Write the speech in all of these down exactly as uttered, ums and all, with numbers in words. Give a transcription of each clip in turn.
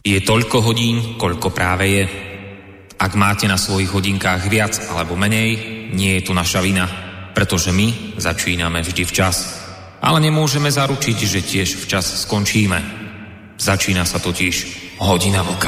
Je toľko hodín, koľko práve je. Ak máte na svojich hodinkách viac alebo menej, nie je to naša vina, pretože my začíname vždy včas. Ale nemôžeme zaručiť, že tiež včas skončíme. Začína sa totiž Hodina vlka.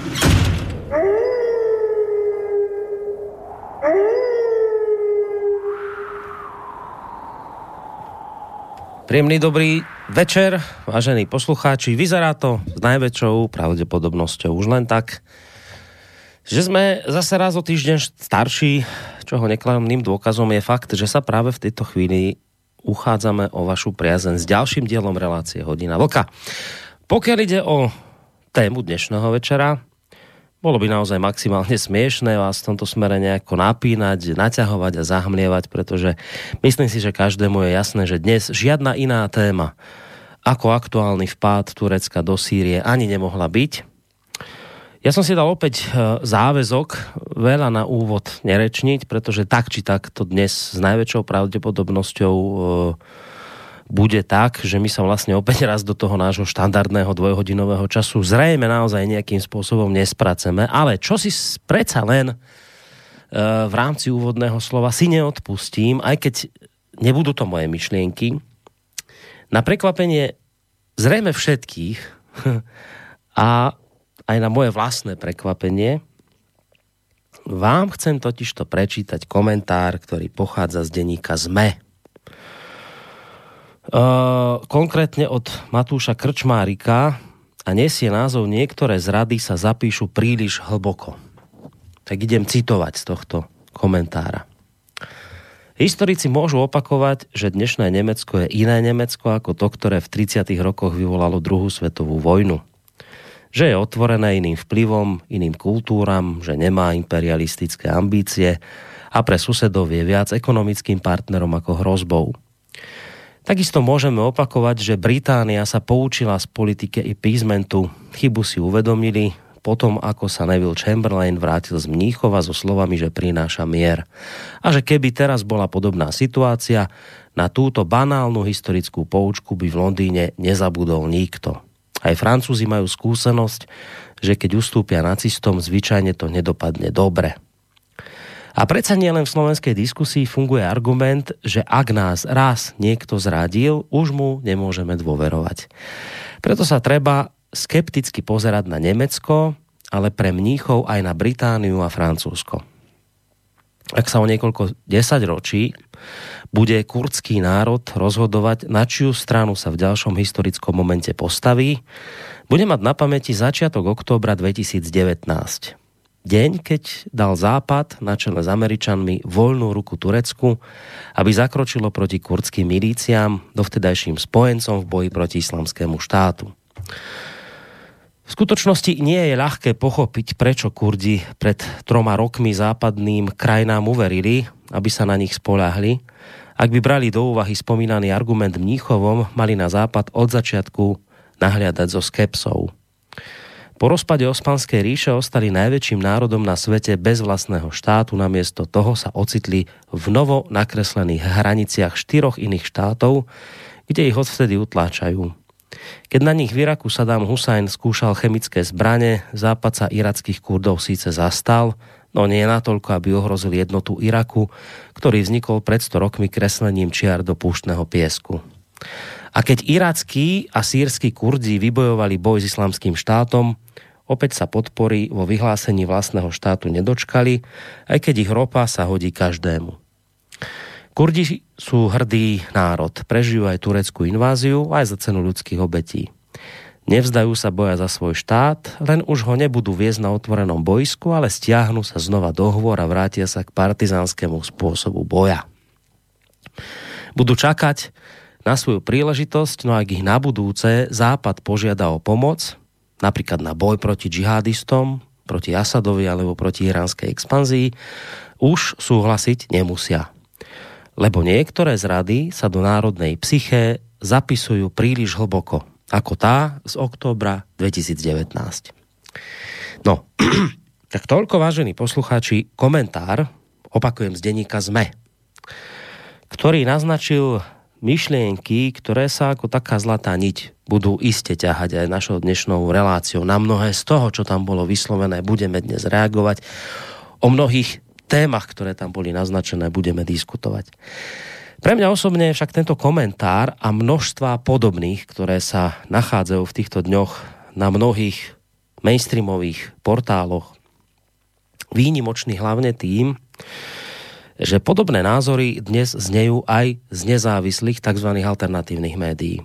Príjemný dobrý večer, vážení poslucháči. Vyzerá to s najväčšou pravdepodobnosťou už len tak, že sme zase raz o týždeň starší, čoho neklamným dôkazom je fakt, že sa práve v tejto chvíli uchádzame o vašu priazeň s ďalším dielom relácie Hodina vlka. Pokiaľ ide o tému dnešného večera, bolo by naozaj maximálne smiešné vás v tomto smere nejako napínať, naťahovať a zahmlievať, pretože myslím si, že každému je jasné, že dnes žiadna iná téma ako aktuálny vpád Turecka do Sýrie ani nemohla byť. Ja som si dal opäť záväzok veľa na úvod nerečniť, pretože tak či tak to dnes s najväčšou pravdepodobnosťou bude tak, že my sa vlastne opäť raz do toho nášho štandardného dvojhodinového času zrejme naozaj nejakým spôsobom nespraceme, ale čo si predsa len v rámci úvodného slova si neodpustím, aj keď nebudú to moje myšlienky, na prekvapenie zrejme všetkých a aj na moje vlastné prekvapenie vám chcem totižto prečítať komentár, ktorý pochádza z denníka es em e. Uh, konkrétne od Matúša Krčmárika a nesie názov Niektoré zrady sa zapíšu príliš hlboko. Tak idem citovať z tohto komentára. Historici môžu opakovať, že dnešné Nemecko je iné Nemecko ako to, ktoré v tridsiatych rokoch vyvolalo druhú svetovú vojnu. Že je otvorené iným vplyvom, iným kultúram, že nemá imperialistické ambície a pre susedov je viac ekonomickým partnerom ako hrozbou. Takisto môžeme opakovať, že Británia sa poučila z politiky appeasementu, chybu si uvedomili potom, ako sa Neville Chamberlain vrátil z Mníchova so slovami, že prináša mier. A že keby teraz bola podobná situácia, na túto banálnu historickú poučku by v Londýne nezabudol nikto. Aj Francúzi majú skúsenosť, že keď ustúpia nacistom, zvyčajne to nedopadne dobre. A predsa nie len v slovenskej diskusii funguje argument, že ak nás raz niekto zradil, už mu nemôžeme dôverovať. Preto sa treba skepticky pozerať na Nemecko, ale pre Mníchov aj na Britániu a Francúzsko. Ak sa o niekoľko desaťročí bude kurdský národ rozhodovať, na čiu stranu sa v ďalšom historickom momente postaví, bude mať na pamäti začiatok októbra dvetisícdevätnásť. Deň, keď dal Západ na čele s Američanmi voľnú ruku Turecku, aby zakročilo proti kurdským milíciám, dovtedajším spojencom v boji proti islamskému štátu. V skutočnosti nie je ľahké pochopiť, prečo Kurdi pred troma rokmi západným krajinám uverili, aby sa na nich spoľahli. Ak by brali do úvahy spomínaný argument Mníchovom, mali na Západ od začiatku nahliadať so skepsou. Po rozpade Osmanskej ríše ostali najväčším národom na svete bez vlastného štátu, namiesto toho sa ocitli v novo nakreslených hraniciach štyroch iných štátov, kde ich odvtedy utláčajú. Keď na nich v Iraku Saddam Husajn skúšal chemické zbrane, Západ sa irackých Kurdov síce zastal, no nie natoľko, aby ohrozil jednotu Iraku, ktorý vznikol pred sto rokmi kreslením čiar do púštneho piesku. A keď irackí a sýrski Kurdi vybojovali boj s islamským štátom, opäť sa podpory vo vyhlásení vlastného štátu nedočkali, aj keď ich ropa sa hodí každému. Kurdi sú hrdý národ, prežijú aj tureckú inváziu, aj za cenu ľudských obetí. Nevzdajú sa boja za svoj štát, len už ho nebudú viesť na otvorenom bojsku, ale stiahnu sa znova do hôr a vrátia sa k partizánskému spôsobu boja. Budú čakať na svoju príležitosť, no ak ich na budúce Západ požiada o pomoc, napríklad na boj proti džihadistom, proti Asadovi alebo proti iránskej expanzii, už súhlasiť nemusia. Lebo niektoré zrady sa do národnej psyché zapisujú príliš hlboko, ako tá z októbra dvetisícdevätnásť. No, tak toľko, vážení poslucháči, komentár, opakujem z denníka es em e, ktorý naznačil myšlienky, ktoré sa ako taká zlatá niť budú iste ťahať aj našou dnešnou reláciou. Na mnohé z toho, čo tam bolo vyslovené, budeme dnes reagovať. O mnohých témach, ktoré tam boli naznačené, budeme diskutovať. Pre mňa osobne však tento komentár a množstva podobných, ktoré sa nachádzajú v týchto dňoch na mnohých mainstreamových portáloch, výnimočný hlavne tým, že podobné názory dnes znejú aj z nezávislých tzv. Alternatívnych médií.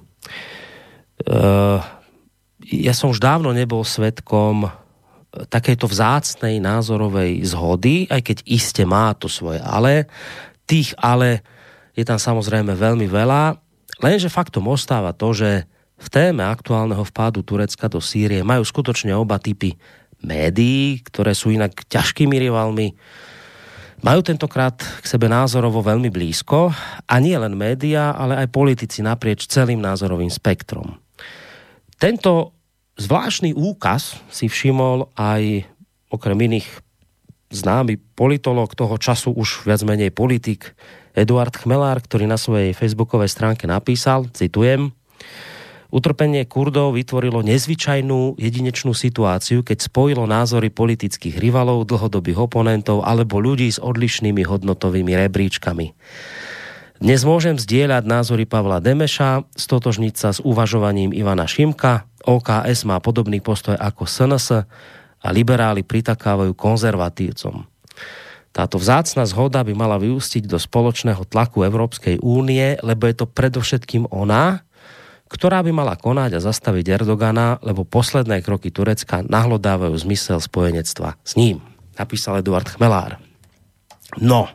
Ja som už dávno nebol svedkom takejto vzácnej názorovej zhody, aj keď iste má to svoje ale. Tých ale je tam samozrejme veľmi veľa, lenže faktom ostáva to, že v téme aktuálneho vpádu Turecka do Sýrie majú skutočne oba typy médií, ktoré sú inak ťažkými rivalmi, majú tentokrát k sebe názorovo veľmi blízko a nie len médiá, ale aj politici naprieč celým názorovým spektrom. Tento zvláštny úkaz si všimol aj okrem iných známy politológ toho času, už viac menej politik, Eduard Chmelár, ktorý na svojej facebookovej stránke napísal, citujem: utrpenie Kurdov vytvorilo nezvyčajnú jedinečnú situáciu, keď spojilo názory politických rivalov, dlhodobých oponentov alebo ľudí s odlišnými hodnotovými rebríčkami. Dnes môžem zdieľať názory Pavla Demeša, stotožniť sa s uvažovaním Ivana Šimka, ó ká es má podobný postoj ako es en es a liberáli pritakávajú konzervatívcom. Táto vzácna zhoda by mala vyústiť do spoločného tlaku Európskej únie, lebo je to predovšetkým ona, ktorá by mala konať a zastaviť Erdogana, lebo posledné kroky Turecka nahlodávajú zmysel spojenectva s ním. Napísal Eduard Chmelár. No,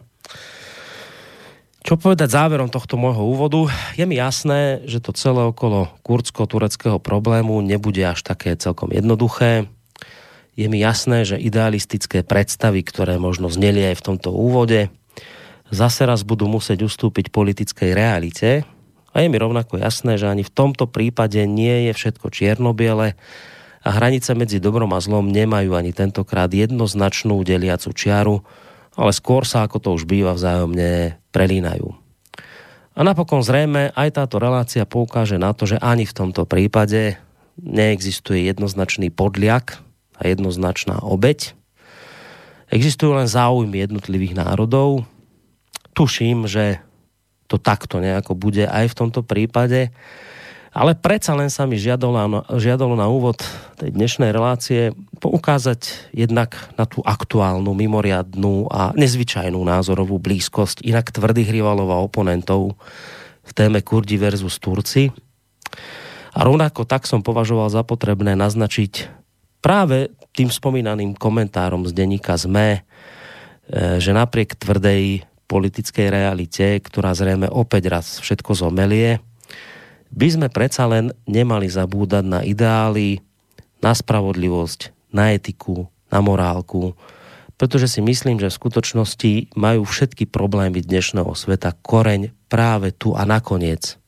čo povedať záverom tohto môjho úvodu? Je mi jasné, že to celé okolo kurdsko-tureckého problému nebude až také celkom jednoduché. Je mi jasné, že idealistické predstavy, ktoré možno zneli aj v tomto úvode, zase raz budú musieť ustúpiť politickej realite. A je mi rovnako jasné, že ani v tomto prípade nie je všetko čierno-biele a hranice medzi dobrom a zlom nemajú ani tentokrát jednoznačnú deliacu čiaru, ale skôr sa, ako to už býva, vzájomne prelínajú. A napokon zrejme aj táto relácia poukáže na to, že ani v tomto prípade neexistuje jednoznačný podliak a jednoznačná obeť. Existujú len záujmy jednotlivých národov. Tuším, že to takto nejako bude aj v tomto prípade. Ale predsa len sa mi žiadalo, žiadalo na úvod tej dnešnej relácie poukázať jednak na tú aktuálnu, mimoriadnú a nezvyčajnú názorovú blízkosť inak tvrdých rivalov a oponentov v téme Kurdi versus Turci. A rovnako tak som považoval za potrebné naznačiť práve tým spomínaným komentárom z denníka es em e, že napriek tvrdej politickej realite, ktorá zrejme opäť raz všetko zomelie, by sme predsa len nemali zabúdať na ideály, na spravodlivosť, na etiku, na morálku, pretože si myslím, že v skutočnosti majú všetky problémy dnešného sveta koreň práve tu a nakoniec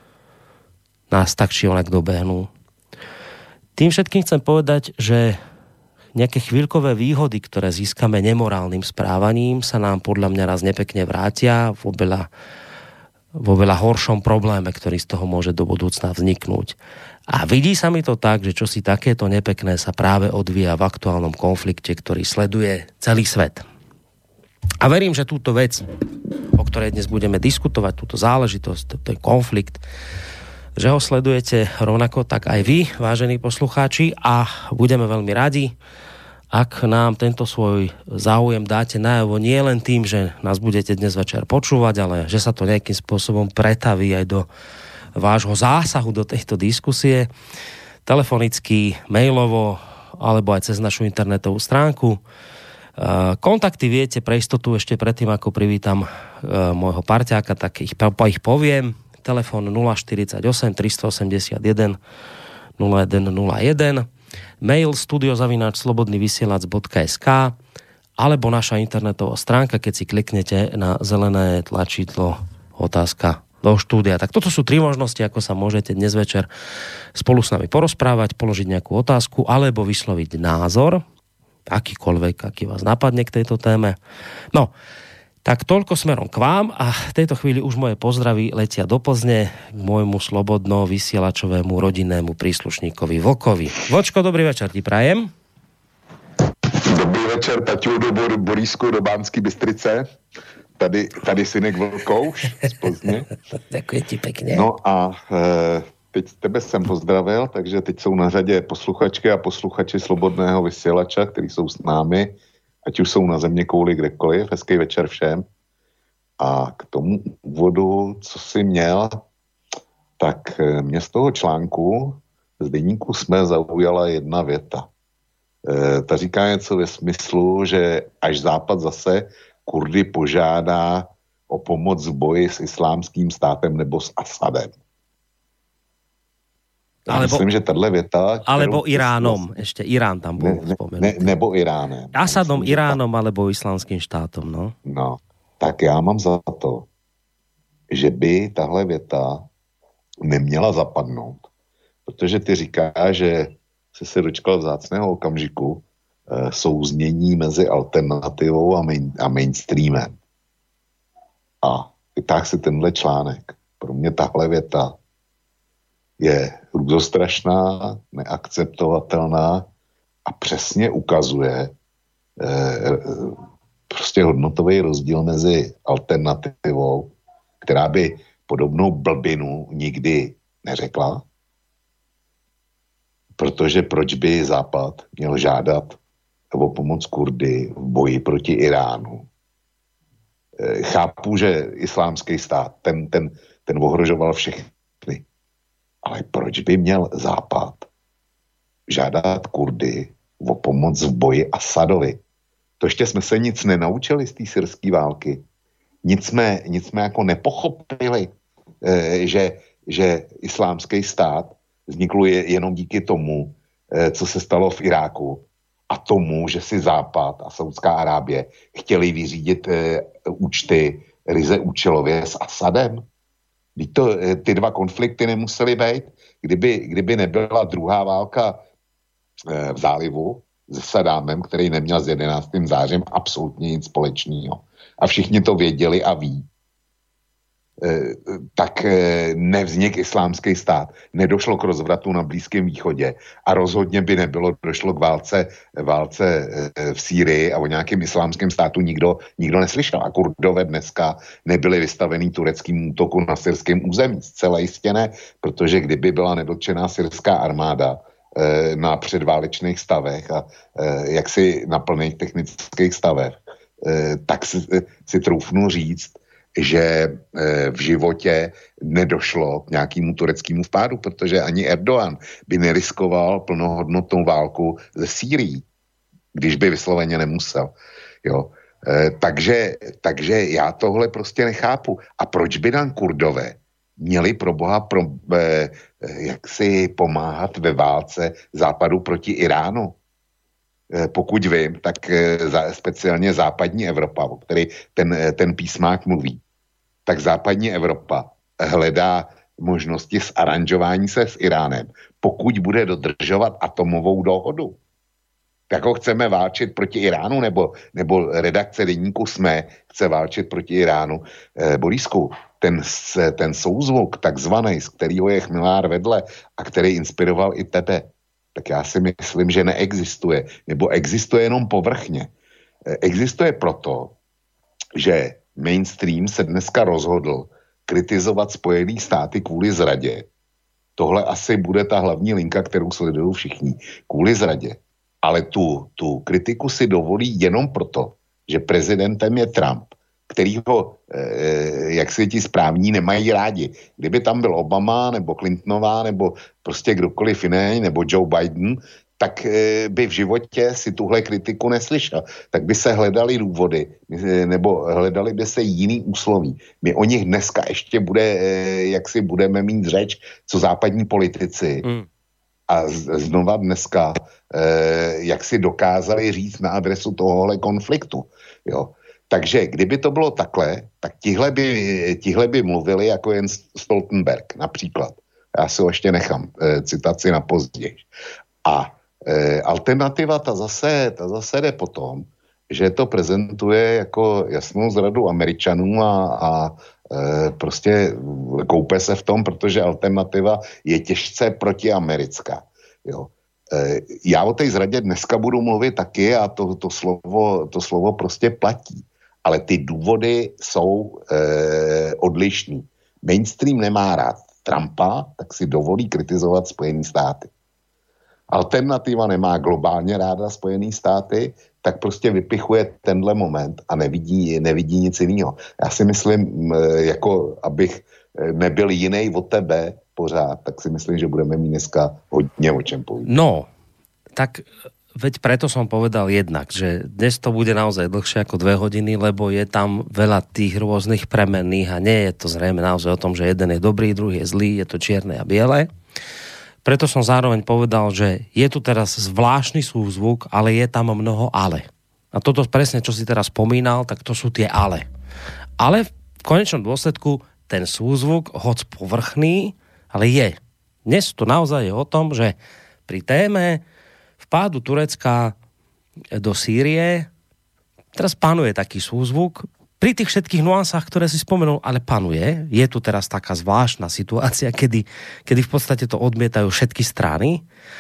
nás tak či onak dobehnú. Tým všetkým chcem povedať, že nejaké chvíľkové výhody, ktoré získame nemorálnym správaním, sa nám podľa mňa raz nepekne vrátia v oveľa, vo veľa horšom probléme, ktorý z toho môže do budúcna vzniknúť. A vidí sa mi to tak, že čosi takéto nepekné sa práve odvíja v aktuálnom konflikte, ktorý sleduje celý svet. A verím, že túto vec, o ktorej dnes budeme diskutovať, túto záležitosť, ten konflikt, že ho sledujete rovnako tak aj vy, vážení poslucháči, a budeme veľmi radi, ak nám tento svoj záujem dáte najavo nie len tým, že nás budete dnes večer počúvať, ale že sa to nejakým spôsobom pretaví aj do vášho zásahu do tejto diskusie, telefonicky, mailovo, alebo aj cez našu internetovú stránku. Kontakty viete pre istotu ešte predtým, ako privítam môjho parťáka, tak ich, ich poviem. Telefón nula štyridsaťosem tristoosemdesiatjeden nula jeden nula jeden, mail studio zavináč slobodnyvysielac bodka es ká alebo naša internetová stránka, keď si kliknete na zelené tlačidlo otázka do štúdia. Tak toto sú tri možnosti, ako sa môžete dnes večer spolu s nami porozprávať, položiť nejakú otázku alebo vysloviť názor, akýkoľvek, aký vás napadne k tejto téme. No, Tak toľko smerom k vám a v tejto chvíli už moje pozdravy letia do Plzne k môjmu slobodno vysielačovému rodinnému príslušníkovi Vlkovi. Vočko, dobrý večer ti prajem. Dobrý večer, Taťu, do Borísku, do Banský Bystrice. Tady, tady synek Vlkouš z Plzně. Děkuji ti pěkně. No a e, teď tebe jsem pozdravil, takže teď jsou na řadě posluchačky a posluchači Slobodného vysílača, kteří jsou s námi, ať už jsou na země kouli kdekoliv. Hezký večer všem. A k tomu úvodu, co jsi měl, tak mě z toho článku z deníku SME zaujala jedna věta. E, ta říká něco ve smyslu, že až Západ zase Kurdy požádá o pomoc v boji s islámským státem nebo s Asadem. Já alebo, myslím, že tato věta... Alebo Iránom, vlastně, ještě Irán tam byl ne, ne, Nebo Iránem. Asadom, myslím, Iránom ta, alebo islámským štátom, no. No, tak já mám za to, že by tahle věta neměla zapadnout, protože ty říkáš, že jsi se dočkal vzácného okamžiku e, souznění mezi alternativou a, main, a mainstreamem. A vytáhl si tenhle článek. Pro mě tahle věta je hrůzostrašná, neakceptovatelná a přesně ukazuje e, prostě hodnotový rozdíl mezi alternativou, která by podobnou blbinu nikdy neřekla, protože proč by Západ měl žádat o pomoc Kurdy v boji proti Iránu. E, chápu, že islámský stát, ten, ten, ten ohrožoval všechny, ale proč by měl Západ žádat Kurdy o pomoc v boji Asadovi? To ještě jsme se nic nenaučili z té syrské války. Nic jsme, nic jsme jako nepochopili, e, že, že islámský stát vznikl je, jenom díky tomu, e, co se stalo v Iráku a tomu, že si Západ a Saudská Arábie chtěli vyřídit e, účty ryze účelově s Asadem. To, e, ty dva konflikty nemusely být. Kdyby, kdyby nebyla druhá válka e, v zálivu se Sadámem, který neměl s jedenáctým zářím absolutně nic společného. A všichni to věděli a ví. E, tak e, nevznik islámský stát. Nedošlo k rozvratu na Blízkém východě a rozhodně by nebylo došlo k válce, válce e, v Sýrii a o nějakém islámském státu nikdo, nikdo neslyšel. A Kurdové dneska nebyli vystavený tureckým útoku na syrském území. Zcela jistě ne, protože kdyby byla nedotčená syrská armáda na předválečných stavech a jaksi na plných technických stavech, tak si, si troufnu říct, že v životě nedošlo k nějakému tureckému vpádu, protože ani Erdogan by neriskoval plnohodnotnou válku ze Sýrií, když by vysloveně nemusel. Jo. Takže, takže já tohle prostě nechápu. A proč by nám Kurdové měli pro boha pro, eh, jak si pomáhat ve válce Západu proti Iránu? Eh, pokud vím, tak eh, za, speciálně západní Evropa, o který ten, ten písmák mluví, tak západní Evropa hledá možnosti zaranžování se s Iránem, pokud bude dodržovat atomovou dohodu. Tak ho chceme válčit proti Iránu, nebo, nebo redakce deníku SME chce válčit proti Iránu. Eh, Borisku, ten, ten souzvuk takzvaný, z kterého je Chmilár vedle a který inspiroval i tebe, tak já si myslím, že neexistuje. Nebo existuje jenom povrchně. Eh, existuje proto, že mainstream se dneska rozhodl kritizovat Spojené státy kvůli zradě. Tohle asi bude ta hlavní linka, kterou sledují všichni. Kvůli zradě. Ale tu, tu kritiku si dovolí jenom proto, že prezidentem je Trump, kterýho, e, jak si ti správní, nemají rádi. Kdyby tam byl Obama, nebo Clintonová, nebo prostě kdokoliv jiný, nebo Joe Biden, tak e, by v životě si tuhle kritiku neslyšel. Tak by se hledali důvody, e, nebo hledali by se jiný úsloví. My o nich dneska ještě bude, e, jak si budeme mít řeč, co západní politici mm. a z, znova dneska eh, jak si dokázali říct na adresu tohohle konfliktu. Jo. Takže kdyby to bylo takhle, tak tihle by, tihle by mluvili jako jen Stoltenberg například. Já si ho ještě nechám eh, citaci na později. A eh, alternativa ta zase, ta zase jde potom, že to prezentuje jako jasnou zradu Američanů a, a e, prostě koupe se v tom, protože alternativa je těžce protiamerická. Jo. E, já o té zradě dneska budu mluvit taky a to, to, slovo, to slovo prostě platí. Ale ty důvody jsou e, odlišný. Mainstream nemá rád Trumpa, tak si dovolí kritizovat Spojené státy. Alternativa nemá globálně ráda Spojené státy, tak prostě vypichuje tenhle moment a nevidí, nevidí nic jiného. Já si myslím, jako abych nebyl jiný od tebe pořád, tak si myslím, že budeme mít dneska hodně o čem povídat. No, tak veď preto som povedal jednak, že dnes to bude naozaj dlhšie ako dve hodiny, lebo je tam veľa tých rôznych premenných a nie je to zrejme naozaj o tom, že jeden je dobrý, druhý je zlý, je to čierne a biele. Preto som zároveň povedal, že je tu teraz zvláštny súzvuk, ale je tam mnoho ale. A toto presne, čo si teraz spomínal, tak to sú tie ale. Ale v konečnom dôsledku ten súzvuk, hoď povrchný, ale je. Dnes to naozaj je o tom, že pri téme vpádu Turecka do Sýrie teraz panuje taký súzvuk. Pri tých všetkých nuansách, ktoré si spomenul, ale panuje. Je tu teraz taká zvláštna situácia, kedy, kedy v podstate to odmietajú všetky strany.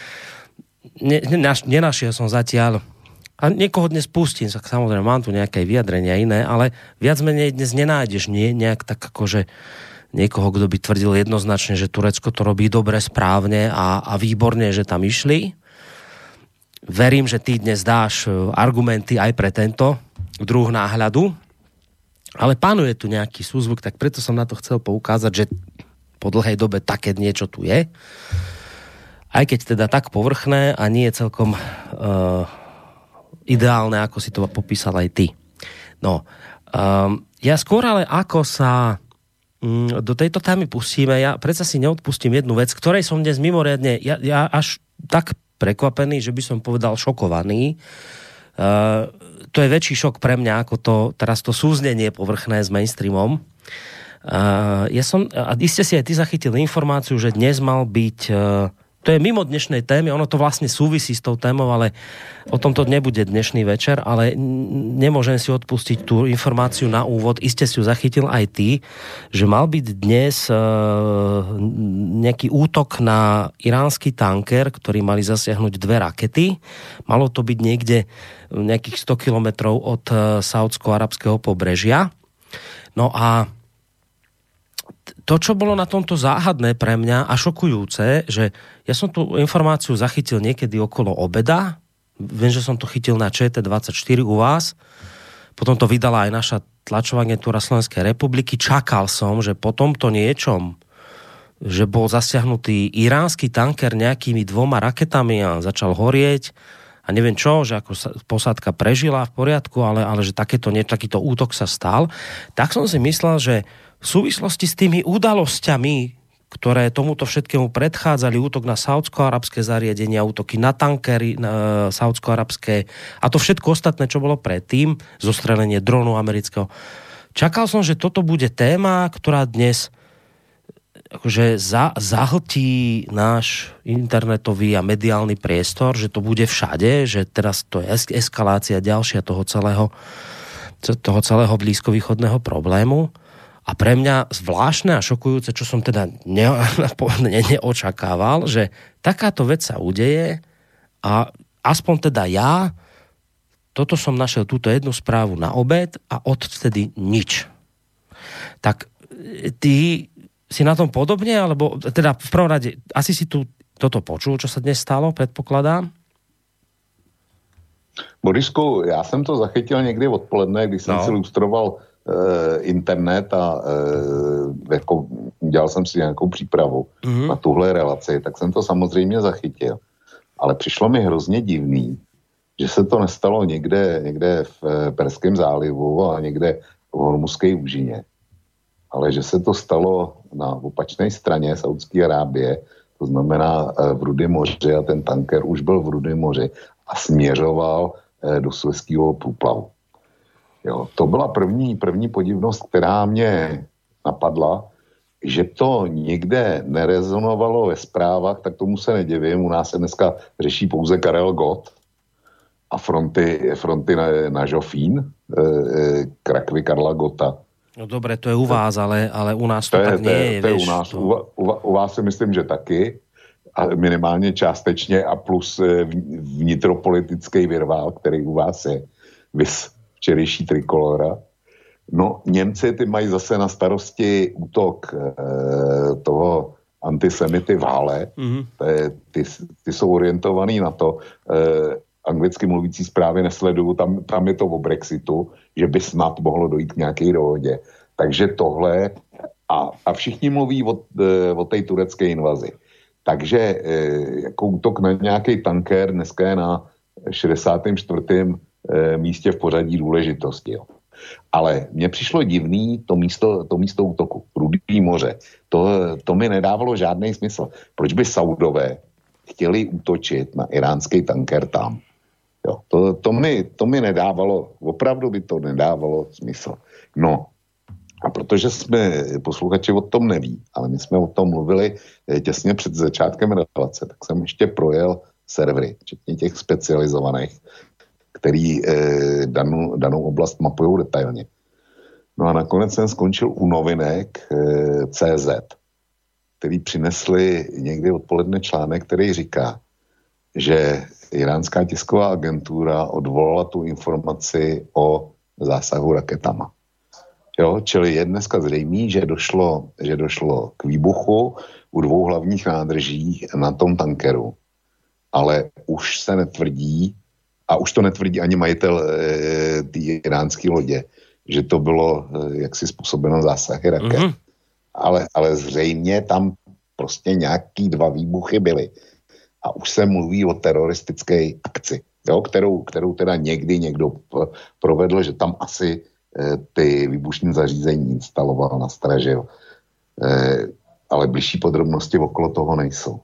Ne, nenašiel som zatiaľ, a niekoho dnes pustím, samozrejme mám tu nejaké vyjadrenia iné, ale viac menej dnes nenájdeš nie, nejak tak akože niekoho, kto by tvrdil jednoznačne, že Turecko to robí dobre, správne a, a výborne, že tam išli. Verím, že ty dnes dáš argumenty aj pre tento druh náhľadu, ale panuje tu nejaký súzvuk, tak preto som na to chcel poukázať, že po dlhej dobe také niečo tu je. Aj keď teda tak povrchné a nie je celkom uh, ideálne, ako si to popísal aj ty. No, um, ja skôr ale ako sa um, do tejto témy pustíme, ja predsa si neodpustím jednu vec, ktorej som dnes mimoriadne, ja, ja až tak prekvapený, že by som povedal šokovaný. Uh, to je väčší šok pre mňa, ako to teraz to súznenie povrchné s mainstreamom. Uh, ja som, a iste si aj ty zachytil informáciu, že dnes mal byť, uh, to je mimo dnešnej témy, ono to vlastne súvisí s tou témou, ale o tomto nebude dnešný večer, ale nemôžem si odpustiť tú informáciu na úvod, iste si ju zachytil aj ty, že mal byť dnes uh, nejaký útok na iránsky tanker, ktorý mali zasiahnuť dve rakety. Malo to byť niekde nejakých sto kilometrov od uh, saúdsko-arabského pobrežia. No a to, čo bolo na tomto záhadné pre mňa a šokujúce, že ja som tú informáciu zachytil niekedy okolo obeda, viem, že som to chytil na Č T dvadsaťštyri u vás, potom to vydala aj naša tlačová agentúra Slovenskej republiky, čakal som, že po tomto niečom, že bol zasiahnutý iránsky tanker nejakými dvoma raketami a začal horieť a neviem čo, že ako sa posádka prežila v poriadku, ale, ale že takéto, nie, takýto útok sa stal, tak som si myslel, že v súvislosti s tými udalosťami, ktoré tomuto všetkému predchádzali, útok na saúdsko-arabské zariadenia, útoky na tankery na saúdsko-arabské a to všetko ostatné, čo bolo predtým, zostrelenie dronu amerického. Čakal som, že toto bude téma, ktorá dnes akože za, zahltí náš internetový a mediálny priestor, že to bude všade, že teraz to je eskalácia ďalšia toho celého, toho celého blízkovýchodného problému. A pre mňa zvláštne a šokujúce, čo som teda ne, ne, neočakával, že takáto vec sa udeje a aspoň teda ja, toto som našiel túto jednu správu na obed a odtedy nič. Tak ty si na tom podobne, alebo teda v prvom rade, asi si tu toto počul, čo sa dnes stalo, predpokladám? Borisku, já jsem to zachytil někdy odpoledne, když jsem no. si lustroval e, internet a e, jako, dělal jsem si nějakou přípravu mm-hmm. na tuhle relaci, tak jsem to samozřejmě zachytil. Ale přišlo mi hrozně divný, že se to nestalo někde, někde v Perském zálivu a někde v Hormuzské úžině. Ale že se to stalo na opačné straně Saúdské Arábie, to znamená v Rudém moři a ten tanker už byl v Rudém moři a směřoval do Suezského průplavu. Jo, to byla první, první podivnost, která mě napadla, že to někde nerezonovalo ve zprávách, tak tomu se nedivím. U nás se dneska řeší pouze Karel Gott a fronty, fronty na, na Žofín, e, e, Krakvy Karla Gotta. No dobre, to je u vás, ale, ale u nás to, to tak je, nie je. To je vieš, u nás. to... U, u, u vás si myslím, že taky. A minimálně částečně a plus vnitropolitický virvál, který u vás je. Vys včerejší Trikolora. No, Němci ty mají zase na starosti útok e, toho antisemity Vále. Mm-hmm. Ty, ty jsou orientovaný na to, e, anglicky mluvící zprávy nesleduju, tam, tam je to o Brexitu, že by snad mohlo dojít k nějaké dohodě. Takže tohle a, a všichni mluví o, e, o té turecké invazi. Takže e, jako útok na nějaký tanker dneska je na šedesátém čtvrtém E, místě v pořadí důležitosti. Jo. Ale mně přišlo divný to místo, to místo útoku. Rudý moře. To, to mi nedávalo žádný smysl. Proč by Saudové chtěli útočit na iránský tanker tam? Jo. To, to, mi, to mi nedávalo, opravdu by to nedávalo smysl. No, a protože jsme, posluchači o tom neví, ale my jsme o tom mluvili těsně před začátkem relace, tak jsem ještě projel servery, včetně těch specializovaných, který eh, danou, danou oblast mapují detailně. No a nakonec jsem skončil u novinek eh, C Z, který přinesli někdy odpoledne článek, který říká, že iránská tisková agentura odvolala tu informaci o zásahu raketama. Jo, čili je dneska zřejmý, že došlo, že došlo k výbuchu u dvou hlavních nádrží na tom tankeru, ale už se netvrdí, a už to netvrdí ani majitel e, té iránské lodě, že to bylo e, jaksi způsobeno zásahy raket. Mm-hmm. Ale, ale zřejmě tam prostě nějaký dva výbuchy byly. A už se mluví o teroristické akci, jo, kterou, kterou teda někdy někdo provedl, že tam asi e, ty výbušní zařízení instaloval, nastražil. E, ale bližší podrobnosti okolo toho nejsou.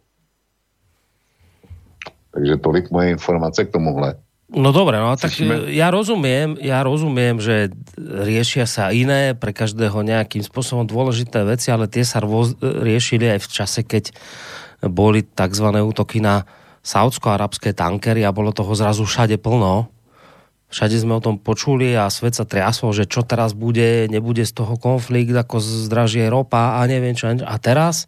Takže tolik moje informace k tomuhle. No dobre, no tak ja rozumiem, ja rozumiem, že riešia sa iné, pre každého nejakým spôsobom dôležité veci, ale tie sa rôz, riešili aj v čase, keď boli takzvané útoky na saúdsko-arabské tankery a bolo toho zrazu všade plno. Všade sme o tom počuli a svet sa triasol, že čo teraz bude, nebude z toho konflikt, ako zdražie ropa a neviem čo. A teraz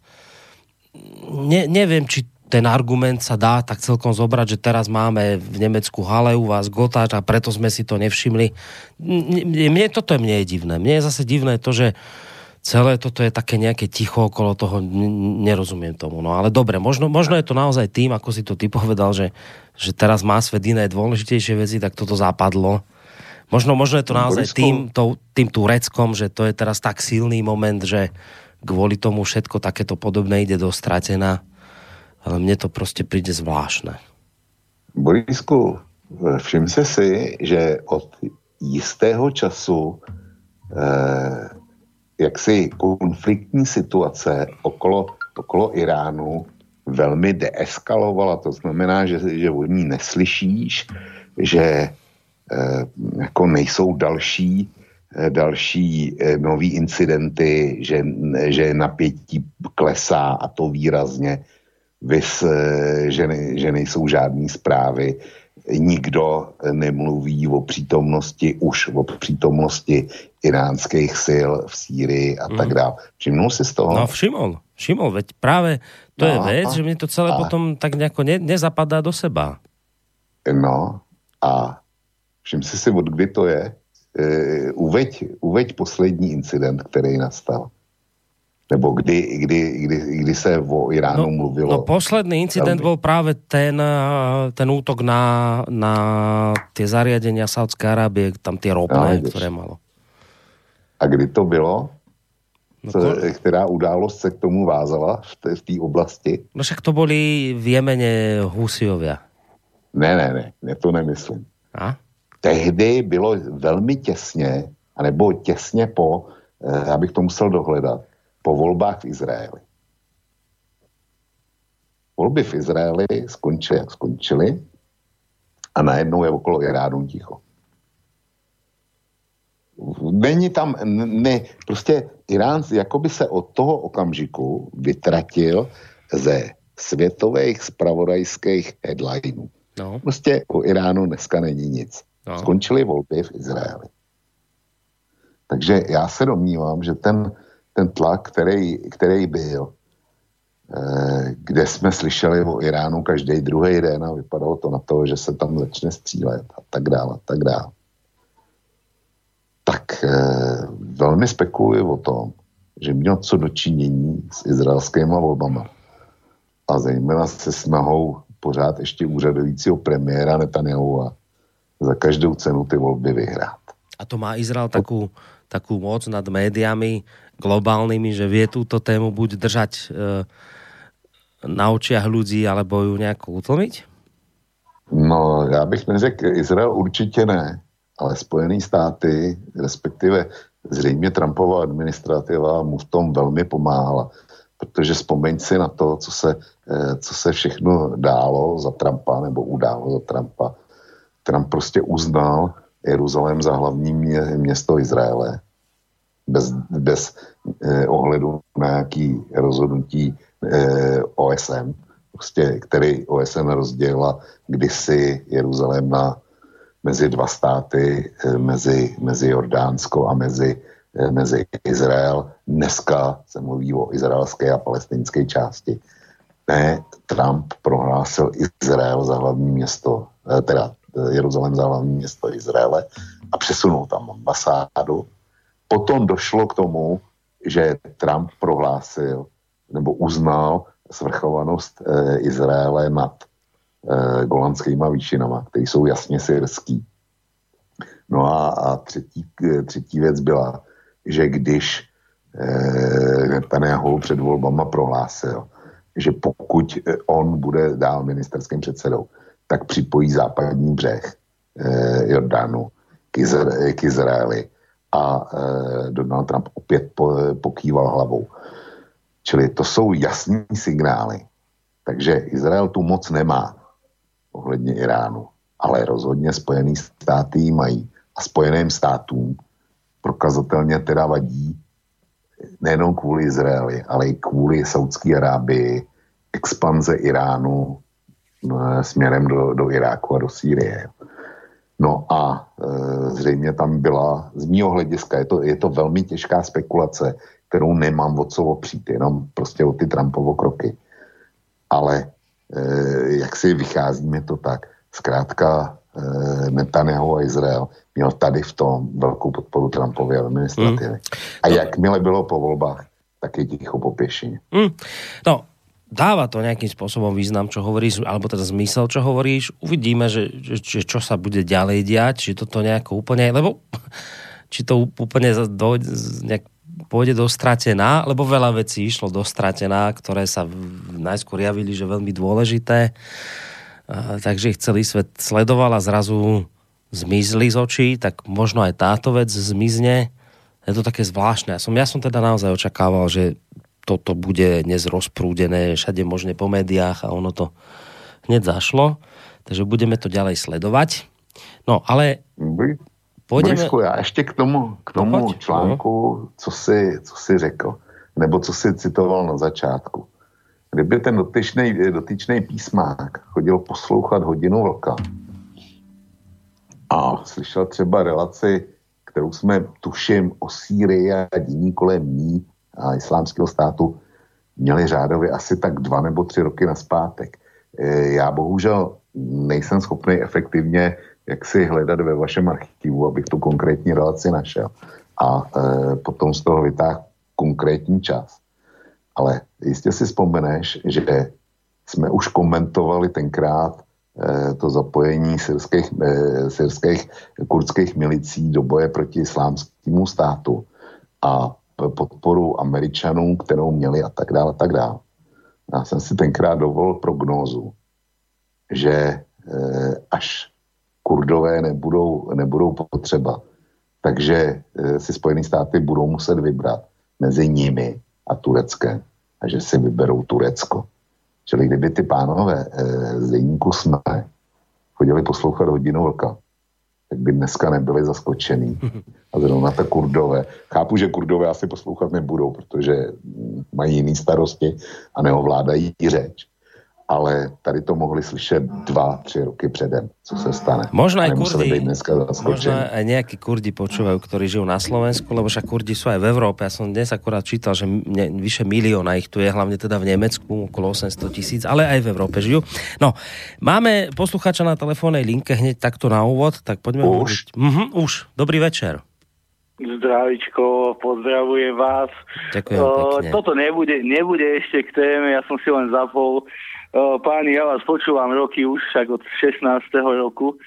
ne, neviem, či ten argument sa dá tak celkom zobrať, že teraz máme v Nemecku Halle, u vás Gotthard a preto sme si to nevšimli. Mne toto je, mne je divné. Mne je zase divné to, že celé toto je také nejaké ticho okolo toho, nerozumiem tomu. No ale dobre, možno, možno je to naozaj tým, ako si to ty povedal, že, že teraz má svet iné dôležitejšie veci, tak toto zapadlo. Možno, možno je to naozaj tým, to, tým Tureckom, že to je teraz tak silný moment, že kvôli tomu všetko takéto podobné ide do stratená. Ale mne to prostě príde zvláštne. Borisku, všim se si, že od jistého času eh, jaksi konfliktní situace okolo, okolo Iránu velmi deeskalovala. To znamená, že, že od ní neslyšíš, že eh, jako nejsou další, eh, další eh, nový incidenty, že, že napětí klesá a to výrazně. Vys, že, ne, že nejsou žádný zprávy, nikdo nemluví o přítomnosti, už o přítomnosti iránských sil v Sýrii a tak dále. Všimnul si z toho? No všimol, všimol, veď práve to no, je vec, že mne to celé a, potom tak nejako ne, nezapadá do seba. No a všim si si, od kdy to je? E, uveď, uveď poslední incident, který nastal. Nebo kdy, kdy, kdy, kdy se o Iránu no, mluvilo? No posledný incident bol práve ten, ten útok na, na tie zariadenia Saudskej Arábie, tam tie ropné, no, ktoré malo. A kdy to bylo? No, Co, která událost se k tomu vázala v té oblasti? No však to boli v Jemene Husijovia. Ne, ne, ne, ne, to nemyslím. A? Tehdy bylo velmi těsně, anebo těsně po, eh, abych to musel dohledat, po volbách v Izraeli. Volby v Izraeli skončily, jak skončily, a najednou je okolo Iránu ticho. Není tam, ne, prostě Irán jakoby se od toho okamžiku vytratil ze světových zpravodajských headlinů. No. Prostě o Iránu dneska není nic. No. Skončily volby v Izraeli. Takže já se domnívám, že ten, ten tlak, který, který byl, eh, kde jsme slyšeli o Iránu každý druhý den a vypadalo to na to, že se tam začne střílet a tak dále, a tak dále. Tak eh, velmi spekuluji o tom, že měl co dočinění s izraelskýma volbama. A zejména se snahou pořád ještě úřadujícího premiéra Netanyahua za každou cenu ty volby vyhrát. A to má Izrael takú, takú moc nad médiami globálnymi, že vie túto tému buď držať e, na očiach ľudí, alebo ju nejako utlmiť? No, já bych neřekl, Izrael určitě ne, ale Spojené státy, respektive zřejmě Trumpova administrativa mu v tom velmi pomáhala. Protože vzpomeň si na to, co se, co se všechno dálo za Trumpa, nebo událo za Trumpa. Trump prostě uznal Jeruzalém za hlavní město Izraele. Bez, bez eh, ohledu na nějaký rozhodnutí eh, O S N, prostě, který O S N rozdělila kdysi Jeruzalém na mezi dva státy, eh, mezi, mezi Jordánsko a mezi mezi Izrael. Dneska se mluví o izraelské a palestinské části. Ne, Trump prohlásil Izrael za hlavní město, teda Jeruzalém za hlavní město Izraele a přesunul tam ambasádu. Potom došlo k tomu, že Trump prohlásil nebo uznal svrchovanost eh, Izraele nad eh, Golanskýma výšinama, které jsou jasně syrský. No a, a třetí, třetí věc byla, že když eh, Netanyahu před volbama prohlásil, že pokud on bude dál ministerským předsedou, tak připojí západní břeh eh, Jordánu k, Izra- k Izraeli a eh, Donald Trump opět po, pokýval hlavou. Čili to jsou jasní signály. Takže Izrael tu moc nemá ohledně Iránu, ale rozhodně Spojený státy mají a Spojeným státům prokazatelně teda vadí nejenom kvůli Izraeli, ale i kvůli Saudské Arábii, expanze Iránu no, směrem do, do Iráku a do Sýrie. No a e, zřejmě tam byla, z mýho hlediska, je to, je to velmi těžká spekulace, kterou nemám o co opřít, jenom prostě o ty Trumpovo kroky. Ale e, jak si vychází mi to tak, zkrátka e, Netanyahu a Izrael měl tady v tom velkou podporu Trumpovy administrativy. Mm. A no, jakmile bylo po voľbách, tak je ticho po pěšině. Mm. No, dáva to nejakým spôsobom význam, čo hovoríš, alebo teda zmysel, čo hovoríš. Uvidíme, že, že čo sa bude ďalej diať, či toto nejako úplne, lebo či to úplne do, nejak pôjde dostratená, lebo veľa vecí išlo dostratená, ktoré sa najskôr javili, že veľmi dôležité. A, takže ich celý svet sledoval a zrazu zmizli z očí, tak možno aj táto vec zmizne. Je to také zvláštne. Ja som, ja som teda naozaj očakával, že toto bude dnes rozprúdené všade možne po médiách a ono to hneď zašlo. Takže budeme to ďalej sledovať. No, ale pôjdeme... Borisku, já ještě k tomu, k tomu no, článku, no. co, si, co si řekl, nebo co si citoval na začátku. Kdyby ten dotyčnej, dotyčnej písmák chodil poslouchat Hodinu vlka a slyšel třeba relaci, kterou jsme, tuším, o Sýrii a dění kolem ní a islámského státu měli řádově asi tak dva nebo tři roky naspátek. Já bohužel nejsem schopný efektivně jak si hledat ve vašem archivu, abych tu konkrétní relaci našel a e, potom z toho vytáhl konkrétní čas. Ale jistě si vzpomeneš, že jsme už komentovali tenkrát e, to zapojení syrských, e, syrských kurdských milicí do boje proti islámskému státu a podporu Američanům, kterou měli a tak dále, a tak dále. Já jsem si tenkrát dovolil prognózu, že e, až Kurdové nebudou, nebudou potřeba, takže e, si Spojené státy budou muset vybrat mezi nimi a Tureckem a že si vyberou Turecko. Čili kdyby ty pánové e, z deníku SME chodili poslouchat Hodinu vlka, tak by dneska nebyli zaskočený. A zrovna ta Kurdové. Chápu, že Kurdové asi poslouchat nebudou, protože mají jiný starosti a neovládají řeč. ale tady to mohli slyšet dva, tři roky předem, co se stane. Možno aj Kurdi, možno aj nejakí Kurdi počúvajú, ktorí žijú na Slovensku, lebo však Kurdi sú aj v Európe. Ja som dnes akurát čítal, že mne, vyše milióna ich tu je, hlavne teda v Nemecku, okolo osemsto tisíc, ale aj v Európe žijú. No, máme poslucháča na telefónnej linke hneď takto na úvod, tak poďme hovoriť. Mhm, už. Dobrý večer. Zdravičko, pozdravujem vás. Ďakujem pekne. Toto nebude, nebude ešte k téme, ja som si len zapol. Páni, ja vás počúvam roky už, však od šestnásteho roku.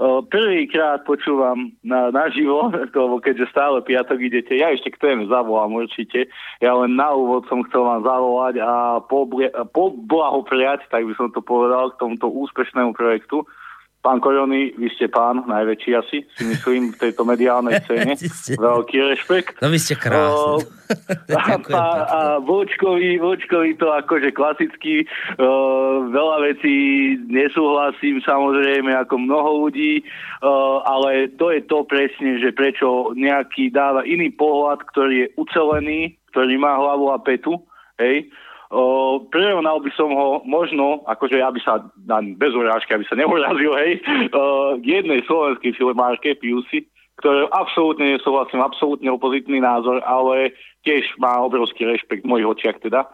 Prvýkrát počúvam na, naživo, lebo keďže stále piatok idete, ja ešte k téme zavolám určite. Ja len na úvod som chcel vám zavolať a poblahopriať, tak by som to povedal, k tomuto úspešnému projektu. Pán Korony, vy ste pán, najväčší asi, si myslím, v tejto mediálnej scéne. Veľký rešpekt. No vy ste krásni. A, a, a Vočkovi, Vočkovi to akože klasicky, uh, veľa vecí nesúhlasím, samozrejme, ako mnoho ľudí, uh, ale to je to presne, že prečo nejaký dáva iný pohľad, ktorý je ucelený, ktorý má hlavu a petu, hej. Uh, prirovnal by som ho možno, akože ja by sa, bez urážky, aby sa neurazil, hej, uh, k jednej slovenskej filmárke, Piusi, ktoré absolútne nesúhlasím, absolútne opozitný názor, ale tiež má obrovský rešpekt v mojich očiach teda.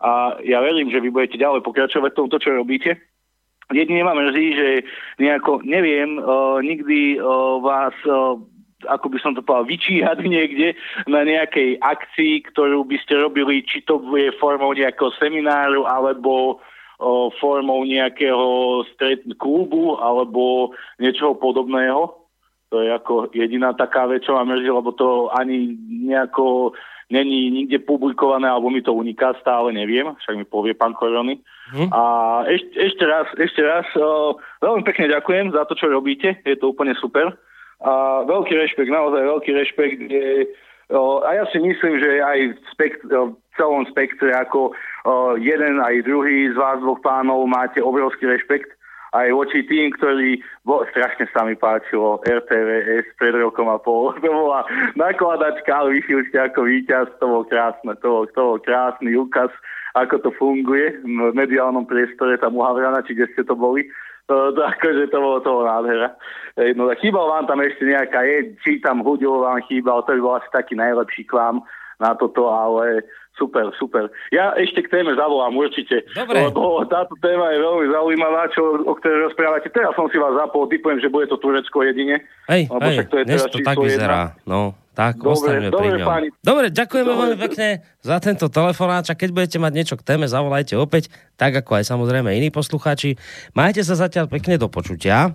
A ja verím, že vy budete ďalej pokračovať v tomto, čo robíte. Jedine ma mrzí, že nejako, neviem, uh, nikdy uh, vás... Uh, ako by som to povedal, vyčíhať niekde na nejakej akcii, ktorú by ste robili, či to bude formou nejakého semináru, alebo o, formou nejakého stret klubu, alebo niečoho podobného. To je ako jediná taká vec, čo ma mrzí, lebo to ani nejako není nikde publikované, alebo mi to uniká, stále neviem, však mi povie pán Korony. Hm. A ešte, ešte raz, ešte raz, o, veľmi pekne ďakujem za to, čo robíte, je to úplne super. A veľký rešpekt, naozaj veľký rešpekt. Je, o, a ja si myslím, že aj v spekt, o, celom spektre ako o, jeden aj druhý z vás dvoch pánov máte obrovský rešpekt aj voči tým, ktorí, bo, strašne sa mi páčilo er té vé es pred rokom a pol. To bola nakladačka, ale vyšiel ste ako víťaz, to bolo krásne, to bol, to bol krásny úkaz, ako to funguje v mediálnom priestore, tam u Havrana, či kde ste to boli. To, to, akože to bolo toho nádhera. No, chýbal vám tam ešte nejaká, je, či tam Huďov vám chýbal, to by bol asi taký najlepší klám na toto, ale super, super. Ja ešte k téme zavolám určite. Dobre. Lebo táto téma je veľmi zaujímavá, čo, o ktorej rozprávate. Teraz som si vás zapol, typujem, že bude to Turecko jedine. Hej, hej, to je dnes to tak vyzerá. Jedna. No, tak ostaňme pri ňom. Páni. Dobre, ďakujeme dobre. Veľmi pekne za tento telefonát. A keď budete mať niečo k téme, zavolajte opäť, tak ako aj samozrejme iní poslucháči. Majte sa zatiaľ pekne do počutia.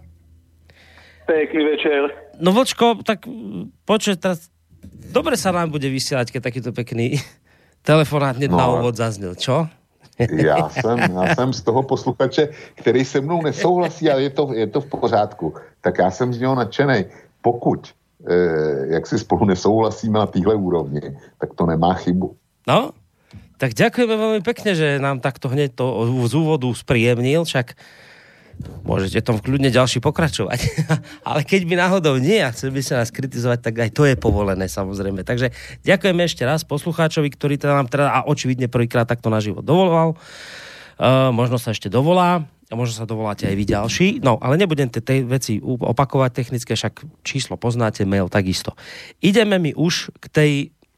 Pekný večer. No Vočko, tak počuť teraz, dobre sa nám bude vysielať, keď takýto pekný telefonát no, na úvod zaznel, čo? Já jsem, já jsem z toho posluchače, který se mnou nesouhlasí, ale je to, je to v pořádku. Tak já jsem z něho nadšenej. Pokud eh, jak si spolu nesouhlasíme na téhle úrovni, tak to nemá chybu. No, tak ďakujeme veľmi pekne, že nám takto hneď to z úvodu spríjemnil, však môžete tom kľudne ďalší pokračovať. Ale keď by náhodou nie a chcel by sa nás kritizovať, tak aj to je povolené, samozrejme. Takže ďakujeme ešte raz poslucháčovi, ktorý teda nám teda a očividne prvýkrát takto naživo dovolal. Uh, možno sa ešte dovolá a možno sa dovoláte aj vy ďalší. No, ale nebudem tie tej veci opakovať technické, však číslo poznáte, mail takisto. Ideme mi už k tej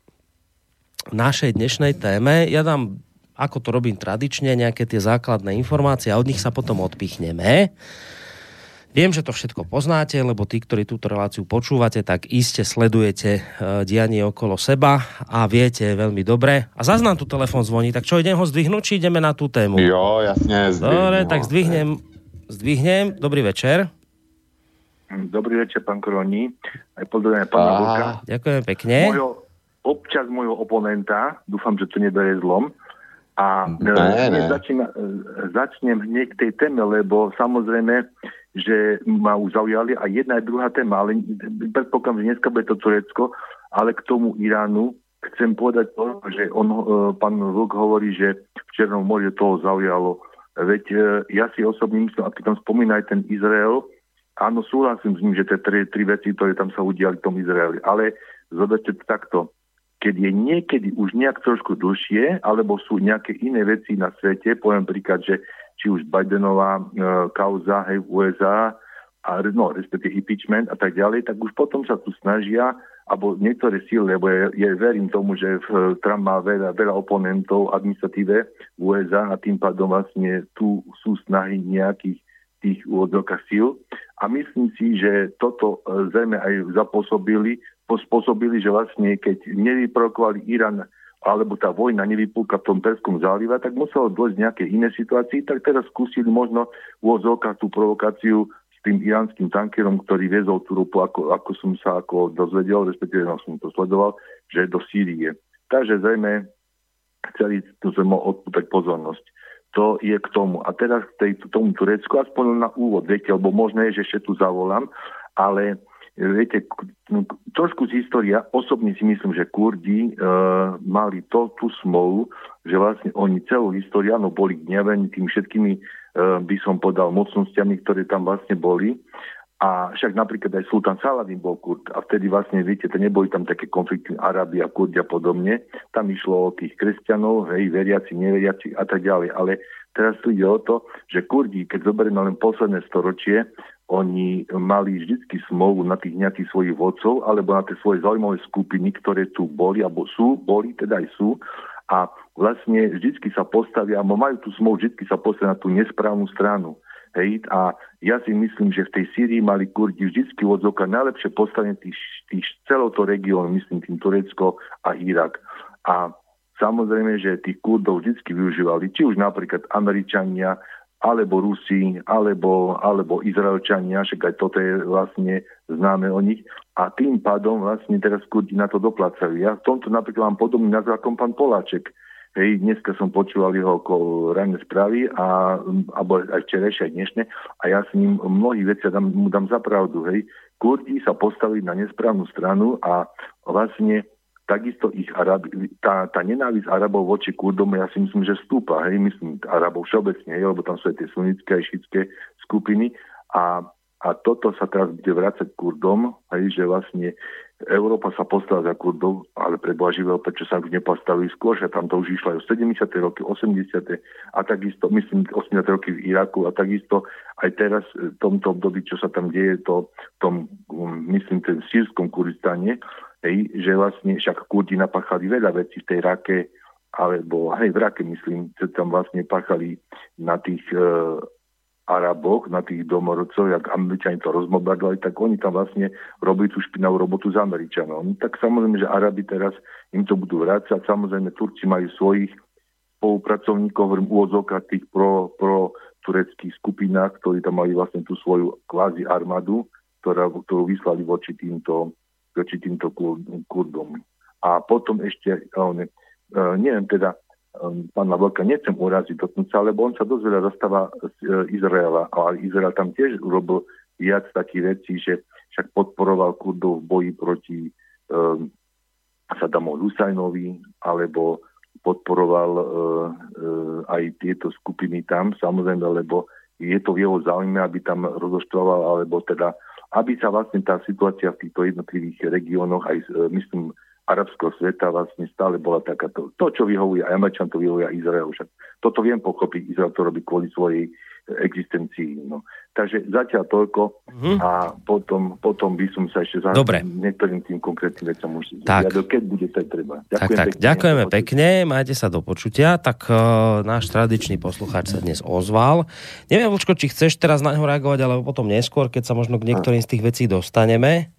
našej dnešnej téme. Ja dám, ako to robím tradične, nejaké tie základné informácie a od nich sa potom odpichneme. Viem, že to všetko poznáte, lebo tí, ktorí túto reláciu počúvate, tak iste sledujete dianie okolo seba a viete veľmi dobre. A zas nám tu telefon zvoní, tak čo, idem ho zdvihnúť, či ideme na tú tému? Jo, jasne, zdvihnem. Dobre, tak zdvihnem, zdvihnem. Dobrý večer. Dobrý večer, pán Koroni. Aj pozdravujem pána Vlka. Ďakujem pekne. Mojho, občas môjho oponenta, dúfam, že to neberie zlom. A ne, ne. Začína, začnem hneď k tej téme, lebo samozrejme, že ma už zaujali aj jedna aj druhá téma, ale predpokladám, že dneska bude to Turecko, ale k tomu Iránu chcem povedať to, že on, pán Vlk hovorí, že v Černom mori toho zaujalo. Veď ja si osobne myslím, a keď tam spomína aj ten Izrael, áno, súhlasím s ním, že tie tri, tri veci, ktoré tam sa udiali v tom Izraeli, ale zoberte to takto. Keď je niekedy už nejak trošku dlhšie, alebo sú nejaké iné veci na svete, poviem príklad, že či už Bidenová e, kauza, hej, v ú es á, a no, respektíve impeachment a tak ďalej, tak už potom sa tu snažia, alebo niektoré síly, lebo ja, ja verím tomu, že v, Trump má veľa, veľa oponentov administratíve v ú es á a tým pádom vlastne tu sú snahy nejakých tých úvodzovkách síl. A myslím si, že toto e, zrejme aj zapôsobili, spôsobili, že vlastne keď nevyprovokovali Irán, alebo tá vojna nevypúka v tom Perskom zálive, tak muselo dôjsť nejaké iné situácii, tak teraz skúsili možno v úvodzovkách tú provokáciu s tým iránskym tankerom, ktorý viezol tú ropu, ako, ako som sa ako dozvedel, respektíve no, som to sledoval, že do Sýrie. Takže zrejme chceli tu zrejme odpútať pozornosť. To je k tomu. A teraz k tej, tomu Turecku, aspoň na úvod, viete, lebo možno je, že ešte tu zavolám, ale viete, trošku z história, osobne si myslím, že Kurdi e, mali to, tú smolu, že vlastne oni celú históriu, áno, boli gnevení tými všetkými, e, by som podal, mocnostiami, ktoré tam vlastne boli. A však napríklad aj Sultán Saladin bol Kurd. A vtedy vlastne, viete, to neboli tam také konflikty Arábia, Kurdi a podobne. Tam išlo o tých kresťanov, hej, veriaci, neveriaci a tak ďalej. Ale teraz tu ide o to, že Kurdi, keď zoberieme len posledné storočie, oni mali vždycky smolu na tých nejakých svojich vodcov alebo na tie svoje zaujímavé skupiny, ktoré tu boli, alebo sú, boli, teda aj sú. A vlastne vždycky sa postavia, alebo majú tú smolu, vždycky sa postavia na tú nesprávnu stranu. Hej, a ja si myslím, že v tej Sýrii mali Kurdi vždycky odzokať najlepšie postavenie tých, tých celého toho regiónu, myslím tým Turecko a Irak. A samozrejme, že tých Kurdov vždycky využívali, či už napríklad Američania, alebo Rusi, alebo, alebo Izraelčania, však aj toto je vlastne známe o nich. A tým pádom vlastne teraz Kurdi na to doplácajú. Ja v tomto napríklad mám podobný názor ako pán Poláček. Hej, dneska som počúval jeho ranné správy, a, alebo aj včerajšie, aj dnešné, a ja s ním mnohých vecí dám, mu dám za pravdu. Hej. Kurdi sa postavili na nesprávnu stranu a vlastne takisto ich Arabi, tá, tá nenávisť Arabov voči Kurdom, ja si myslím, že stúpa, hej, myslím Arabov všeobecne, hej, lebo tam sú aj tie sunnické a šiitské skupiny a, a toto sa teraz bude vrácať Kurdom, hej, že vlastne Európa sa postavila za Kurdov, ale pre Boha živého, prečo sa už nepostavili skôr, že tam to už išlo aj sedemdesiate roky, osemdesiate a takisto, myslím, osemdesiate roky v Iraku a takisto aj teraz v tomto období, čo sa tam deje, to tom, myslím, ten sírskom Kurdistane. Hej, že vlastne však Kurdi napáchali veľa vecí v tej Rake, alebo hej, v Rake myslím, že tam vlastne páchali na tých e, Araboch, na tých domorodcov, jak Američani to rozmobardovali, tak oni tam vlastne robili tú špinavú robotu s Američanom. Tak samozrejme, že Arabi teraz im to budú vrácať, samozrejme Turci majú svojich spolupracovníkov, hovorím úvodzovkách tých pro, pro tureckých skupinách, ktorí tam mali vlastne tú svoju kvázi armádu, ktorá, ktorú vyslali voči týmto voči týmto Kurdom. A potom ešte, ne, neviem teda, pána Vlka, nechcem uraziť dotknúť sa, lebo on sa dosť veľa zastáva z Izraela, ale Izrael tam tiež urobil viac takých vecí, že však podporoval Kurdov v boji proti um, Saddamovi Husajnovi, alebo podporoval uh, uh, aj tieto skupiny tam, samozrejme, lebo je to v jeho záujme, aby tam rozoštvoval, alebo teda aby sa vlastne tá situácia v týchto jednotlivých regiónoch, aj myslím, arabského sveta vlastne stále bola takáto. To, čo vyhovuje aj Američan, to vyhovuje aj Izrael. Však toto viem pochopiť, Izrael to robí kvôli svojej existencii. No. Takže zatiaľ toľko mm-hmm. a potom, potom by som sa ešte zahľadil niektorým tým konkrétnym vecom už tak. zjadil, keď bude tak treba. Ďakujem tak, tak. Pekne. Ďakujeme pekne, majte sa do počutia. Tak uh, náš tradičný poslucháč sa dnes ozval. Neviem, Vlčko, či chceš teraz na ňo reagovať, alebo potom neskôr, keď sa možno k niektorým z tých vecí dostaneme.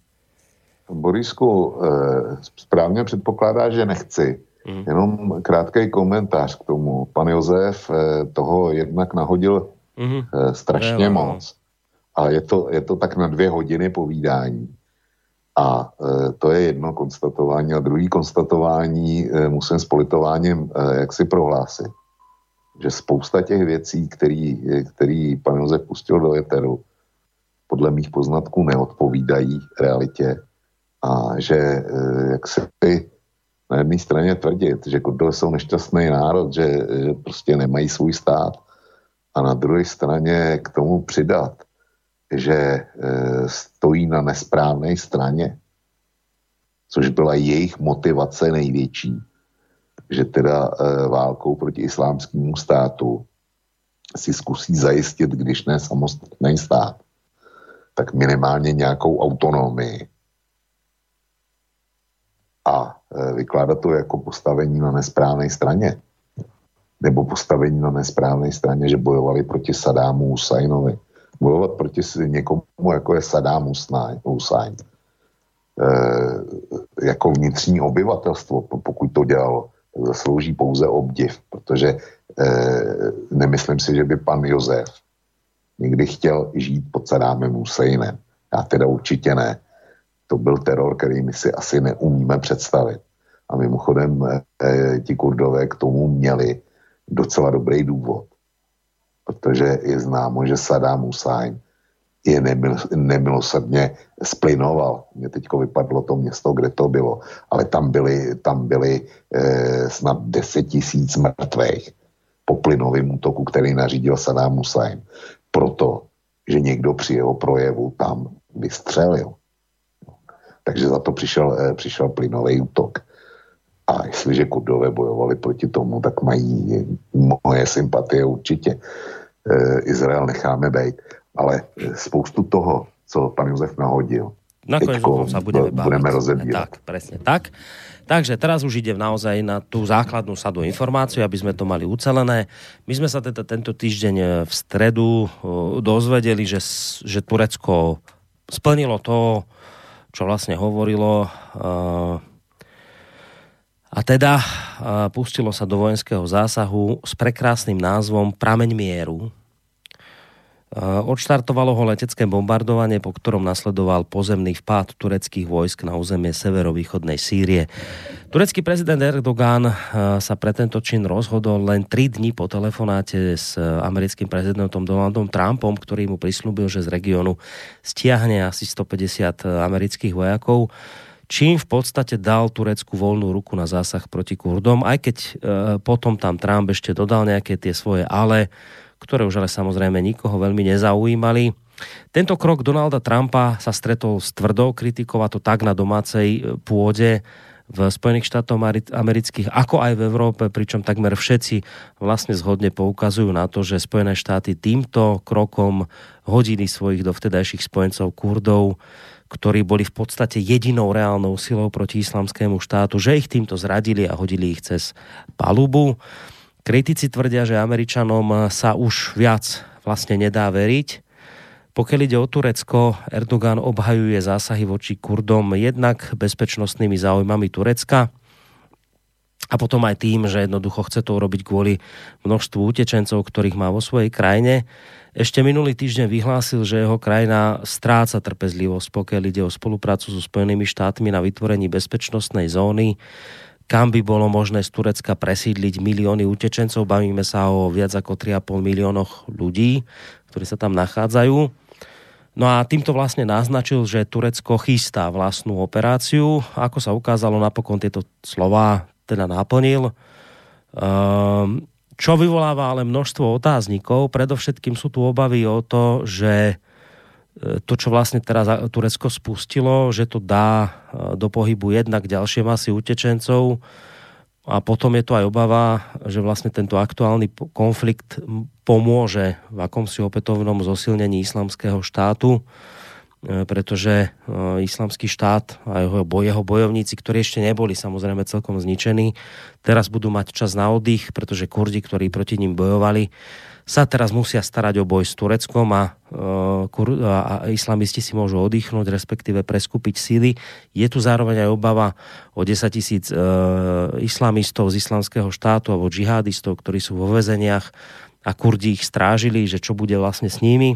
Borisku, správně předpokládá, že nechci. Mm. Jenom krátký komentář k tomu. Pan Josef toho jednak nahodil mm. strašně mm. moc. A je to, je to tak na dvě hodiny povídání. A to je jedno konstatování. A druhý konstatování musím s politováním jak si prohlásit, že spousta těch věcí, který, který pan Josef pustil do éteru, podle mých poznatků neodpovídají realitě. A že jak se na jedné straně tvrdit, že Kurdové jsou nešťastný národ, že, že prostě nemají svůj stát, a na druhé straně k tomu přidat, že stojí na nesprávné straně, což byla jejich motivace největší, že teda válkou proti islámskému státu si zkusí zajistit, když ne samostatný stát, tak minimálně nějakou autonomii. A vykládat to jako postavení na nesprávné straně. Nebo postavení na nesprávné straně, že bojovali proti Saddámu Husajnovi. Bojovat proti někomu, jako je Saddám Husajn. E, jako vnitřní obyvatelstvo, pokud to dělalo, tak zaslouží pouze obdiv, protože e, nemyslím si, že by pan Josef někdy chtěl žít pod Saddámem Husajnem. Já teda určitě ne. To byl teror, který my si asi neumíme představit. A mimochodem e, ti Kurdové k tomu měli docela dobrý důvod. Protože je známo, že Saddám Husajn je nemil, nemilosrdně splinoval. Mně teďko vypadlo to město, kde to bylo. Ale tam byly, tam byly e, snad deset tisíc mrtvých po plynovém útoku, který nařídil Saddám Husajn. Proto, že někdo při jeho projevu tam vystřelil. Takže za to přišel, e, přišel plynový útok. A jestliže Kurdové bojovali proti tomu, tak mají moje sympatie určitě. E, Izrael necháme bejt. Ale spoustu toho, co pan Jozef nahodil, nakoniec sa budeme, budeme rozebírať. Tak, presne tak. Takže teraz už idem naozaj na tú základnú sadu informácií, aby sme to mali ucelené. My sme sa teda tento týždeň v stredu dozvedeli, že, že Turecko splnilo to, čo vlastne hovorilo, a teda pustilo sa do vojenského zásahu s prekrásnym názvom Prameň mieru. Odštartovalo ho letecké bombardovanie, po ktorom nasledoval pozemný vpád tureckých vojsk na územie severovýchodnej Sýrie. Turecký prezident Erdogan sa pre tento čin rozhodol len tri dni po telefonáte s americkým prezidentom Donaldom Trumpom, ktorý mu prislúbil, že z regiónu stiahne asi stopäťdesiat amerických vojakov, čím v podstate dal Turecku voľnú ruku na zásah proti Kurdom, aj keď e, potom tam Trump ešte dodal nejaké tie svoje ale, ktoré už ale samozrejme nikoho veľmi nezaujímali. Tento krok Donalda Trumpa sa stretol s tvrdou kritikou, a to tak na domácej pôde v Spojených štátoch amerických, ako aj v Európe, pričom takmer všetci vlastne zhodne poukazujú na to, že Spojené štáty týmto krokom hodili svojich dovtedajších spojencov Kurdov, ktorí boli v podstate jedinou reálnou silou proti islamskému štátu, že ich týmto zradili a hodili ich cez palubu. Kritici tvrdia, že Američanom sa už viac vlastne nedá veriť. Pokiaľ ide o Turecko, Erdogan obhajuje zásahy voči Kurdom jednak bezpečnostnými záujmami Turecka a potom aj tým, že jednoducho chce to urobiť kvôli množstvu utečencov, ktorých má vo svojej krajine. Ešte minulý týždeň vyhlásil, že jeho krajina stráca trpezlivosť, pokiaľ ide o spoluprácu so Spojenými štátmi na vytvorení bezpečnostnej zóny, kam by bolo možné z Turecka presídliť milióny utečencov. Bavíme sa o viac ako tri a pol miliónoch ľudí, ktorí sa tam nachádzajú. No a týmto vlastne naznačil, že Turecko chystá vlastnú operáciu. Ako sa ukázalo, napokon tieto slová teda naplnil. Um, čo vyvoláva ale množstvo otáznikov. Predovšetkým sú tu obavy o to, že to, čo vlastne teraz Turecko spustilo, že to dá do pohybu jednak ďalšie masy utečencov a potom je to aj obava, že vlastne tento aktuálny konflikt pomôže v akomsi opätovnom zosilnení islamského štátu, pretože islamský štát a jeho, jeho bojovníci, ktorí ešte neboli samozrejme celkom zničení, teraz budú mať čas na oddych, pretože Kurdi, ktorí proti ním bojovali, sa teraz musia starať o boj s Tureckom a, a, a islamisti si môžu oddychnúť, respektíve preskúpiť síly. Je tu zároveň aj obava o desaťtisíc e, islamistov z islamského štátu alebo džihadistov, ktorí sú vo väzeniach a Kurdi ich strážili, že čo bude vlastne s nimi. E,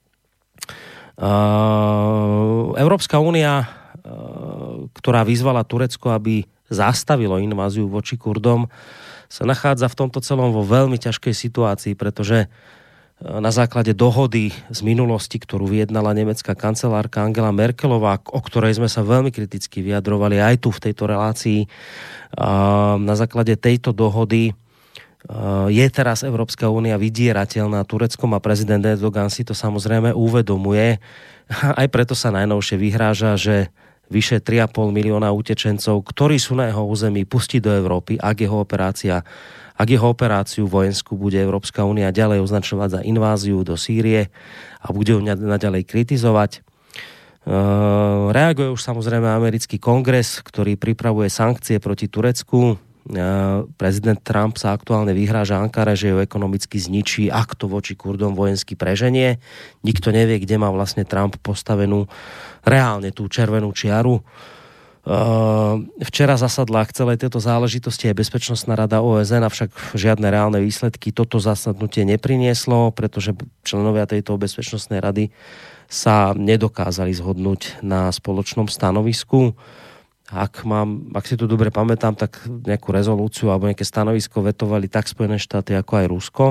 Európska únia, e, ktorá vyzvala Turecko, aby zastavilo inváziu voči Kurdom, sa nachádza v tomto celom vo veľmi ťažkej situácii, pretože na základe dohody z minulosti, ktorú vyjednala nemecká kancelárka Angela Merkelová, o ktorej sme sa veľmi kriticky vyjadrovali aj tu v tejto relácii, na základe tejto dohody je teraz Európska únia vydierateľná Tureckom a prezident Erdogan si to samozrejme uvedomuje. Aj preto sa najnovšie vyhráža, že vyše tri a pol milióna utečencov, ktorí sú na jeho území, pustí do Európy, ak jeho operácia ak jeho operáciu vojenskú bude Európska únia ďalej označovať za inváziu do Sýrie a bude ju naďalej kritizovať. Reaguje už samozrejme americký kongres, ktorý pripravuje sankcie proti Turecku. Prezident Trump sa aktuálne vyhráža Ankare, že ju ekonomicky zničí, ak to voči Kurdom vojensky preženie. Nikto nevie, kde má vlastne Trump postavenú reálne tú červenú čiaru. Včera zasadla k celej tejto záležitosti aj Bezpečnostná rada ó es en, avšak žiadne reálne výsledky toto zasadnutie neprinieslo, pretože členovia tejto Bezpečnostnej rady sa nedokázali zhodnúť na spoločnom stanovisku. Ak, mám, ak si to dobre pamätám, tak nejakú rezolúciu alebo nejaké stanovisko vetovali tak Spojené štáty ako aj Rusko.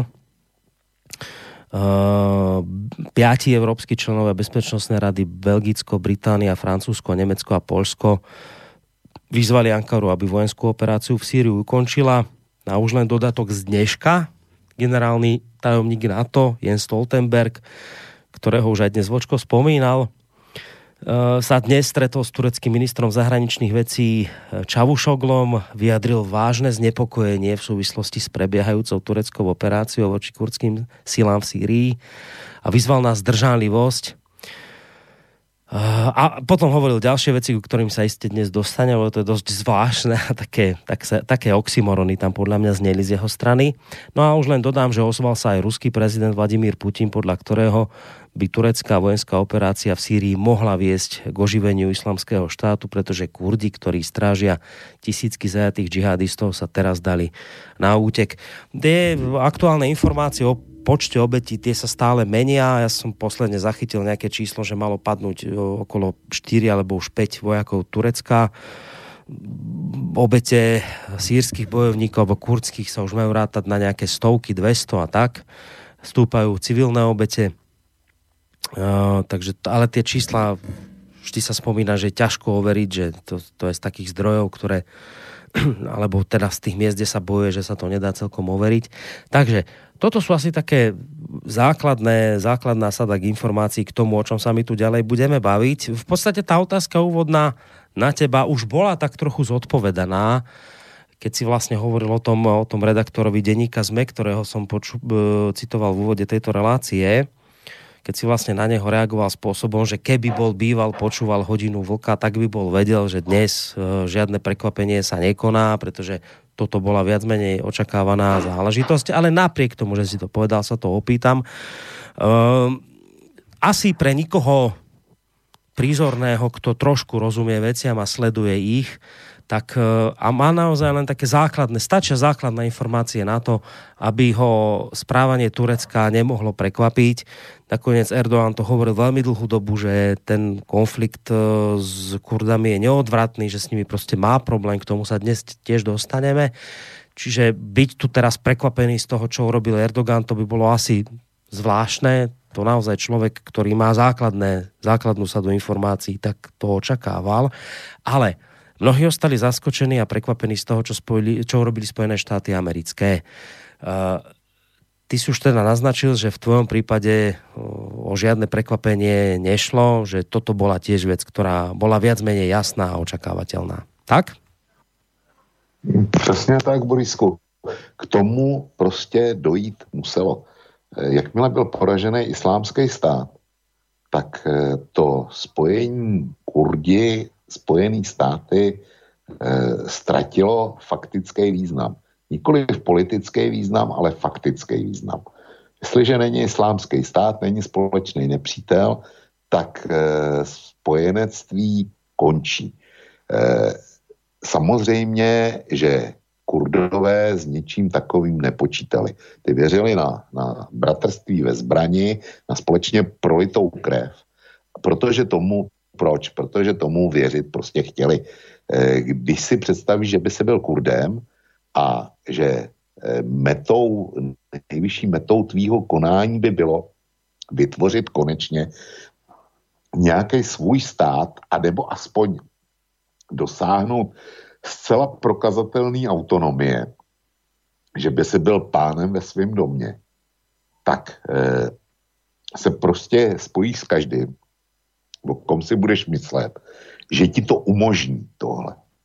Uh, piati európski členovia Bezpečnostnej rady, Belgicko, Británia, Francúzsko, Nemecko a Poľsko, vyzvali Ankaru, aby vojenskú operáciu v Sýriu ukončila. A už len dodatok z dneška generálny tajomník NATO Jens Stoltenberg, ktorého už aj dnes Vočko spomínal, sa dnes stretol s tureckým ministrom zahraničných vecí Čavušoglom, vyjadril vážne znepokojenie v súvislosti s prebiehajúcou tureckou operáciou voči kurdským silám v Sýrii a vyzval na zdržanlivosť. A potom hovoril ďalšie veci, ku ktorým sa iste dnes dostane, lebo to je dosť zvláštne a také, tak sa, také oxymorony tam podľa mňa zneli z jeho strany. No a už len dodám, že ozval sa aj ruský prezident Vladimír Putin, podľa ktorého by turecká vojenská operácia v Sýrii mohla viesť k oživeniu islamského štátu, pretože Kurdi, ktorí strážia tisícky zajatých džihadistov, sa teraz dali na útek. Tie aktuálne informácie o počte obetí, tie sa stále menia. Ja som posledne zachytil nejaké číslo, že malo padnúť okolo štyri alebo už päť vojakov Turecka. Obete sýrskych bojovníkov alebo kurdských sa už majú rátať na nejaké stovky, dvesto a tak. Stúpajú civilné obete. Uh, takže, ale tie čísla vždy sa spomína, že je ťažko overiť, že to, to je z takých zdrojov, ktoré alebo teda z tých miest, kde sa bojuje, že sa to nedá celkom overiť. Takže toto sú asi také základné, základná sada k informácií k tomu, o čom sa my tu ďalej budeme baviť. V podstate tá otázka úvodná na teba už bola tak trochu zodpovedaná, keď si vlastne hovoril o tom, o tom redaktorovi denníka es em e, ktorého som poču, citoval v úvode tejto relácie, keď si vlastne na neho reagoval spôsobom, že keby bol býval, počúval Hodinu vlka, tak by bol vedel, že dnes žiadne prekvapenie sa nekoná, pretože toto bola viac menej očakávaná záležitosť, ale napriek tomu, že si to povedal, sa to opýtam. Um, asi pre nikoho prízorného, kto trošku rozumie veciam a sleduje ich, tak a má naozaj len také základné, stačia základné informácie na to, aby ho správanie Turecka nemohlo prekvapiť. Nakoniec Erdoğan to hovoril veľmi dlhú dobu, že ten konflikt s Kurdami je neodvratný, že s nimi proste má problém, k tomu sa dnes tiež dostaneme. Čiže byť tu teraz prekvapený z toho, čo urobil Erdoğan, to by bolo asi zvláštne. To naozaj človek, ktorý má základné, základnú sadu informácií, tak to očakával. Ale mnohí ostali zaskočení a prekvapení z toho, čo, spojili, čo urobili Spojené štáty americké. Uh, ty si už teda naznačil, že v tvojom prípade o žiadne prekvapenie nešlo, že toto bola tiež vec, ktorá bola viac menej jasná a očakávateľná. Tak? Přesně tak, Borisku. K tomu prostě dojít muselo. Jakmile byl poražený islámský stát, tak to spojení Kurdi, Spojený státy e, ztratilo faktický význam. Nikoliv politický význam, ale faktický význam. Jestliže není islámský stát, není společný nepřítel, tak e, spojenectví končí. E, samozřejmě, že Kurdové s ničím takovým nepočítali. Ty věřili na, na bratrství ve zbrani, na společně prolitou krev. Protože tomu Proč? Protože tomu věřit prostě chtěli. Když si představíš, že by si byl Kurdem a že metou, nejvyšší metou tvýho konání by bylo vytvořit konečně nějaký svůj stát, anebo aspoň dosáhnout zcela prokazatelné autonomie, že by si byl pánem ve svém domě, tak eh, se prostě spojíš s každým, o kom si budeš myslet, že ti to umožní tohle.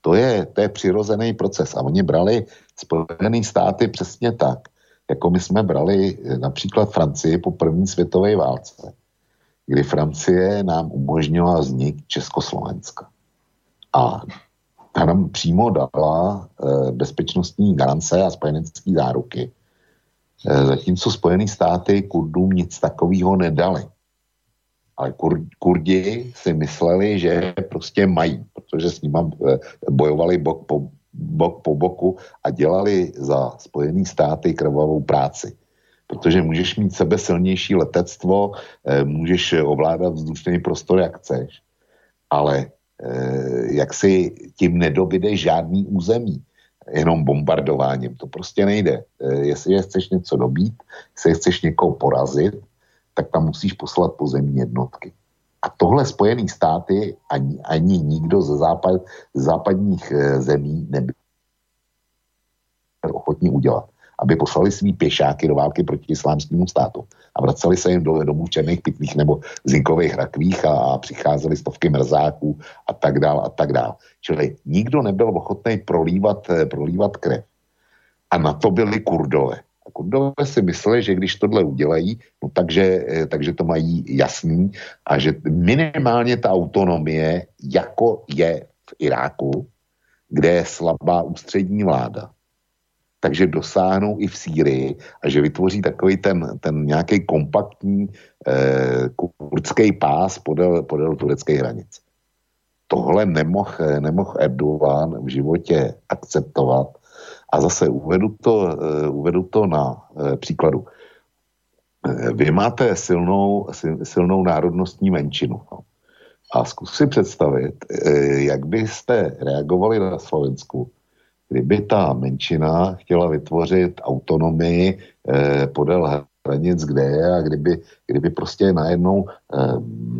To je, to je přirozený proces. A oni brali Spojené státy přesně tak, jako my jsme brali například Francii po první světové válce, kdy Francie nám umožnila vznik Československa. A ta nám přímo dala e, bezpečnostní garance a spojenecké záruky. E, zatímco Spojené státy Kurdům nic takového nedali. Ale kur, Kurdi si mysleli, že prostě mají, protože s nimi e, bojovali bok po, bok po boku a dělali za Spojené státy krvavou práci. Protože můžeš mít sebe silnější letectvo, e, můžeš ovládat vzdušný prostor, jak chceš, ale jak si tím nedobydeš žádný území, jenom bombardováním. To prostě nejde. Jestli chceš něco dobít, jestli chceš někoho porazit, tak tam musíš poslat pozemní jednotky. A tohle Spojené státy ani, ani nikdo ze, západ, z západních zemí nebyl ochotní udělat. Aby poslali svý pěšáky do války proti islámskému státu a vraceli se jim do domů v černých pytlích nebo zinkových rakvích a, a přicházely stovky mrzáků a tak dál a tak dál. Čili nikdo nebyl ochotný prolívat, prolívat krev. A na to byli Kurdové. A Kurdové si mysleli, že když tohle udělají, no takže, takže to mají jasný a že minimálně ta autonomie, jako je v Iráku, kde je slabá ústřední vláda, takže dosáhnou i v Sýrii a že vytvoří takový ten, ten nějaký kompaktní eh, kurdský pás podél, podél turecké hranice. Tohle nemohl nemoh Erdogan v životě akceptovat a zase uvedu to, eh, uvedu to na eh, příkladu. Eh, vy máte silnou, sil, silnou národnostní menšinu. No. A zkus si představit, eh, jak byste reagovali na Slovensku, kdyby ta menšina chtěla vytvořit autonomii eh, podél hranic, kde je, a kdyby, kdyby prostě najednou eh,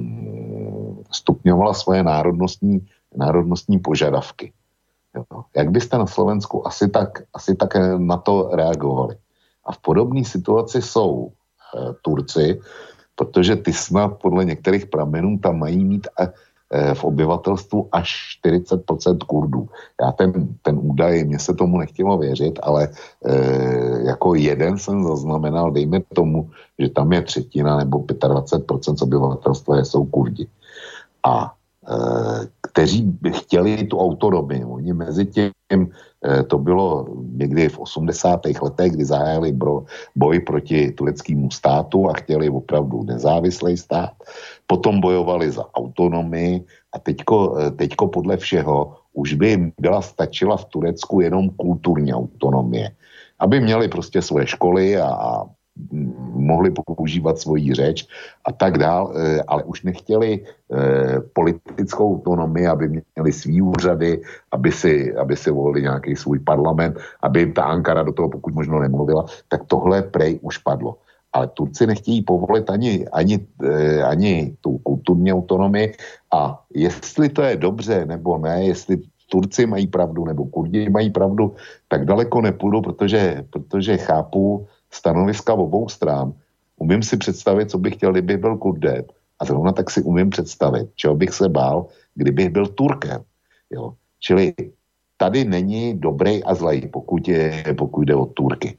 stupňovala svoje národnostní, národnostní požadavky. Jo. Jak byste na Slovensku asi tak, asi tak na to reagovali? A v podobné situaci jsou eh, Turci, protože ty snad podle některých pramenů tam mají mít eh, v obyvatelstvu až čtyřicet procent Kurdů. Já ten, ten údaj, mně se tomu nechtělo věřit, ale e, jako jeden jsem zaznamenal, dejme tomu, že tam je třetina nebo dvacet pět procent z obyvatelstva jsou Kurdi. A e, kteří by chtěli tu autonomii. Oni mezi tím, e, to bylo někdy v osmdesátých letech, kdy zahájili boj proti tureckému státu a chtěli opravdu nezávislý stát. Potom bojovali za autonomii a teďko, teďko podle všeho už by jim byla stačila v Turecku jenom kulturní autonomie. Aby měli prostě svoje školy a, a mohli používat svoji řeč a tak dál, ale už nechtěli eh, politickou autonomii, aby měli svý úřady, aby si, aby si volili nějaký svůj parlament, aby jim ta Ankara do toho pokud možno nemluvila, tak tohle prej už padlo. Ale Turci nechtějí povolit ani, ani, eh, ani tu kulturní autonomii a jestli to je dobře nebo ne, jestli Turci mají pravdu nebo Kurdi mají pravdu, tak daleko nepůjdu, protože, protože chápu stanoviska obou stran. Umím si představit, co bych chtěl, kdybych byl Kurdem. A zrovna tak si umím představit, čeho bych se bál, kdybych byl Turkem. Jo? Čili tady není dobrý a zlej, pokud, je, pokud jde o Turky.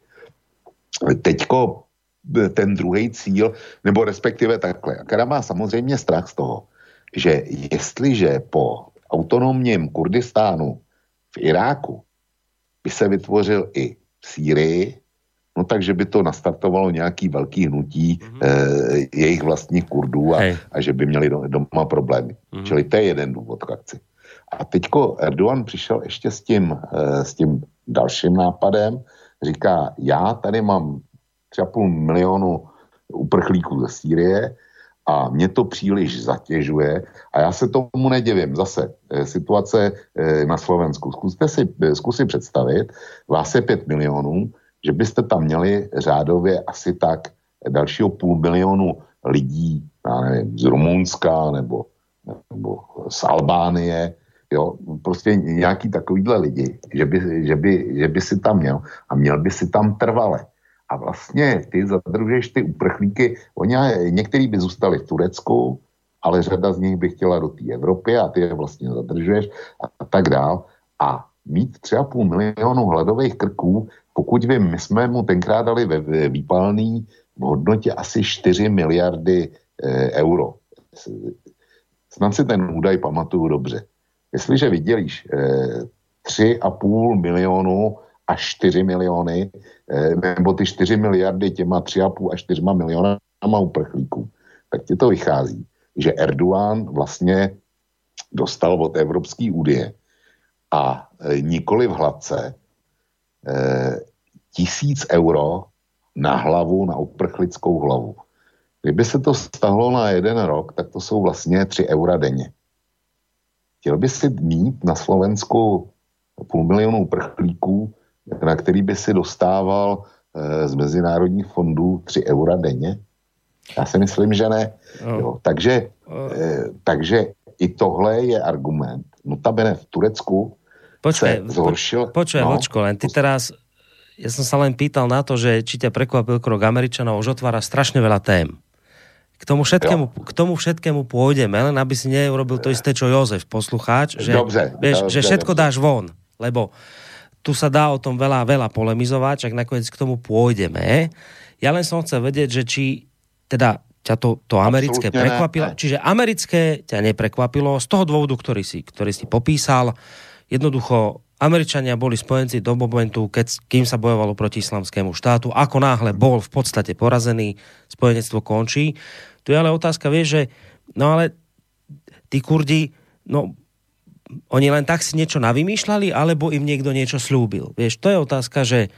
Teďko ten druhý cíl, nebo respektive takhle. Ankara má samozřejmě strach z toho, že jestliže po autonomním Kurdistánu v Iráku by se vytvořil i v Sýrii, no takže by to nastartovalo nějaký velký hnutí mm-hmm. eh, jejich vlastních Kurdů a, a že by měli do, doma problémy. Mm-hmm. Čili to je jeden důvod k akci. A teďko Erdogan přišel ještě s tím, eh, s tím dalším nápadem. Říká, já tady mám tři a půl milionu uprchlíků ze Sýrie a mě to příliš zatěžuje a já se tomu nedivím. Zase eh, situace eh, na Slovensku. Zkuste si, eh, zkusit představit, vás je pět milionů, že byste tam měli řádově asi tak dalšího půl milionu lidí, já nevím, z Rumunska nebo, nebo z Albánie, jo, prostě nějaký takovýhle lidi, že by, že, by, že by si tam měl a měl by si tam trvale. A vlastně ty zadržuješ ty uprchlíky, oni některý by zůstali v Turecku, ale řada z nich by chtěla do té Evropy a ty je vlastně zadržuješ a, a tak dál. A mít tři a půl milionu hladových krků, pokud vím, my jsme mu tenkrát dali ve, ve výpalný v hodnotě asi čtyři miliardy e, euro. Snad si ten údaj pamatuju dobře. Jestliže vydělíš e, tři a půl milionu až čtyři miliony, e, nebo ty čtyři miliardy těma tři a půl až čtyřma milionama uprchlíků, tak ti to vychází, že Erdogan vlastně dostal od Evropské unie a e, nikoli v hladce e, tisíc euro na hlavu, na uprchlickou hlavu. Kdyby se to stahlo na jeden rok, tak to jsou vlastně tři eura denně. Chtěl by si mít na Slovensku půl milionu uprchlíků, na který by si dostával e, z mezinárodních fondů tři eura denně? Já si myslím, že ne. No. Jo, takže, e, takže i tohle je argument. Notabene v Turecku počkej, se zhoršil... Počkaj, no, Vočko, len ty teraz... Ja som sa len pýtal na to, že či ťa prekvapil krok Američanov, už otvára strašne veľa tém. K tomu všetkému, k tomu všetkému pôjdeme, len aby si neurobil to isté, čo Jozef, poslucháč, že, dobře, vieš, dobře, že všetko dobře. dáš von, lebo tu sa dá o tom veľa, veľa polemizovať, čak nakoniec k tomu pôjdeme. Ja len som chcel vedieť, že či teda ťa to, to americké absolútne prekvapilo. Ne. Čiže americké ťa neprekvapilo z toho dôvodu, ktorý si, ktorý si popísal. Jednoducho Američania boli spojenci do momentu, keď, kým sa bojovalo proti islamskému štátu. Ako náhle bol v podstate porazený, spojenectvo končí. Tu je ale otázka, vieš, že no ale tí Kurdi, no oni len tak si niečo navymýšľali, alebo im niekto niečo slúbil. Vieš, to je otázka, že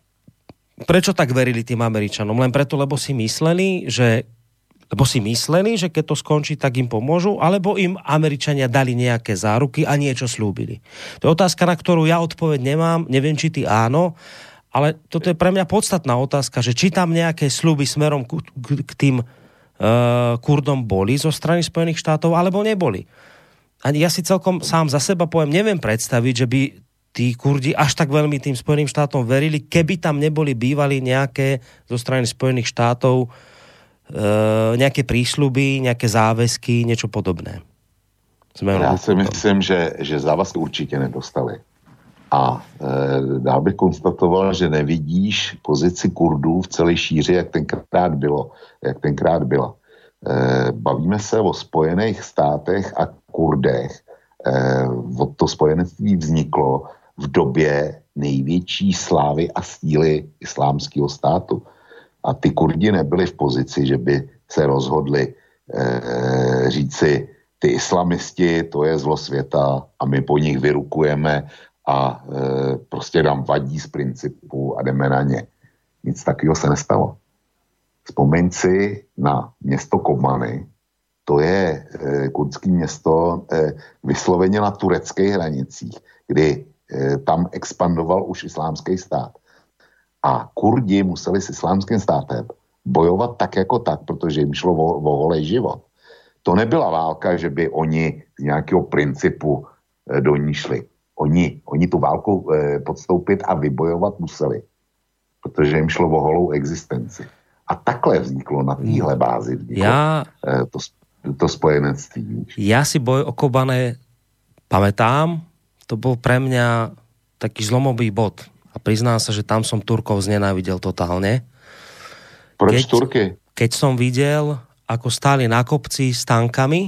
prečo tak verili tým Američanom? Len preto, lebo si mysleli, že lebo si mysleli, že keď to skončí, tak im pomôžu, alebo im Američania dali nejaké záruky a niečo slúbili. To je otázka, na ktorú ja odpoveď nemám, neviem, či ty áno, ale toto je pre mňa podstatná otázka, že či tam nejaké sľuby smerom k, k, k tým uh, Kurdom boli zo strany Spojených štátov, alebo neboli. Ani ja si celkom sám za seba poviem, neviem predstaviť, že by tí Kurdi až tak veľmi tým Spojeným štátom verili, keby tam neboli bývali nejaké zo strany Spojených štátov Uh, nejaké prísľuby, nejaké záväzky, niečo podobné. Sme Já si myslím, že, že závazky určitě nedostali. A e, dál bych konstatoval, že nevidíš pozici Kurdů v celé šíři, jak tenkrát bylo. Jak tenkrát byla. E, bavíme se o Spojených státech a Kurdech. E, od to spojenectví vzniklo v době největší slávy a síly islámského státu. A ty Kurdi nebyli v pozici, že by se rozhodli e, říci, ty islamisti, to je zlo světa a my po nich vyrukujeme a e, prostě nám vadí z principu a jdeme na ně. Nic takového se nestalo. Vzpomeň si na město Kobani, to je e, kurdské město e, vysloveně na tureckých hranicích, kdy e, tam expandoval už islámský stát. A Kurdi museli s islámským státem bojovat tak jako tak, protože jim šlo o, o holej život. To nebyla válka, že by oni z nějakého principu e, do ní šli. Oni, oni tu válku e, podstoupit a vybojovat museli, protože jim šlo o holou existenci. A takhle vzniklo na téhle bázi vzniklo ja, e, to, to spojenectví. Ja si boj o Kobane pamätám, to bol pre mňa taký zlomový bod. A priznám sa, že tam som Turkov znenávidel totálne. Proč keď, Turky? Keď som videl, ako stáli na kopci s tankami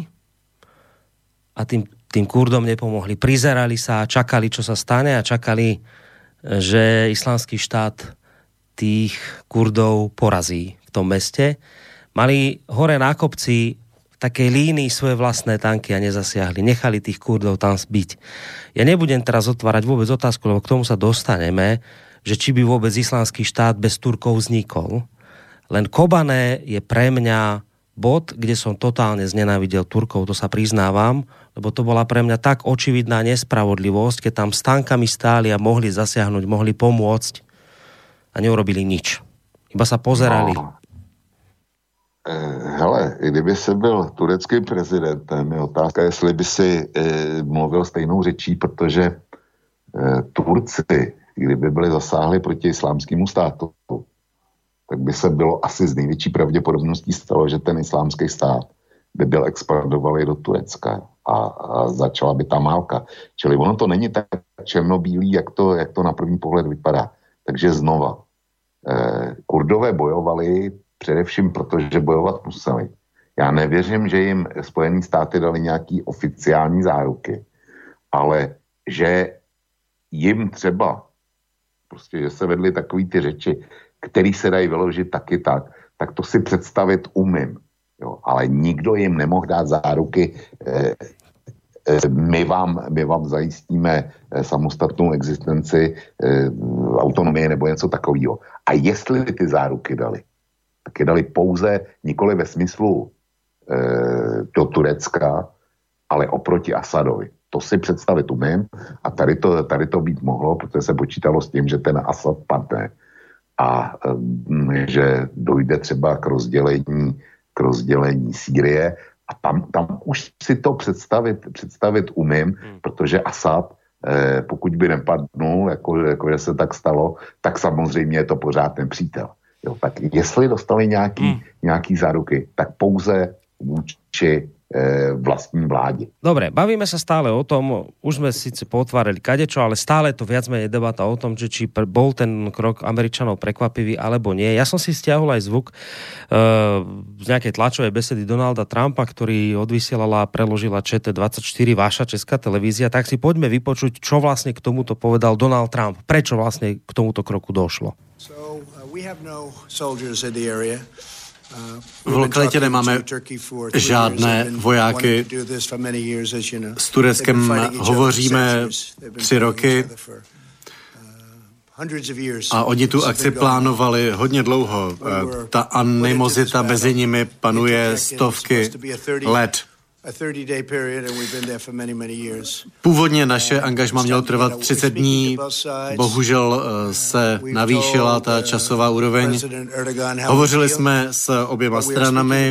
a tým, tým Kurdom nepomohli. Prizerali sa a čakali, čo sa stane a čakali, že islamský štát tých Kurdov porazí v tom meste. Mali hore na kopci v takej línii svoje vlastné tanky a nezasiahli. Nechali tých Kurdov tam zbiť. Ja nebudem teraz otvárať vôbec otázku, lebo k tomu sa dostaneme, že či by vôbec islamský štát bez Turkov vznikol. Len Kobane je pre mňa bod, kde som totálne znenávidel Turkov, to sa priznávam, lebo to bola pre mňa tak očividná nespravodlivosť, keď tam s tankami stáli a mohli zasiahnuť, mohli pomôcť a neurobili nič. Iba sa pozerali. No. Hele, kdyby se byl tureckým prezidentem, je otázka, jestli by si e, mluvil stejnou řečí, protože e, Turci, kdyby byli zasáhli proti islámskému státu, tak by se bylo asi z největší pravděpodobností stalo, že ten islámský stát by byl expandovaný do Turecka a, a začala by ta válka. Čili ono to není tak černobílý, jak to, jak to na první pohled vypadá. Takže znova, eh, Kurdové bojovali především proto, že bojovat museli. Já nevěřím, že jim Spojené státy dali nějaký oficiální záruky, ale že jim třeba, prostě, že se vedly takový ty řeči, který se dají vyložit taky tak, tak to si představit umím. Jo, ale nikdo jim nemohl dát záruky, eh, eh, my, vám, my vám zajistíme eh, samostatnou existenci, eh, autonomie nebo něco takového. A jestli ty záruky dali, tak je dali pouze nikoli ve smyslu eh, do Turecka, ale oproti Asadovi. To si představit umím a tady to, tady to být mohlo, protože se počítalo s tím, že ten Asad padne a eh, že dojde třeba k rozdělení k rozdělení Sýrie a tam, tam už si to představit, představit umím, hmm. protože Asad, eh, pokud by nepadnul, jako, jako že se tak stalo, tak samozřejmě je to pořád nepřítel. Jo, tak jestli dostali nějaký, hmm. nějaký záruky, tak pouze vůči e, vlastní vláde. Dobre, bavíme sa stále o tom, už sme síce potvárali kadečo, ale stále to viac menej debata o tom, že či bol ten krok Američanov prekvapivý alebo nie. Ja som si stiahol aj zvuk e, z nejakej tlačovej besedy Donalda Trumpa, ktorý odvysielala a preložila Č T dvadsaťštyri, vaša česká televízia, tak si poďme vypočuť, čo vlastne k tomuto povedal Donald Trump. Prečo vlastne k tomuto kroku došlo? So, uh, we have no soldiers in the area. V lokalitě nemáme žádné vojáky. S Tureckem hovoříme tři roky a oni tu akci plánovali hodně dlouho. Ta animozita mezi nimi panuje stovky let. Původně naše angažma mělo trvat třicet dní, bohužel se navýšila ta časová úroveň. Hovořili jsme s oběma stranami,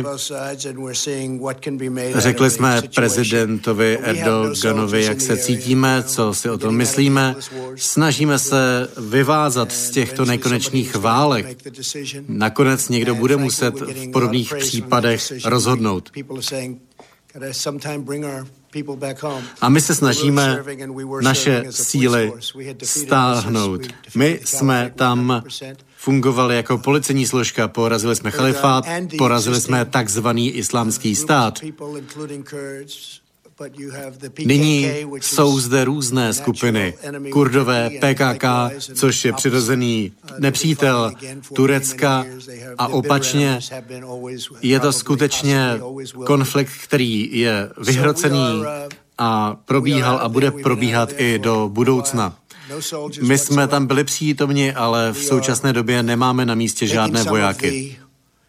řekli jsme prezidentovi Erdoganovi, jak se cítíme, co si o tom myslíme. Snažíme se vyvázat z těchto nekonečných válek. Nakonec někdo bude muset v podobných případech rozhodnout. A my se snažíme naše síly stáhnout. My jsme tam fungovali jako policejní složka, porazili jsme chalifát, porazili jsme takzvaný islámský stát. Nyní jsou zde různé skupiny. Kurdové, P K K, což je přirozený nepřítel Turecka a opačně je to skutečně konflikt, který je vyhrocený a probíhal a bude probíhat i do budoucna. My jsme tam byli přítomni, ale v současné době nemáme na místě žádné vojáky.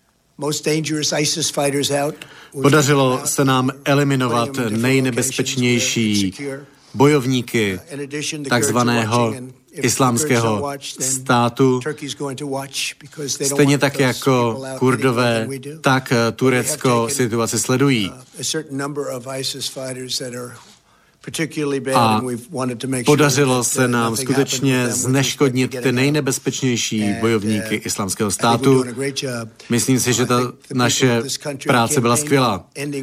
Podařilo se nám eliminovat nejnebezpečnější bojovníky takzvaného islámského státu. Stejně tak jako Kurdové, tak Turecko situaci sledují. A podařilo se nám skutečně zneškodnit ty nejnebezpečnější bojovníky islámského státu. Myslím si, že ta naše práce byla skvělá.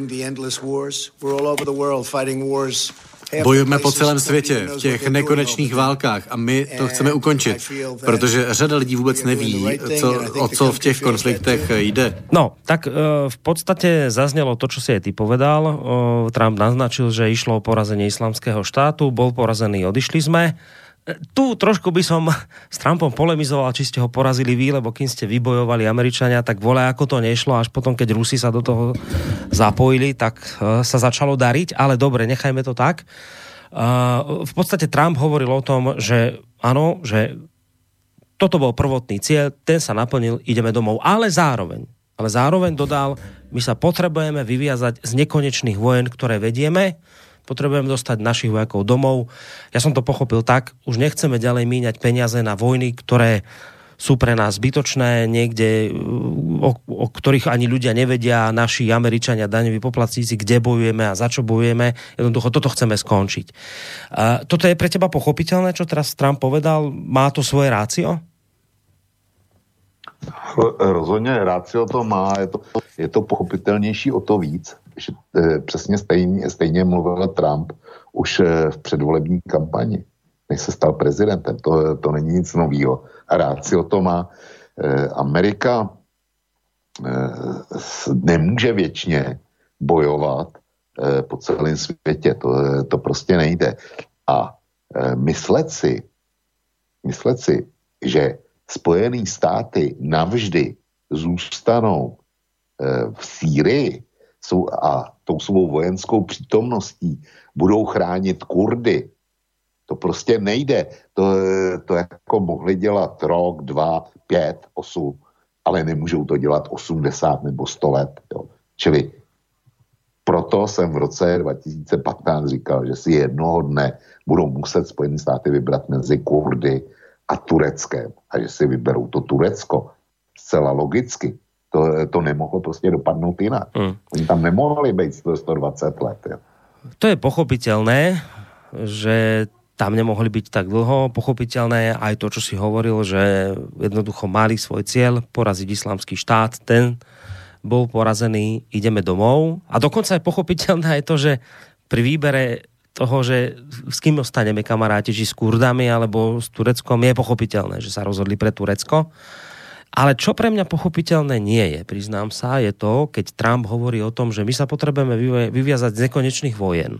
Bojujeme po celém světě v těch nekonečných válkách a my to chceme ukončit, protože řada lidí vůbec neví, co, o co v těch konfliktech jde. No, tak uh, v podstate zaznelo to, čo si aj ty povedal. Uh, Trump naznačil, že išlo o porazenie islamského štátu, bol porazený, odišli sme. Tu trošku by som s Trumpom polemizoval, či ste ho porazili vy, lebo kým ste vybojovali Američania, tak vole, ako to nešlo, až potom, keď Rusi sa do toho zapojili, tak uh, sa začalo dariť, ale dobre, nechajme to tak. Uh, v podstate Trump hovoril o tom, že áno, že toto bol prvotný cieľ, ten sa naplnil, ideme domov, ale zároveň, ale zároveň dodal, my sa potrebujeme vyviazať z nekonečných vojen, ktoré vedieme, potrebujeme dostať našich vojakov domov. Ja som to pochopil tak, už nechceme ďalej míňať peniaze na vojny, ktoré sú pre nás zbytočné, niekde, o, o ktorých ani ľudia nevedia, naši Američania, daňoví poplatníci, kde bojujeme a za čo bojujeme. Jednoducho, toto chceme skončiť. A toto je pre teba pochopiteľné, čo teraz Trump povedal? Má to svoje rácio? Rozhodně rácio to má, je to, je to pochopitelnější o to víc, že e, přesně stejně, stejně mluvil Trump už e, v předvolební kampani. než se stal prezidentem. To, to není nic novýho. A rád si o to má. E, Amerika e, nemůže věčně bojovat e, po celém světě. To, to prostě nejde. A e, myslet si, myslet si, že Spojené státy navždy zůstanou e, v Sýrii jsou, a tou svou vojenskou přítomností budou chránit Kurdy, to prostě nejde. To, to jako mohli dělat rok, dva, pět, osm, ale nemůžou to dělat osmdesát nebo sto let. Jo. Čili proto jsem v roce dva tisíce patnáct říkal, že si jednoho dne budou muset Spojené státy vybrat mezi Kurdy a Tureckem. A že si vyberou to Turecko. Zcela logicky. To, to nemohlo prostě dopadnout jinak. Mm. Oni tam nemohli být sto dvacet let. Jo. To je pochopiteľné, že tam nemohli byť tak dlho. Pochopiteľné je aj to, čo si hovoril, že jednoducho mali svoj cieľ poraziť islamský štát. Ten bol porazený, ideme domov. A dokonca je pochopiteľné aj to, že pri výbere toho, že s kým ostaneme kamaráti, či s Kurdami alebo s Tureckom, je pochopiteľné, že sa rozhodli pre Turecko. Ale čo pre mňa pochopiteľné nie je, priznám sa, je to, keď Trump hovorí o tom, že my sa potrebujeme vyviazať z nekonečných vojen.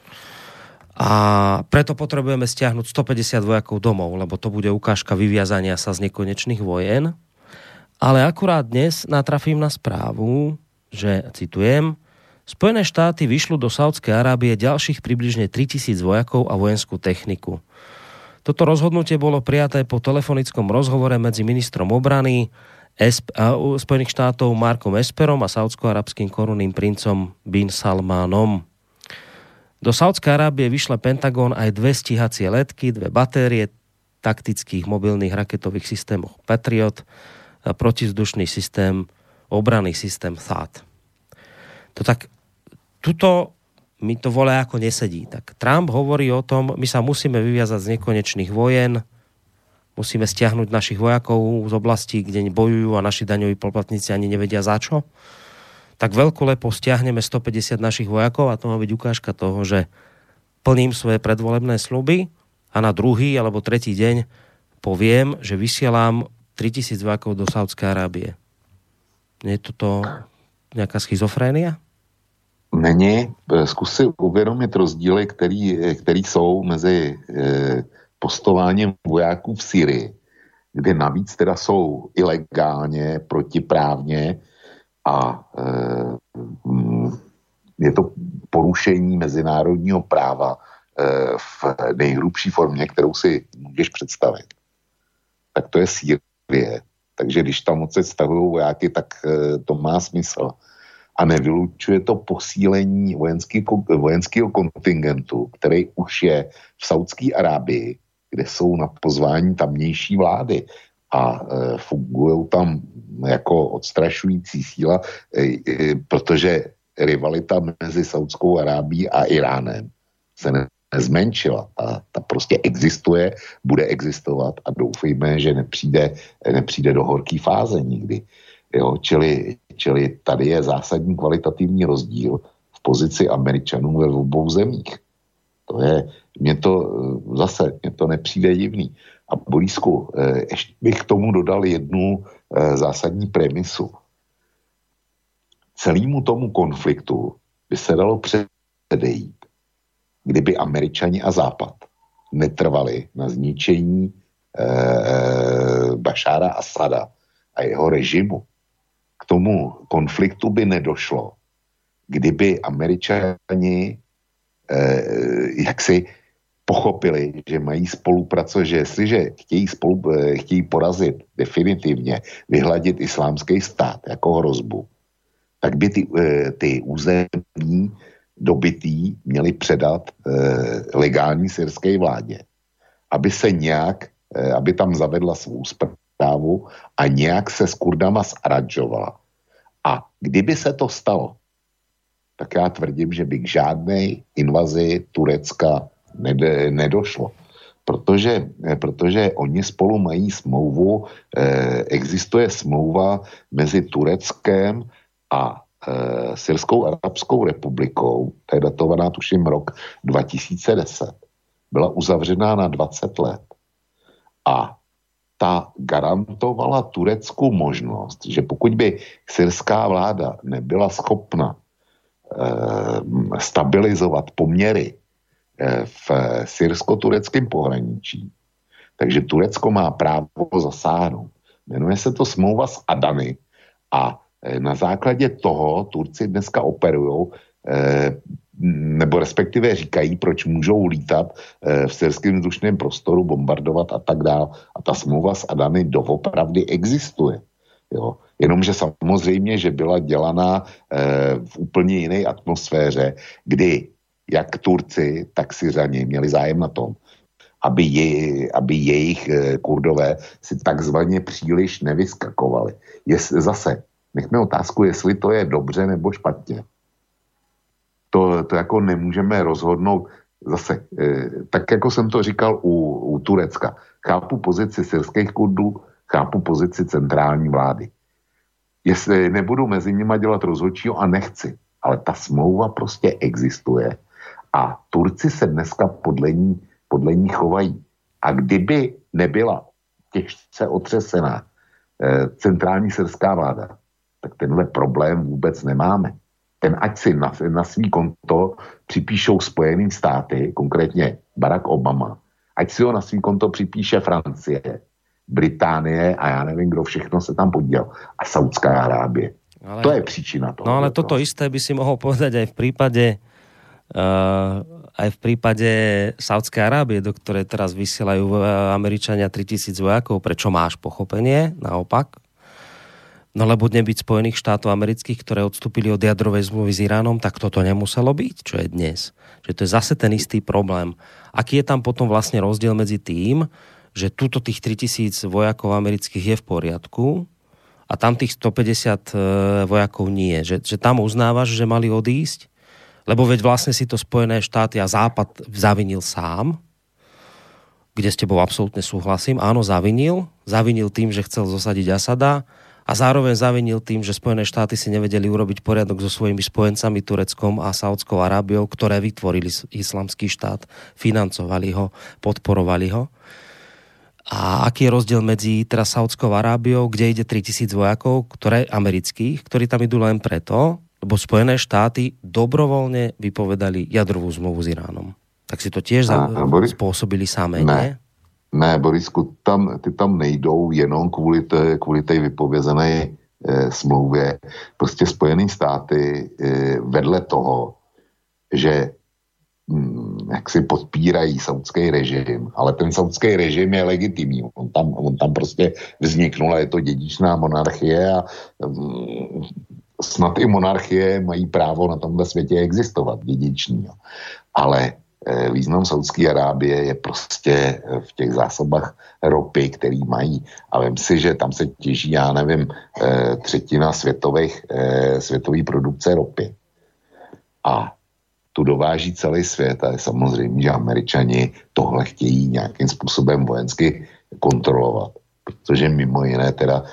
A preto potrebujeme stiahnuť stopäťdesiat vojakov domov, lebo to bude ukážka vyviazania sa z nekonečných vojen. Ale akurát dnes natrafím na správu, že, citujem, Spojené štáty vyšľú do Saúdskej Arábie ďalších približne tritisíc vojakov a vojenskú techniku. Toto rozhodnutie bolo prijaté po telefonickom rozhovore medzi ministrom obrany Spojených štátov Markom Esperom a saúdsko-arabským korunným princom Bin Salmanom. Do Saúdskej Arábie vyšle Pentagon aj dve stíhacie letky, dve batérie taktických mobilných raketových systémov Patriot a protizdušný systém, obranný systém T H A A D. To tak, tuto mi to volá ako nesedí. Tak Trump hovorí o tom, my sa musíme vyviazať z nekonečných vojen, musíme stiahnuť našich vojakov z oblastí, kde bojujú a naši daňoví poplatníci ani nevedia za čo. Tak veľkolepo stiahneme stopäťdesiat našich vojakov a to má byť ukážka toho, že plním svoje predvolebné sľuby a na druhý alebo tretí deň poviem, že vysielam tritisíc vojakov do Saúdskej Arábie. Nie je toto nejaká schizofrénia? Není. Zkus si uvědomit rozdíly, který, který jsou mezi e, postováním vojáků v Syrii, kde navíc teda jsou ilegálně, protiprávně a e, je to porušení mezinárodního práva e, v nejhrubší formě, kterou si můžeš představit. Tak to je Sýrie. Takže když tam moc se stahují vojáky, tak e, to má smysl. A nevylučuje to posílení vojenský, vojenského kontingentu, který už je v Saúdské Arábii, kde jsou na pozvání tamnější vlády a e, fungují tam jako odstrašující síla, e, e, protože rivalita mezi Saúdskou Arábií a Iránem se ne, nezmenšila a ta prostě existuje, bude existovat a doufejme, že nepřijde, nepřijde do horké fáze nikdy. Jo, čili, čili tady je zásadní kvalitativní rozdíl v pozici Američanů ve obou zemích. To je, mě to zase, mě to nepřijde divný. A Borisku, ještě bych k tomu dodal jednu zásadní premisu. Celému tomu konfliktu by se dalo předejít, kdyby Američani a Západ netrvali na zničení eh, Bašára Asada a jeho režimu. K tomu konfliktu by nedošlo, kdyby Američani eh, jaksi pochopili, že mají spolupracovat, že jestliže chtějí, spolu, chtějí porazit definitivně, vyhladit islámský stát jako hrozbu, tak by ty, ty území dobytý měli předat eh, legální syrské vládě, aby se nějak, eh, aby tam zavedla svou správu a nějak se s Kurdama zaradžovala. A kdyby se to stalo, tak já tvrdím, že by k žádné invazi Turecka ned- nedošlo. Protože, eh, protože oni spolu mají smlouvu, eh, existuje smlouva mezi Tureckem a e, Syrskou arabskou republikou, to je datovaná tuším rok dva tisíce deset. byla uzavřená na dvacet let. A ta garantovala Turecku možnost, že pokud by syrská vláda nebyla schopna eh, stabilizovat poměry eh, v syrsko-tureckém pohraničí, takže Turecko má právo zasáhnout. Jmenuje se to smlouva s Adany a eh, na základě toho Turci dneska operujou eh, nebo respektive říkají, proč můžou lítat e, v syrském vzdušném prostoru, bombardovat a tak dále. A ta smlouva s Adany doopravdy existuje. Jo. Jenomže samozřejmě, že byla dělaná e, v úplně jiné atmosféře, kdy jak Turci, tak Syřani měli zájem na tom, aby, je, aby jejich e, Kurdové si takzvaně příliš nevyskakovali. Jest, zase, nechme otázku, jestli to je dobře nebo špatně. To, to jako nemůžeme rozhodnout zase, e, tak jako jsem to říkal u, u Turecka. Chápu pozici syrských Kurdů, chápu pozici centrální vlády. Jestli nebudu mezi nimi dělat rozhodčího a nechci, ale ta smlouva prostě existuje a Turci se dneska podle ní, podle ní chovají. A kdyby nebyla těžce otřesená e, centrální syrská vláda, tak tenhle problém vůbec nemáme. Ten ať si na, na svý konto připíšou Spojené státy, konkrétně Barack Obama, ať si ho na svý konto připíše Francie, Británie a já nevím, kdo všechno se tam podílel. A Saudská Arábie. Ale, to je příčina toho. No ale toto isté by si mohol povedať aj v prípade uh, aj v prípade Saudskej Arábie, do ktorej teraz vysielajú Američania tritisíc vojakov. Prečo máš pochopenie? Naopak. No lebo nebyť Spojených štátov amerických, ktoré odstúpili od jadrovej zmluvy s Iránom, tak toto nemuselo byť, čo je dnes. Že to je zase ten istý problém. Aký je tam potom vlastne rozdiel medzi tým, že tuto tých tritisíc vojakov amerických je v poriadku a tam tých stopäťdesiat vojakov nie. Že, že tam uznávaš, že mali odísť, lebo veď vlastne si to Spojené štáty a Západ zavinil sám, kde s tebou absolútne súhlasím. Áno, zavinil. Zavinil tým, že chcel zosadiť Asada, a zároveň zavinil tým, že Spojené štáty si nevedeli urobiť poriadok so svojimi spojencami Tureckom a Saudskou Arábiou, ktoré vytvorili islamský štát, financovali ho, podporovali ho. A aký je rozdiel medzi teraz Saudskou Arábiou, kde ide tritisíc vojakov, ktoré amerických, ktorí tam idú len preto, lebo Spojené štáty dobrovoľne vypovedali jadrovú zmluvu s Iránom. Tak si to tiež a, Boris, spôsobili samé, ne? nie? Ne, Borisku, tam, ty tam nejdou jenom kvůli té, kvůli té vypovězené e, smlouvě. Prostě Spojené státy e, vedle toho, že m, jak si podpírají saudský režim, ale ten saudský režim je legitimní. On tam, on tam prostě vzniknul a je to dědičná monarchie a m, snad i monarchie mají právo na tomhle světě existovat, dědiční. Ale význam Saudské Arábie je prostě v těch zásobách ropy, který mají. A vem si, že tam se těží, já nevím, třetina světových, světové produkce ropy. A tu dováží celý svět a je samozřejmě, že Američani tohle chtějí nějakým způsobem vojensky kontrolovat. Protože mimo jiné teda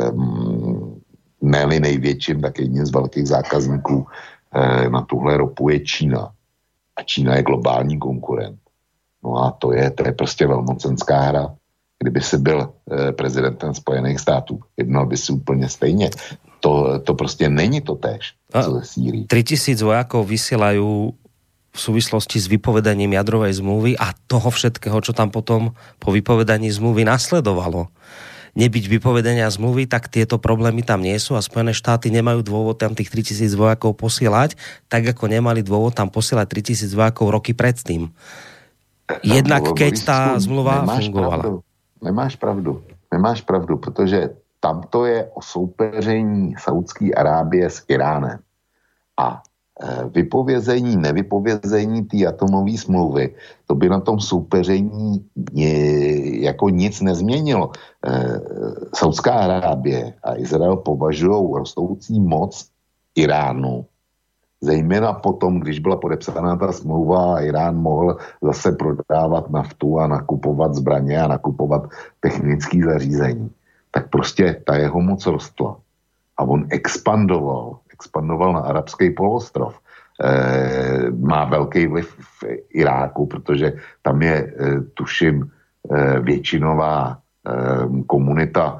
ne-li největším, tak jedním z velkých zákazníků na tuhle ropu je Čína. A Čína je globální konkurent. No a to je, to je prostě velmocenská hra. Kdyby si byl eh, prezidentem Spojených států, jednal by si úplně stejně. To, to prostě není to též, co ze Sýrii. tritisíc vojakov vysielajú v súvislosti s vypovedaním jadrovej zmluvy a toho všetkého, čo tam potom po vypovedaní zmluvy nasledovalo. Nebyť vypovedania zmluvy, tak tieto problémy tam nie sú a Spojené štáty nemajú dôvod tam tých tritisíc vojakov posielať, tak ako nemali dôvod tam posielať tritisíc vojakov roky predtým. Jednak no, keď tá zmluva nemáš fungovala. Pravdu, nemáš pravdu, nemáš pravdu, protože tam to je o soupeření Saudské Arábie s Iránem. A vypovězení, nevypovězení té atomové smlouvy, to by na tom soupeření jako nic nezměnilo. Saudská Arábie a Izrael považují rostoucí moc Iránu, zejména potom, když byla podepsána ta smlouva a Irán mohl zase prodávat naftu a nakupovat zbraně a nakupovat technické zařízení, tak prostě ta jeho moc rostla. A on expandoval, expandoval na arabský poloostrov. má velký vliv v Iráku, protože tam je, tuším, většinová komunita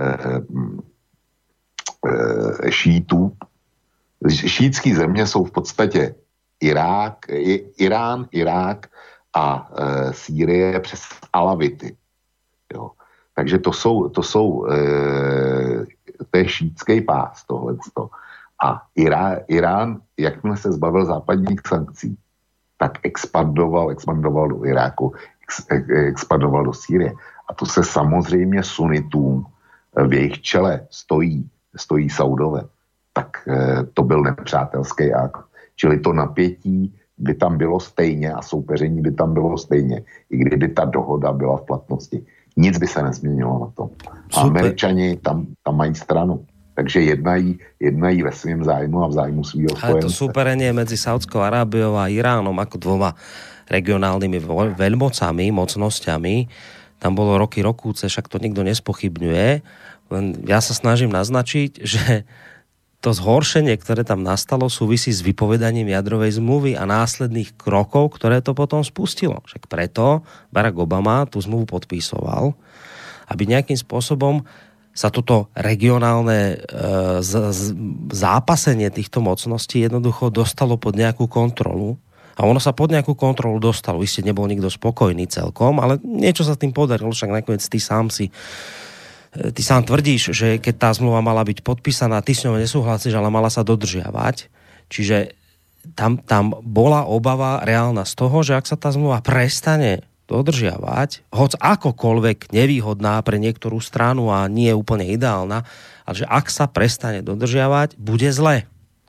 šítů. Šítský země jsou v podstatě Irák, Irán, Irák a Sýrie přes Alavity. Jo. Takže to jsou, to jsou to je šítský pás, tohleto. A Irán, Irán, jakmile se zbavil západních sankcí, tak expandoval, expandoval do Iráku, ex, expandoval do Sýrie. A to se samozřejmě sunitům v jejich čele stojí, stojí Saudové. Tak to byl nepřátelský akt. Čili to napětí by tam bylo stejně a soupeření by tam bylo stejně, i kdyby ta dohoda byla v platnosti. Nic by se nezměnilo na tom. A Američani tam, tam mají stranu. Takže jednají, jednají ve svým zájmu a v zájmu svýho spojence. Ale to súperenie medzi Saudskou Arábiou a Iránom ako dvoma regionálnymi veľmocami, mocnosťami, tam bolo roky rokúce, však to nikto nespochybňuje. Len ja sa snažím naznačiť, že to zhoršenie, ktoré tam nastalo, súvisí s vypovedaním jadrovej zmluvy a následných krokov, ktoré to potom spustilo. Však preto Barack Obama tú zmluvu podpísoval, aby nejakým spôsobom sa toto regionálne e, z, z, zápasenie týchto mocností jednoducho dostalo pod nejakú kontrolu. A ono sa pod nejakú kontrolu dostalo. Isté nebol nikto spokojný celkom, ale niečo sa tým podarilo, však nakoniec ty sám si ty sám tvrdíš, že keď tá zmluva mala byť podpísaná, ty s ňou nesúhlasíš, ale mala sa dodržiavať. Čiže tam, tam bola obava reálna z toho, že ak sa tá zmluva prestane dodržiavať, hoc akokoľvek nevýhodná pre niektorú stranu a nie je úplne ideálna, ale že ak sa prestane dodržiavať, bude zle.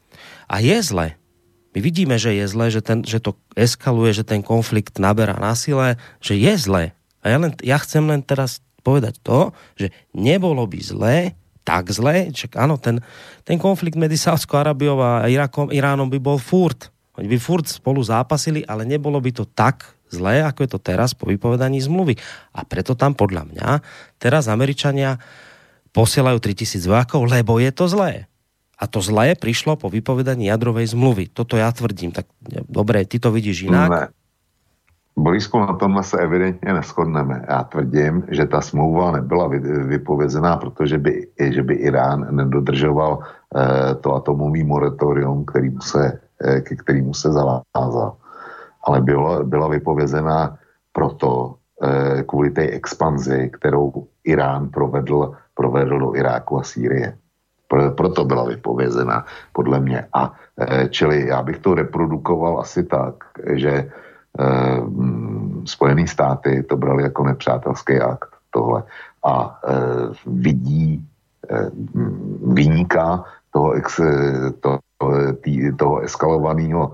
A je zle. My vidíme, že je zle, že, ten, že to eskaluje, že ten konflikt naberá na sile, že je zle. A ja, len, ja chcem len teraz povedať to, že nebolo by zle, tak zle, že áno, ten, ten konflikt medzi Saudskou Arábiou a Irakom, Iránom by bol furt. Oni by furt spolu zápasili, ale nebolo by to tak zlé, ako je to teraz po vypovedaní zmluvy. A preto tam podľa mňa teraz Američania posielajú tritisíc vojakov, lebo je to zlé. A to zlé prišlo po vypovedaní jadrovej zmluvy. Toto ja tvrdím. Tak dobre, ty to vidíš inak? Ne. Borisku, na tomhle se evidentně neshodneme. Já tvrdím, že ta smlouva nebyla vypovězená, protože by, že by Irán nedodržoval eh, to atomový moratorium, kterýmu se, eh, ke kterému se zavázal. Ale byla, byla vypovězená proto, eh, kvůli té expanzi, kterou Irán provedl, provedl do Iráku a Sýrie. Pro, proto byla vypovězená, podle mě. A eh, čili já bych to reprodukoval asi tak, že Eh, Spojené státy to brali jako nepřátelský akt tohle a eh, vidí eh, viníka toho, ex, to, tý, toho eskalovaného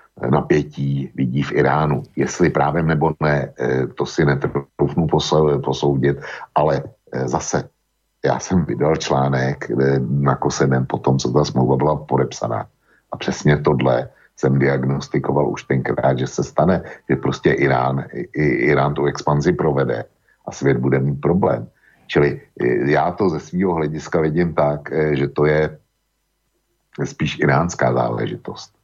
napětí vidí v Iránu. Jestli právem nebo ne, eh, to si netroufnu posoudit, ale eh, zase já jsem vydal článek eh, na kose den potom, co ta smlouva byla podepsaná. A přesně tohle jsem diagnostikoval už tenkrát, že se stane, že prostě Irán, Irán tu expanzi provede a svět bude mít problém. Čili já to ze svého hlediska vidím tak, že to je spíš iránská záležitost.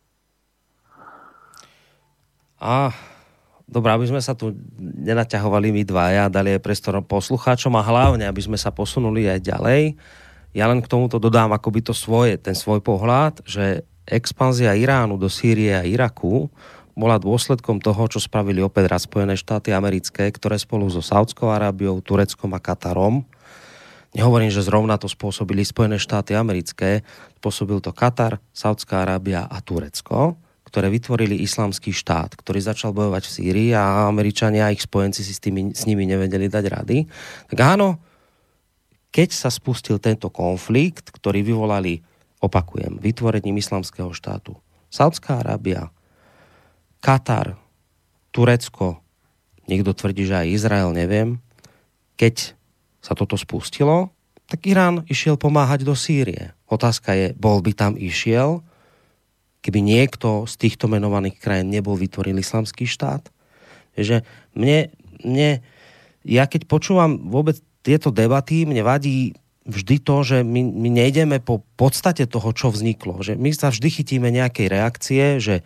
A dobré, aby sme sa tu nenaťahovali my dvaja, dali aj priestor poslucháčom a hlavne, aby sme sa posunuli aj ďalej. Ja len k tomuto dodám akoby to svoje, ten svoj pohľad, že expanzia Iránu do Sýrie a Iraku bola dôsledkom toho, čo spravili opäť raz Spojené štáty americké, ktoré spolu so Saudskou Arábiou, Tureckom a Katarom, nehovorím, že zrovna to spôsobili Spojené štáty americké, spôsobil to Katar, Saudská Arábia a Turecko, ktoré vytvorili islamský štát, ktorý začal bojovať v Sýrii a Američania a ich spojenci si s, tými, s nimi nevedeli dať rady. Tak áno, keď sa spustil tento konflikt, ktorý vyvolali, opakujem, vytvorením islamského štátu, Saudská Arábia, Katar, Turecko, niekto tvrdí, že aj Izrael, neviem, keď sa toto spustilo, tak Irán išiel pomáhať do Sýrie. Otázka je, bol by tam išiel, keby niekto z týchto menovaných krajín nebol vytvoril islamský štát? Že mne, mne, ja keď počúvam vôbec tieto debaty, mne vadí, vždy to, že my, my nejdeme po podstate toho, čo vzniklo. Že my sa vždy chytíme nejakej reakcie, že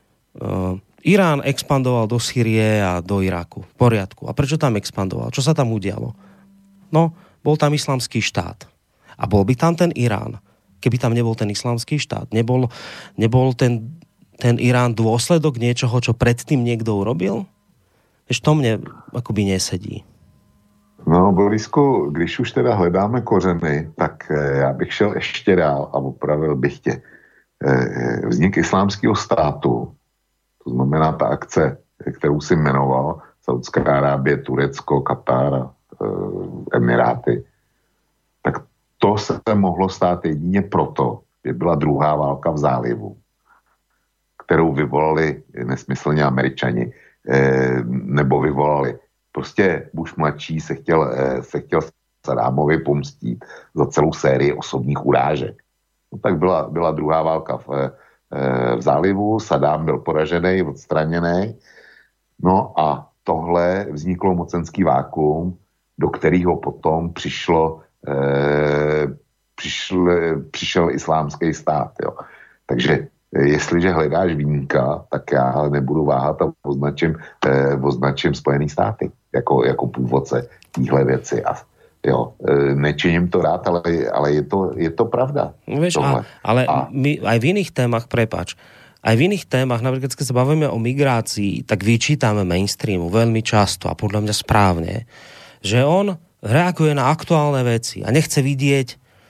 uh, Irán expandoval do Sýrie a do Iraku. V poriadku. A prečo tam expandoval? Čo sa tam udialo? No, bol tam islamský štát. A bol by tam ten Irán, keby tam nebol ten islamský štát. Nebol, nebol ten, ten Irán dôsledok niečoho, čo predtým niekto urobil? Ež to mne akoby nesedí. No, Borisku, když už teda hledáme kořeny, tak já bych šel ještě dál a opravil bych tě. Vznik islámského státu, to znamená ta akce, kterou si jmenoval, Saudská Arábie, Turecko, Katar, Emiráty, tak to se mohlo stát jedině proto, že byla druhá válka v zálivu, kterou vyvolali nesmyslně Američani, nebo vyvolali. Prostě Bush mladší se chtěl, se chtěl Saddámovi pomstít za celou sérii osobních urážek. No tak byla, byla druhá válka v, v zálivu, Saddám byl poražený, odstraněný. No a tohle vzniklo mocenský vákuum, do kterého potom přišlo, eh, přišl, přišel islámský stát. Jo. Takže jestliže hledáš viníka, tak já nebudu váhat a označím, eh, označím Spojený státy jako, jako původce týhle věci. A jo, eh, nečiním to rád, ale, ale je, to, je to pravda. Vieš, a, ale a... my aj v iných témach, prepáč, aj v iných témach, napríklad keď sa bavíme o migrácii, tak vyčítame mainstreamu veľmi často a podľa mňa správne, že on reaguje na aktuálne veci a nechce vidieť,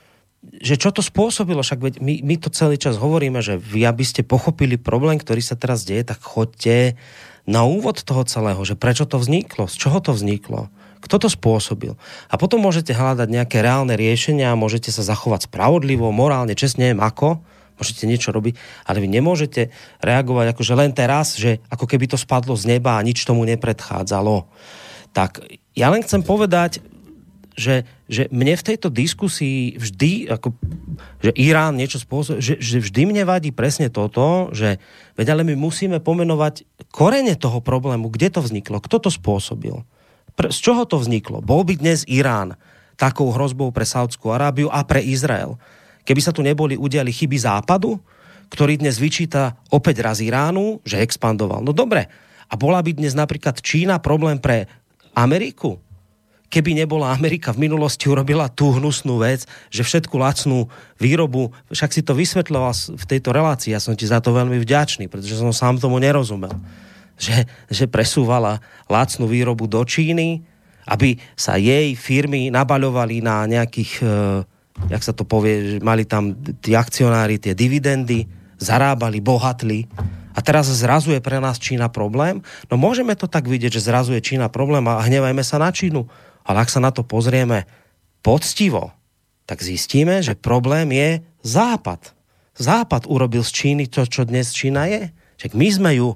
že čo to spôsobilo. Však veď my, my to celý čas hovoríme, že vy, aby ste pochopili problém, ktorý sa teraz deje, tak choďte na úvod toho celého, že prečo to vzniklo, z čoho to vzniklo, kto to spôsobil. A potom môžete hľadať nejaké reálne riešenia, môžete sa zachovať spravodlivo, morálne, čestne, neviem ako, môžete niečo robiť, ale vy nemôžete reagovať akože len teraz, že ako keby to spadlo z neba a nič tomu nepredchádzalo. Tak ja len chcem povedať, že, že mne v tejto diskusii vždy, ako, že Irán niečo spôsobí, že, že vždy mne vadí presne toto, že veď ale my musíme pomenovať korene toho problému, kde to vzniklo, kto to spôsobil, Pre, z čoho to vzniklo. Bol by dnes Irán takou hrozbou pre Saúdskú Arábiu a pre Izrael. Keby sa tu neboli udiali chyby Západu, ktorý dnes vyčíta opäť raz Iránu, že expandoval. No dobre, a bola by dnes napríklad Čína problém pre Ameriku? Keby nebola Amerika v minulosti urobila tú hnusnú vec, že všetku lacnú výrobu, však si to vysvetľoval v tejto relácii, ja som ti za to veľmi vďačný, pretože som sám tomu nerozumel, že, že presúvala lacnú výrobu do Číny, aby sa jej firmy nabaľovali na nejakých, eh, jak sa to povie, mali tam tí akcionári tie dividendy, zarábali, bohatli. A teraz zrazu je pre nás Čína problém? No môžeme to tak vidieť, že zrazu je Čína problém a hnevajme sa na Čínu. Ale ak sa na to pozrieme poctivo, tak zistíme, že problém je Západ. Západ urobil z Číny to, čo dnes Čína je. Však my sme ju,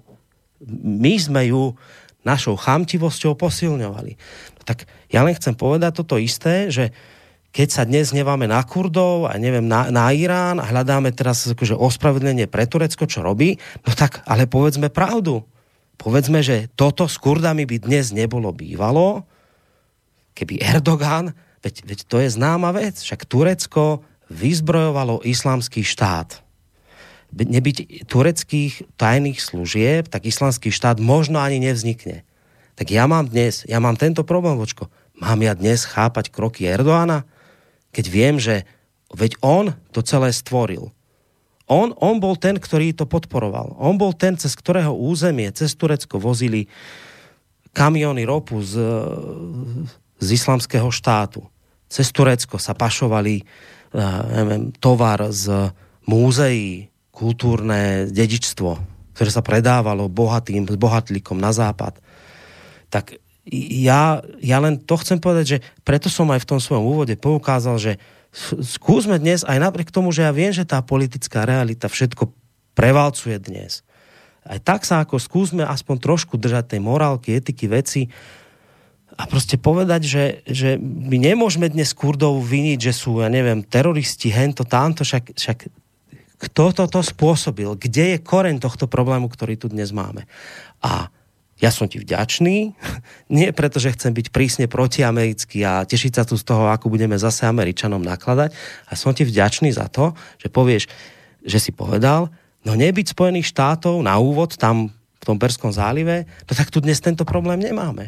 my sme ju našou chamtivosťou posilňovali. No tak ja len chcem povedať toto isté, že keď sa dnes hneváme na Kurdov a neviem, na, na Irán a hľadáme teraz akože ospravedlnenie pre Turecko, čo robí, no tak ale povedzme pravdu. Povedzme, že toto s Kurdami by dnes nebolo bývalo, keby Erdogan, veď, veď to je známa vec, však Turecko vyzbrojovalo islamský štát. Nebyť tureckých tajných služieb, tak islamský štát možno ani nevznikne. Tak ja mám dnes, ja mám tento problém, vočko. Mám ja dnes chápať kroky Erdogana? Keď viem, že veď on to celé stvoril. On, on bol ten, ktorý to podporoval. On bol ten, cez ktorého územie, cez Turecko vozili kamiony ropu z, z islamského štátu. Cez Turecko sa pašovali neviem, tovar z múzeí, kultúrne dedičstvo, ktoré sa predávalo bohatým, bohatlíkom na západ. Tak ja, ja len to chcem povedať, že preto som aj v tom svojom úvode poukázal, že skúsme dnes, aj napriek tomu, že ja viem, že tá politická realita všetko prevalcuje dnes. Aj tak sa ako skúsme aspoň trošku držať tej morálky, etiky, veci a proste povedať, že, že my nemôžeme dnes Kurdov viniť, že sú, ja neviem, teroristi, hento, tamto, však, však kto toto spôsobil? Kde je koreň tohto problému, ktorý tu dnes máme? A ja som ti vďačný, nie preto, že chcem byť prísne protiamerický a tešiť sa tu z toho, ako budeme zase Američanom nakladať, a som ti vďačný za to, že povieš, že si povedal, no nebyť Spojených štátov na úvod tam v tom Perskom zálive, no tak tu dnes tento problém nemáme.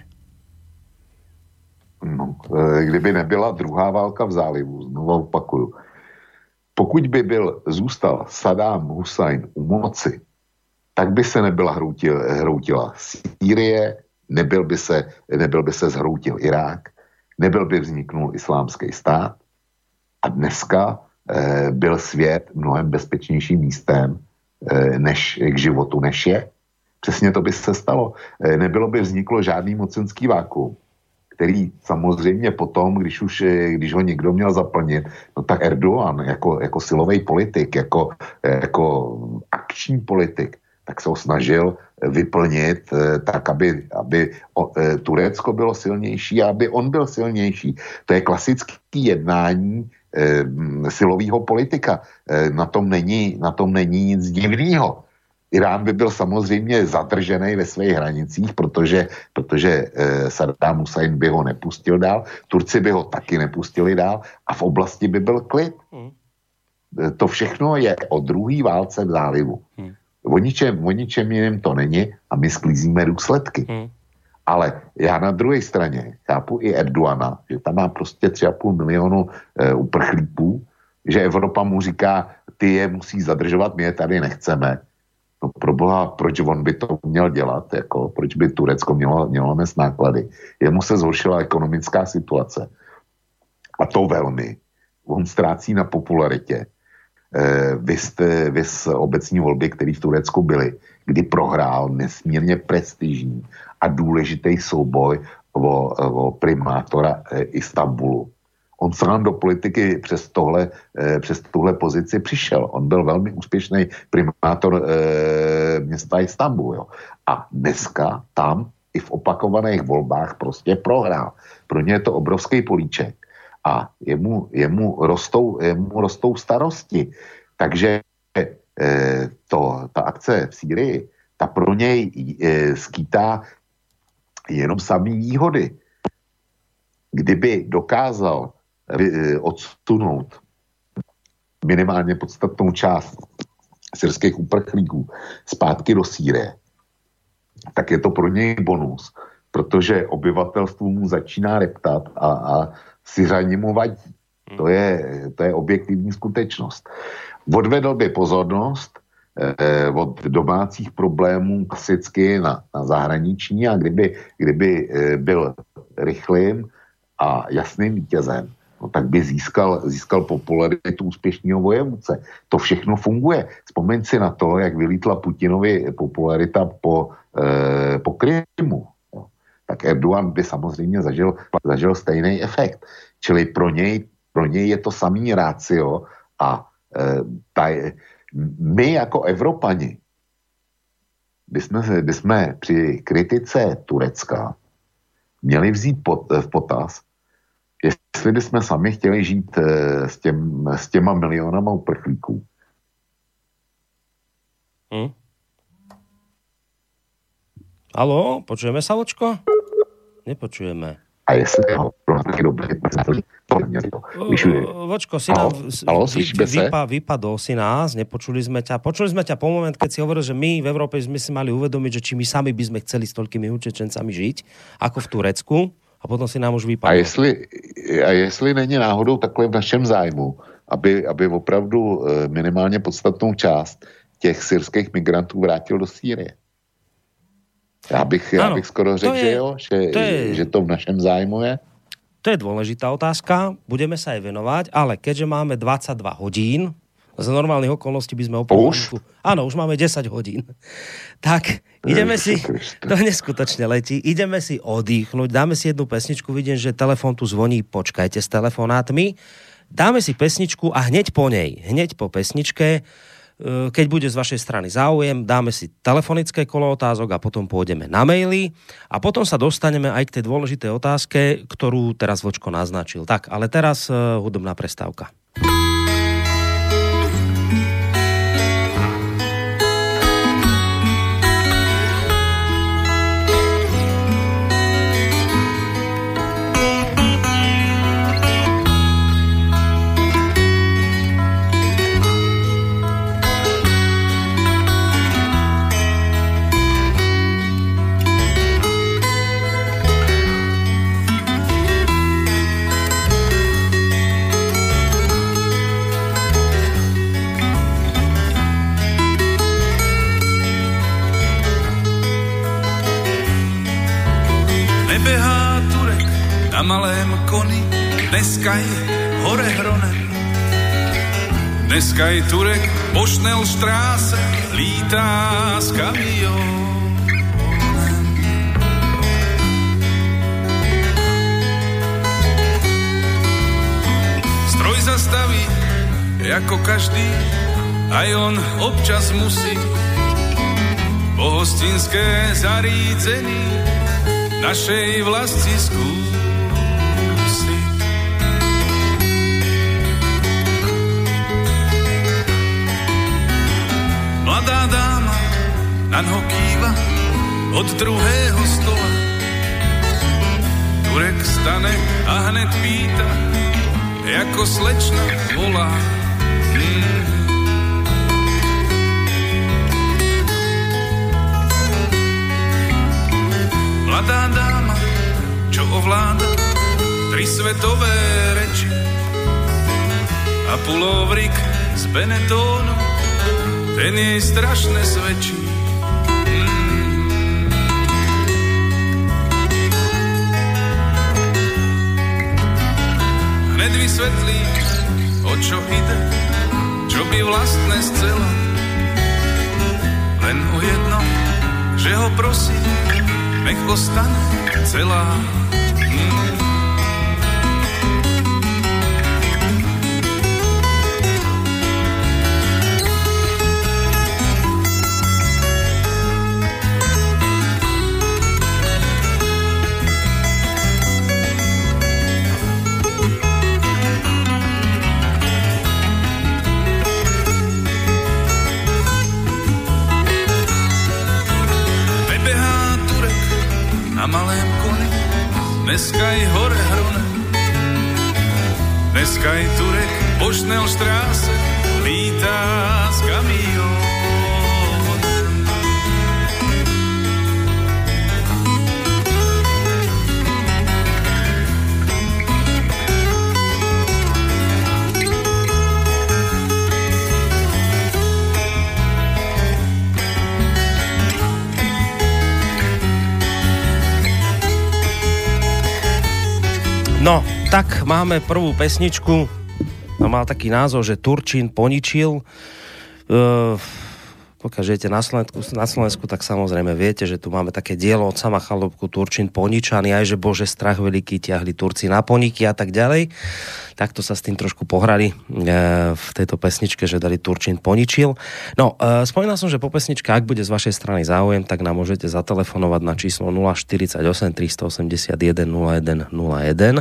No, kdyby nebyla druhá válka v zálivu, znovu opakuju, pokud by byl, zůstal Saddam Hussein u moci, tak by se nebyla hroutil, hroutila Sýrie, nebyl by se, nebyl by se zhroutil Irák, nebyl by vzniknul islámský stát a dneska eh, byl svět mnohem bezpečnějším místem eh, než k životu, než je. Přesně to by se stalo. Eh, nebylo by vzniklo žádný mocenský vákuum, který samozřejmě potom, když už když ho někdo měl zaplnit, no tak Erdogan jako, jako silový politik, jako, jako akční politik, tak se ho snažil vyplnit tak, aby, aby Turecko bylo silnější a aby on byl silnější. To je klasické jednání eh, silového politika. Eh, na tom není, na tom není nic divného. Irán by byl samozřejmě zadržený ve svých hranicích, protože, protože eh, Saddam Hussein by ho nepustil dál, Turci by ho taky nepustili dál a v oblasti by byl klid. Hmm. Eh, to všechno je o druhé válce v zálivu. Hmm. O ničem, o ničem jiném to není a my sklízíme důsledky. Hmm. Ale já na druhé straně chápu i Erdogana, že tam má prostě tři a půl milionu e, uprchlíků, že Evropa mu říká, ty je musí zadržovat, my je tady nechceme. No proboha, proč on by to měl dělat? Jako, proč by Turecko mělo, mělo nést náklady? Jemu se zhoršila ekonomická situace. A to velmi. On ztrácí na popularitě. Vys, vys obecní volby, které v Turecku byly, kdy prohrál nesmírně prestižní a důležitý souboj o, o primátora Istanbulu. On sám do politiky přes, tohle, přes tuhle pozici přišel. On byl velmi úspěšný primátor e, města Istanbul. Jo. A dneska tam i v opakovaných volbách prostě prohrál. Pro ně je to obrovský políček. A jemu, jemu, rostou, jemu rostou starosti. Takže e, to, ta akce v Sýrii, ta pro něj e, skýtá jenom samý výhody. Kdyby dokázal e, odsunout minimálně podstatnou část syrských uprchlíků zpátky do Sýrie, tak je to pro něj bonus, protože obyvatelstvo mu začíná reptat a, a Syřani mu vadí. To je, to je objektivní skutečnost. Odvedl by pozornost eh, od domácích problémů klasicky na, na zahraniční a kdyby, kdyby eh, byl rychlým a jasným vítězem, no, tak by získal, získal popularitu úspěšného vojevůdce. To všechno funguje. Vzpomeň si na to, jak vylítla Putinovi popularita po, eh, po Krymu. Tak Erdogan by samozřejmě zažil, zažil stejný efekt. Čili pro něj, pro něj je to samý rácio a e, taj, my jako Evropani bychom, bychom při kritice Turecka měli vzít pot, v potaz, jestli bychom sami chtěli žít e, s, těm, s těma milionama uprchlíků. Hmm. Haló, počujeme sa, Vočko? Nepočujeme. A jestli ho pro nás dobré, Vočko, si nám vypa, vypadol si nás, nepočuli sme ťa. Počuli sme ťa po moment, keď si hovoril, že my v Európe sme si mali uvedomiť, že či my sami by sme chceli s toľkými utečencami žiť, ako v Turecku, a potom si nám už vypadol. A jestli, a jestli není náhodou takhle v našem zájmu, aby, aby opravdu minimálně podstatnou část těch syrských migrantů vrátil do Sýrie. Já bych, já bych skoro řekl, že jo, že to, je, že to v našem zájmu je. To je dôležitá otázka, budeme sa aj venovať, ale keďže máme dvadsaťdva hodín, za normálnych okolností by sme opäť... Áno, už máme desať hodín. Tak, ideme si... To neskutočne letí. Ideme si oddychnúť, dáme si jednu pesničku, vidím, že telefón tu zvoní, počkajte s telefonátmi. Dáme si pesničku a hneď po nej, hneď po pesničke, keď bude z vašej strany záujem, dáme si telefonické kolo otázok a potom pôjdeme na maily a potom sa dostaneme aj k tej dôležitej otázke, ktorú teraz Vočko naznačil. Tak, ale teraz uh, hudobná prestávka. malém koni, dneska je hore hronem. Dneska je Turek Bošnel štráse, lítá s kamionem. Stroj zastaví, ako každý, aj on občas musí po hostinské zarídzení našej vlasti skúsiť. Mladá dáma naňho kýva od druhého stola. Turek stane a hned pýta, ako slečna volá. Hmm. Mladá dáma, čo ovláda tri svetové reči a pulovrik z Benetónu, ten jej strašne svedčí. Hmm. Hned vysvetlí, o čo ide, čo by vlastne scela. Len o jedno, že ho prosí, nech ostane celá. Hmm. Malém koni, dneska je hore hronem. Dneska je Turek Bošnel štráse, lítá s kamionem. No, tak máme prvú pesničku. No, mal taký názov, že Turčín poničil. Uh, pokiaľ žijete na Slovensku, na Slovensku, tak samozrejme viete, že tu máme také dielo od sama Chalúbku Turčín poničaný, aj že Bože strach veľký, ťahli Turci na poniky a tak ďalej. Takto sa s tým trošku pohrali uh, v tejto pesničke, že dali Turčín poničil. No, uh, spomínal som, že po pesničke, ak bude z vašej strany záujem, tak nám môžete zatelefonovať na číslo nula štyridsaťosem tristoosemdesiatjeden nula jeden nula jeden.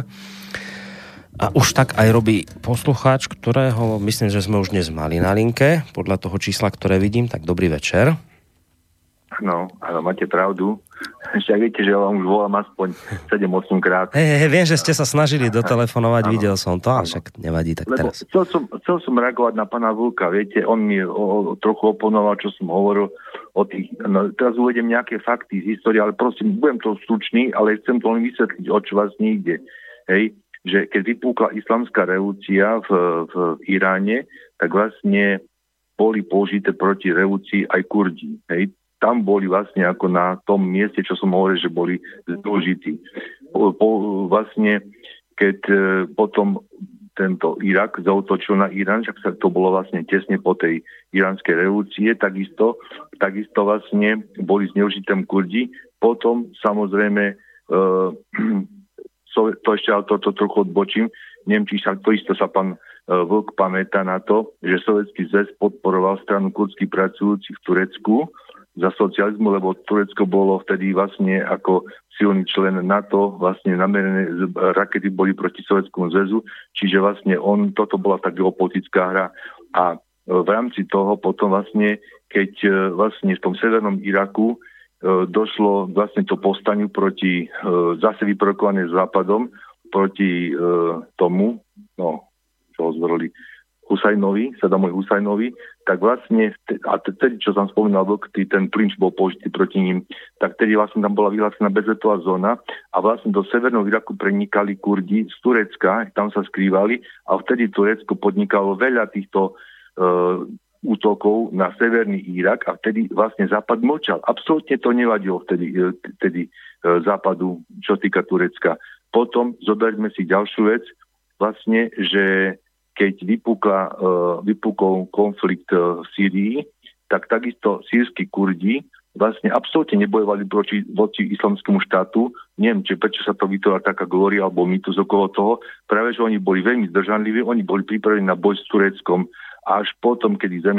A už tak aj robí poslucháč, ktorého myslím, že sme už dnes mali na linke, podľa toho čísla, ktoré vidím. Tak dobrý večer. No, ale máte pravdu. Však viete, že ja vám už volám aspoň sedem osem krát. Hej, hej, viem, že ste sa snažili dotelefonovať, ano. Videl som to, ale však nevadí, tak Lebo teraz. Chcel som, chcel som reagovať na pána Vlka, viete, on mi o, o, trochu oponoval, čo som hovoril o tých, no, teraz uvedem nejaké fakty z histórie, ale prosím, budem to stručný, ale chcem to len vysvetliť, o čo vás nejde. Hej, že keď vypúkla islamská revolúcia v, v Iráne, tak vlastne boli použité proti revolúcii aj Kurdi. Hej. Tam boli vlastne ako na tom mieste, čo som hovoril, že boli zložití. Po, po, vlastne, keď e, potom tento Irak zaútočil na Irán, však sa to bolo vlastne tesne po tej iránskej revolúcie, takisto, takisto vlastne boli zneužité Kurdi. Potom samozrejme e, to ešte ale toto to trochu odbočím. Neviem, či sa, to isto sa pán uh, Vlk pamätá na to, že Sovietský zväz podporoval stranu kurdských pracujúcich v Turecku za socializmu, lebo Turecko bolo vtedy vlastne ako silný člen NATO, vlastne namerené rakety boli proti Sovietskému zväzu, čiže vlastne on, toto bola tá geopolitická hra a v rámci toho potom vlastne, keď uh, vlastne v tom severnom Iraku došlo vlastne to povstaniu proti, zase vyprovokované západom, proti tomu, no, čo ho zvolili, Husajnovi, Sadamovi Husajnovi, tak vlastne, a tedy, čo som spomínal, ten klinč bol použitý proti ním, tak tedy vlastne tam bola vyhlásená bezletová zóna a vlastne do severného Iraku prenikali Kurdi z Turecka, tam sa skrývali a vtedy Turecko podnikalo veľa týchto uh, útokov na severný Irak a vtedy vlastne Západ mlčal. Absolútne to nevadilo vtedy, vtedy Západu, čo týka Turecka. potom zoberme si ďalšiu vec, vlastne, že keď vypukla, uh, vypukol konflikt uh, v Sýrii, tak takisto sýrski Kurdi vlastne absolútne nebojovali proti, voči islamskému štátu. Neviem, či prečo sa to vytvorila taká glória alebo mýtus okolo toho. Práve, že oni boli veľmi zdržanliví, oni boli pripravení na boj s Tureckom. Až potom, kedy zeme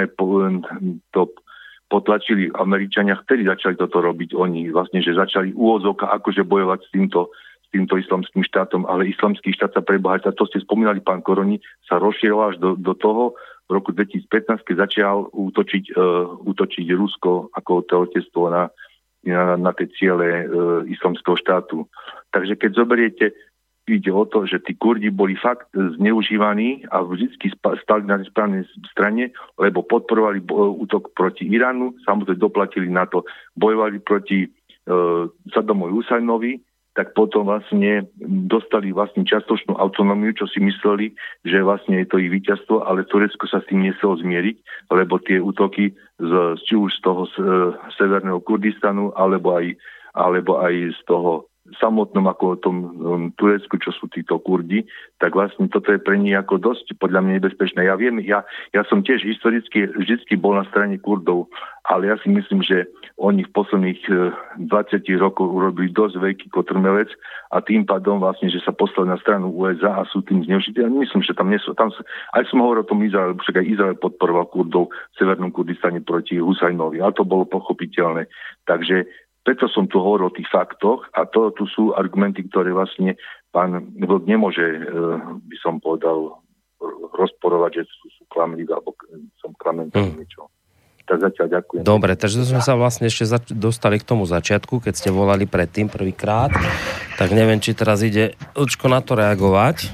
to potlačili Američania, vtedy začali toto robiť oni. Vlastne, že začali úvodzovka akože bojovať s týmto, s týmto islamským štátom, ale islamský štát sa prebohatá, to ste spomínali, pán Koroni, sa rozšíril až do, do toho, v roku dvetisícpätnásť, keď začal útočiť, uh, útočiť Rusko ako tehotenstvo na, na, na tie ciele uh, islamského štátu. Takže keď zoberiete, ide o to, že tí Kurdi boli fakt zneužívaní a vždy stali na správnej strane, lebo podporovali útok proti Iránu, samozrejme doplatili na to, bojovali proti uh, Saddamovi Husajnovi, tak potom vlastne dostali vlastne čiastočnú autonómiu, čo si mysleli, že vlastne je to ich víťazstvo, ale Turecko sa s tým nechcelo zmieriť, lebo tie útoky z, či už z toho z, e, severného Kurdistanu, alebo aj, alebo aj z toho samotnom ako tom um, Turecku, čo sú títo Kurdi, tak vlastne toto je pre nich ako dosť podľa mňa nebezpečné. Ja viem, ja, ja som tiež historicky vždycky bol na strane Kurdov, ale ja si myslím, že oni v posledných uh, dvadsiatich rokoch urobili dosť veľký kotrmelec a tým pádom vlastne, že sa poslali na stranu ú es á a sú tým zneužití. Ja myslím, že tam nie sú, tam sú, aj som hovoril o tom Izraelu, však aj Izrael podporoval Kurdov v severnom Kurdistane proti Husajnovi, a to bolo pochopiteľné. Takže preto som tu hovoril o tých faktoch a to tu sú argumenty, ktoré vlastne pán Vlk nemôže, e, by som povedal, rozporovať, že sú, sú klamlivé, alebo som klamen hmm. niečo. Tak zatiaľ ďakujem. Dobre, takže sme sa vlastne ešte zač- dostali k tomu začiatku, keď ste volali predtým prvýkrát, tak neviem, či teraz ide Lčko na to reagovať.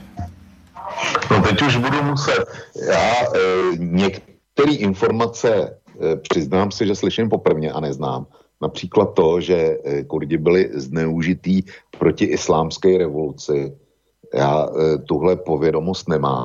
No teď už budu muset. Já e, některé informace e, přiznám si, že slyším poprvně a neznám. Například to, že Kurdi byli zneužitý proti islámské revoluci. Já e, tuhle povědomost nemám.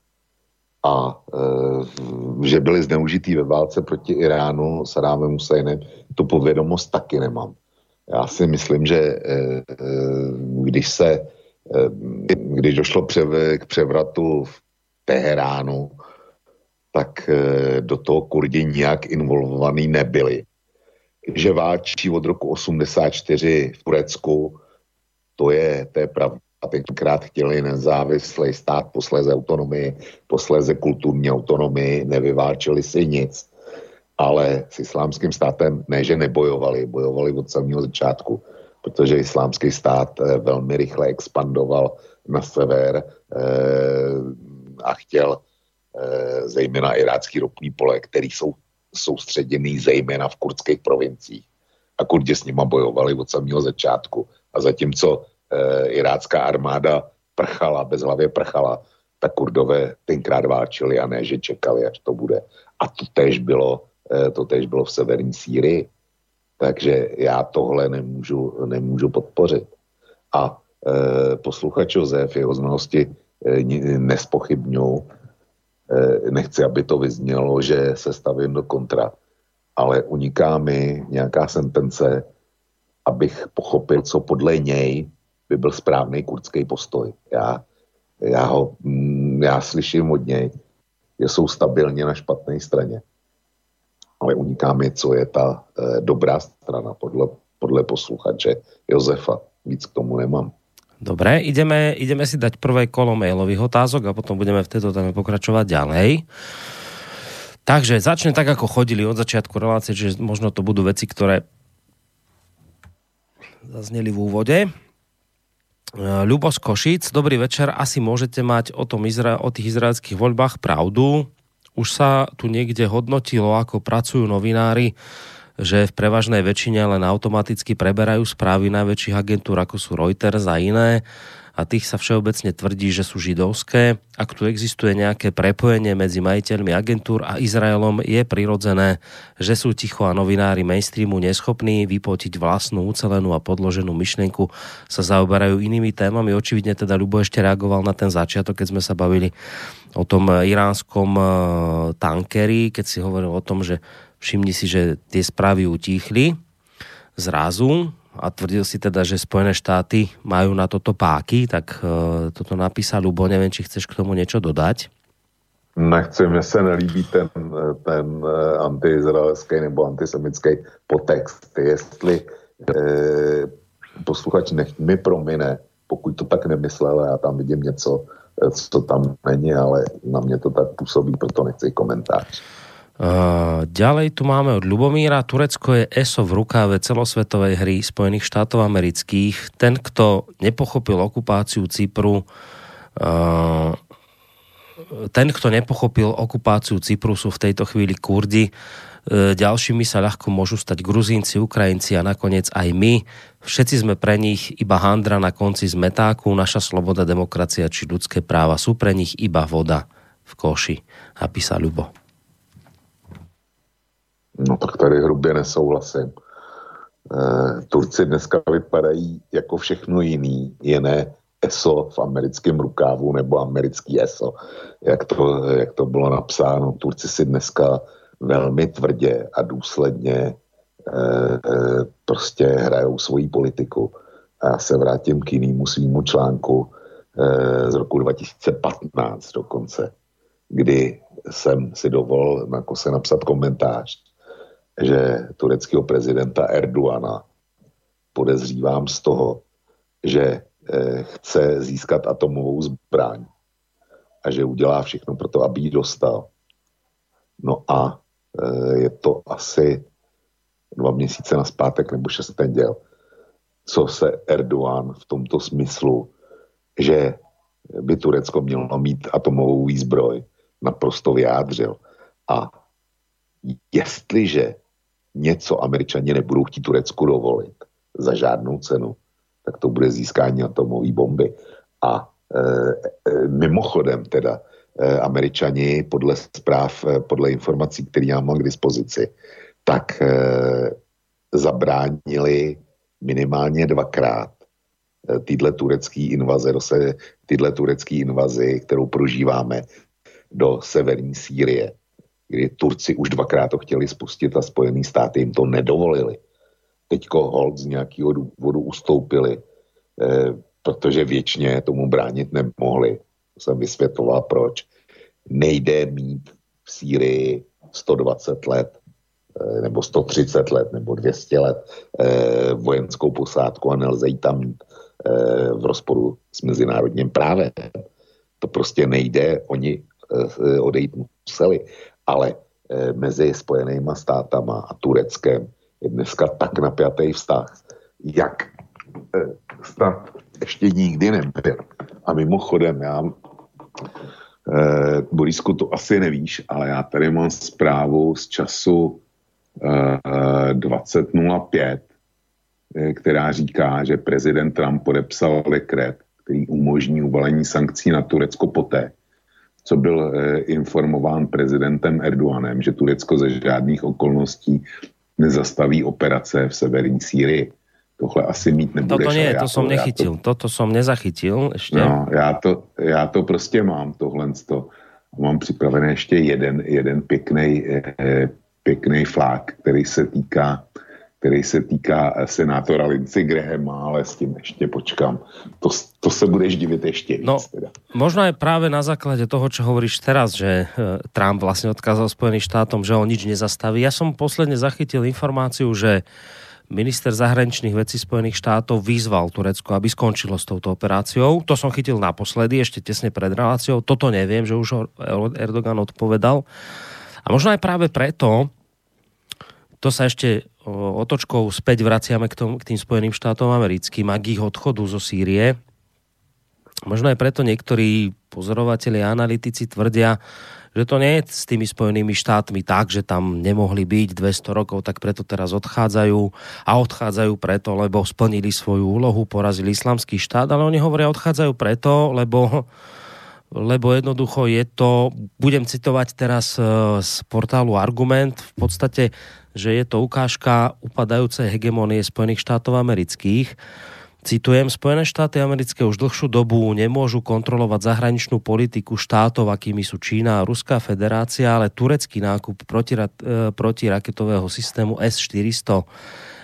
A e, že byli zneužitý ve válce proti Iránu Saddámem Husajnem, tu povědomost taky nemám. Já si myslím, že e, e, když se e, když došlo přev, k převratu v Teheránu, tak e, do toho Kurdi nijak involvovaný nebyli. Že válčí od roku osmdesát čtyři v Turecku, to je, to je pravda. Tenkrát chtěli nezávislý stát, posléze autonomii, posléze kulturní autonomii, nevyválčili si nic. Ale s islámským státem ne, že nebojovali, bojovali od samého začátku, protože islámský stát velmi rychle expandoval na sever eh, a chtěl eh, zejména irácký ropný pole, který jsou soustředěný zejména v kurdských provinciích. A Kurdi s nima bojovali od samého začátku. A zatímco e, irácká armáda prchala, bezhlavě prchala, tak Kurdové tenkrát válčili a ne, že čekali, až to bude. A to též bylo, e, to též bylo v severní Sýrii. Takže já tohle nemůžu, nemůžu podpořit. A e, posluchač Josef, jeho znalosti e, nespochybňují. Nechci, aby to vyznělo, že se stavím do kontra, ale uniká mi nějaká sentence, abych pochopil, co podle něj by byl správný kurdský postoj. Já, já, ho, já slyším od něj, že jsou stabilně na špatné straně, ale uniká mi, co je ta eh, dobrá strana podle, podle posluchače Josefa. Víc k tomu nemám. Dobre, ideme, ideme si dať prvé kolo mailových otázok a potom budeme v tejto téme pokračovať ďalej. Takže začne tak, ako chodili od začiatku relácie, že možno to budú veci, ktoré zazneli v úvode. Ľubo z Košíc, dobrý večer, asi môžete mať o, tom Izra- o tých izraelských voľbách pravdu. Už sa tu niekde hodnotilo, ako pracujú novinári, že v prevažnej väčšine len automaticky preberajú správy najväčších agentúr, ako sú Reuters a iné, a tých sa všeobecne tvrdí, že sú židovské. Ak tu existuje nejaké prepojenie medzi majiteľmi agentúr a Izraelom, je prirodzené, že sú ticho a novinári mainstreamu neschopní vypotiť vlastnú ucelenú a podloženú myšlienku, sa zaoberajú inými témami. Očividne teda Ľubo ešte reagoval na ten začiatok, keď sme sa bavili o tom iránskom tankeri, keď si hovoril o tom, že všimni si, že tie správy utíchli zrazu. a tvrdil si teda, že Spojené štáty majú na toto páky, tak uh, toto napísal Ľubo, neviem, či chceš k tomu niečo dodať. Nechci, mně se nelíbí ten, ten antiizraelský nebo antisemický podtext. Jestli eh, posluchač nech mi promine, pokud to tak nemyslel, já tam vidím něco, co tam není, ale na mě to tak působí, proto nechci komentář. Uh, ďalej tu máme od Ľubomíra. Turecko je eso v rukáve celosvetovej hry Spojených štátov amerických. Ten, kto nepochopil okupáciu Cypru, uh, ten, kto nepochopil okupáciu Cypru, sú v tejto chvíli Kurdi. Uh, ďalšími sa ľahko môžu stať Gruzínci, Ukrajinci a nakoniec aj my. Všetci sme pre nich iba handra na konci zmetáku. Naša sloboda, demokracia či ľudské práva sú pre nich iba voda v koši. Napísal Ľubo. No tak tady hrubě nesouhlasím. E, Turci dneska vypadají jako všechno jiný, jiné eso v americkém rukávu nebo americký eso, jak to, jak to bylo napsáno. Turci si dneska velmi tvrdě a důsledně e, e, prostě hrajou svoji politiku. A já se vrátím k jinému svýmu článku e, z roku dva tisíce patnáct dokonce, kdy jsem si dovolil jako se napsat komentář, že tureckého prezidenta Erdogana podezřívám z toho, že e, chce získat atomovou zbraň a že udělá všechno pro to, aby ji dostal. No a e, je to asi dva měsíce naspátek nebo šest neděl, co se Erdogan v tomto smyslu, že by Turecko mělo mít atomovou výzbroj, naprosto vyjádřil. A jestliže něco Američani nebudou chtít Turecku dovolit za žádnou cenu, tak to bude získání atomové bomby. A e, e, mimochodem teda e, Američani podle zpráv, e, podle informací, které já mám k dispozici, tak e, zabránili minimálně dvakrát e, týhle turecký invaze, týhle turecký invazi, kterou prožíváme do severní Sýrie, kdy Turci už dvakrát to chtěli spustit a Spojený státy jim to nedovolili. Teďko hold z nějakého důvodu ustoupili, eh, protože věčně tomu bránit nemohli. To jsem vysvětloval, proč. Nejde mít v Sýrii sto dvacet let, eh, nebo sto třicet let, nebo dvě stě let eh, vojenskou posádku a nelze ji tam mít eh, v rozporu s mezinárodním právem. To prostě nejde, oni eh, odejít museli. Ale e, mezi Spojenýma státama a Tureckem je dneska tak napjatý vztah, jak e, snad ještě nikdy nebyl. A mimochodem, já, e, Borisku, to asi nevíš, ale já tady mám zprávu z času e, dvacet nula pět, e, která říká, že prezident Trump podepsal dekret, který umožní uvalení sankcí na Turecko poté, co byl eh, informován prezidentem Erdoganem, že Turecko ze žádných okolností nezastaví operace v severní Sýrii. Tohle asi mít nebudeš. Toto nie, to som nechytil. To, toto som nezachytil ešte. No, já to, já to prostě mám, tohle. Mám připravený ještě jeden, jeden pěkný, eh, pěkný flák, který se týká který se týká senátora Lindsey Grahama, ale s tím ještě počkám. To, to se budeš divit ještě víc. No, teda. Možno aj práve na základe toho, čo hovoríš teraz, že Trump vlastne odkázal Spojeným štátom, že on nič nezastaví. Ja som posledne zachytil informáciu, že minister zahraničných vecí Spojených štátov vyzval Turecko, aby skončilo s touto operáciou. To som chytil naposledy, ešte tesne pred reláciou. Toto neviem, že už Erdogan odpovedal. A možno aj práve preto, to sa ešte otočkou späť vraciame k, tom, k tým Spojeným štátom americkým a k ich odchodu zo Sýrie. Možno aj preto niektorí pozorovatelia a analytici tvrdia, že to nie je s tými Spojenými štátmi tak, že tam nemohli byť dvesto rokov, tak preto teraz odchádzajú a odchádzajú preto, lebo splnili svoju úlohu, porazili islamský štát, ale oni hovoria, odchádzajú preto, lebo lebo jednoducho je to, budem citovať teraz z portálu Argument, v podstate, že je to ukážka upadajúcej hegemónie Spojených štátov amerických. Citujem, Spojené štáty americké už dlhšiu dobu nemôžu kontrolovať zahraničnú politiku štátov, akými sú Čína a Ruská federácia, ale turecký nákup protira, protiraketového systému es štyristo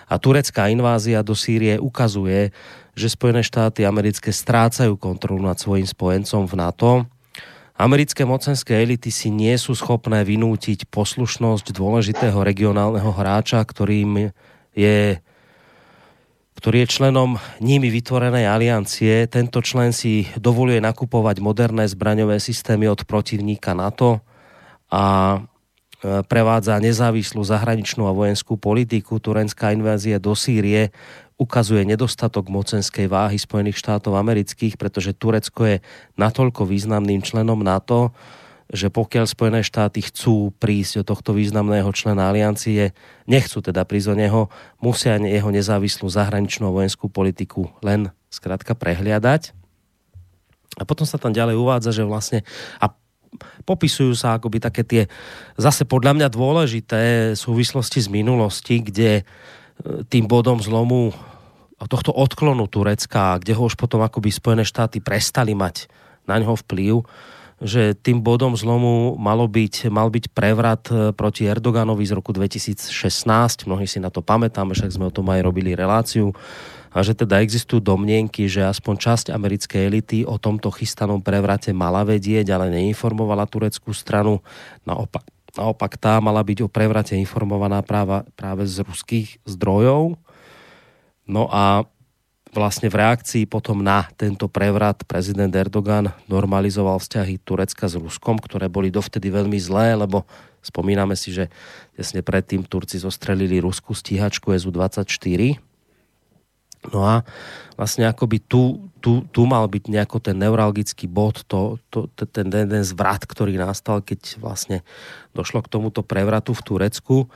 A turecká invázia do Sýrie ukazuje, že Spojené štáty americké strácajú kontrolu nad svojím spojencom v NATO. Americké mocenské elity si nie sú schopné vynútiť poslušnosť dôležitého regionálneho hráča, ktorým je ktorý je členom nimi vytvorenej aliancie. Tento člen si dovoluje nakupovať moderné zbraňové systémy od protivníka NATO a prevádza nezávislú zahraničnú a vojenskú politiku. Turenská invázia do Sýrie ukazuje nedostatok mocenskej váhy Spojených štátov amerických, pretože Turecko je natoľko významným členom NATO, že pokiaľ Spojené štáty chcú prísť do tohto významného člena aliancie, nechcú teda prísť o neho, musia jeho nezávislú zahraničnú a vojenskú politiku len skrátka prehliadať. A potom sa tam ďalej uvádza, že vlastne a popisujú sa akoby také tie zase podľa mňa dôležité súvislosti z minulosti, kde tým bodom zlomu tohto odklonu Turecka, kde ho už potom akoby Spojené štáty prestali mať na ňoho vplyv, že tým bodom zlomu malo byť, mal byť prevrat proti Erdoganovi z roku dvetisícšestnásť. Mnohí si na to pamätáme, však sme o tom aj robili reláciu. A že teda existujú domnienky, že aspoň časť americkej elity o tomto chystanom prevrate mala vedieť, ale neinformovala tureckú stranu. Naopak, naopak tá mala byť o prevrate informovaná práva, práve z ruských zdrojov. No a vlastne v reakcii potom na tento prevrat prezident Erdogan normalizoval vzťahy Turecka s Ruskom, ktoré boli dovtedy veľmi zlé, lebo spomíname si, že tesne predtým Turci zostrelili ruskú stíhačku es u dvadsaťštyri. No a vlastne akoby tu, tu, tu mal byť nejako ten neuralgický bod, to, to, ten jeden zvrat, ktorý nastal, keď vlastne došlo k tomuto prevratu v Turecku. E,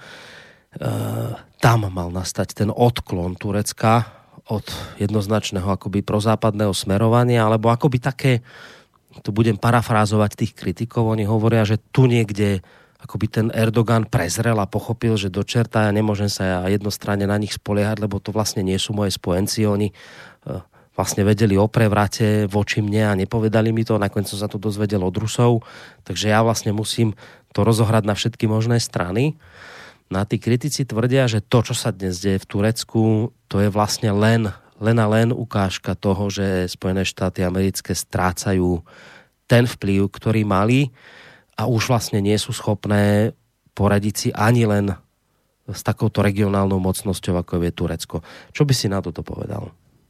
tam mal nastať ten odklon Turecka od jednoznačného akoby prozápadného smerovania, alebo akoby také, tu budem parafrázovať tých kritikov, oni hovoria, že tu niekde akoby ten Erdogan prezrel a pochopil, že do čerta ja nemôžem sa ja jednostranne na nich spoliehať, lebo to vlastne nie sú moje spojenci, oni vlastne vedeli o prevrate voči mne a nepovedali mi to, nakoniec som sa to dozvedel od Rusov, takže ja vlastne musím to rozohrať na všetky možné strany. No a tí kritici tvrdia, že to, čo sa dnes deje v Turecku, to je vlastne len, len a len ukážka toho, že Spojené štáty americké strácajú ten vplyv, ktorý mali a už vlastne nie sú schopné poradiť si ani len s takouto regionálnou mocnosťou, ako je Turecko. Čo by si na toto povedal?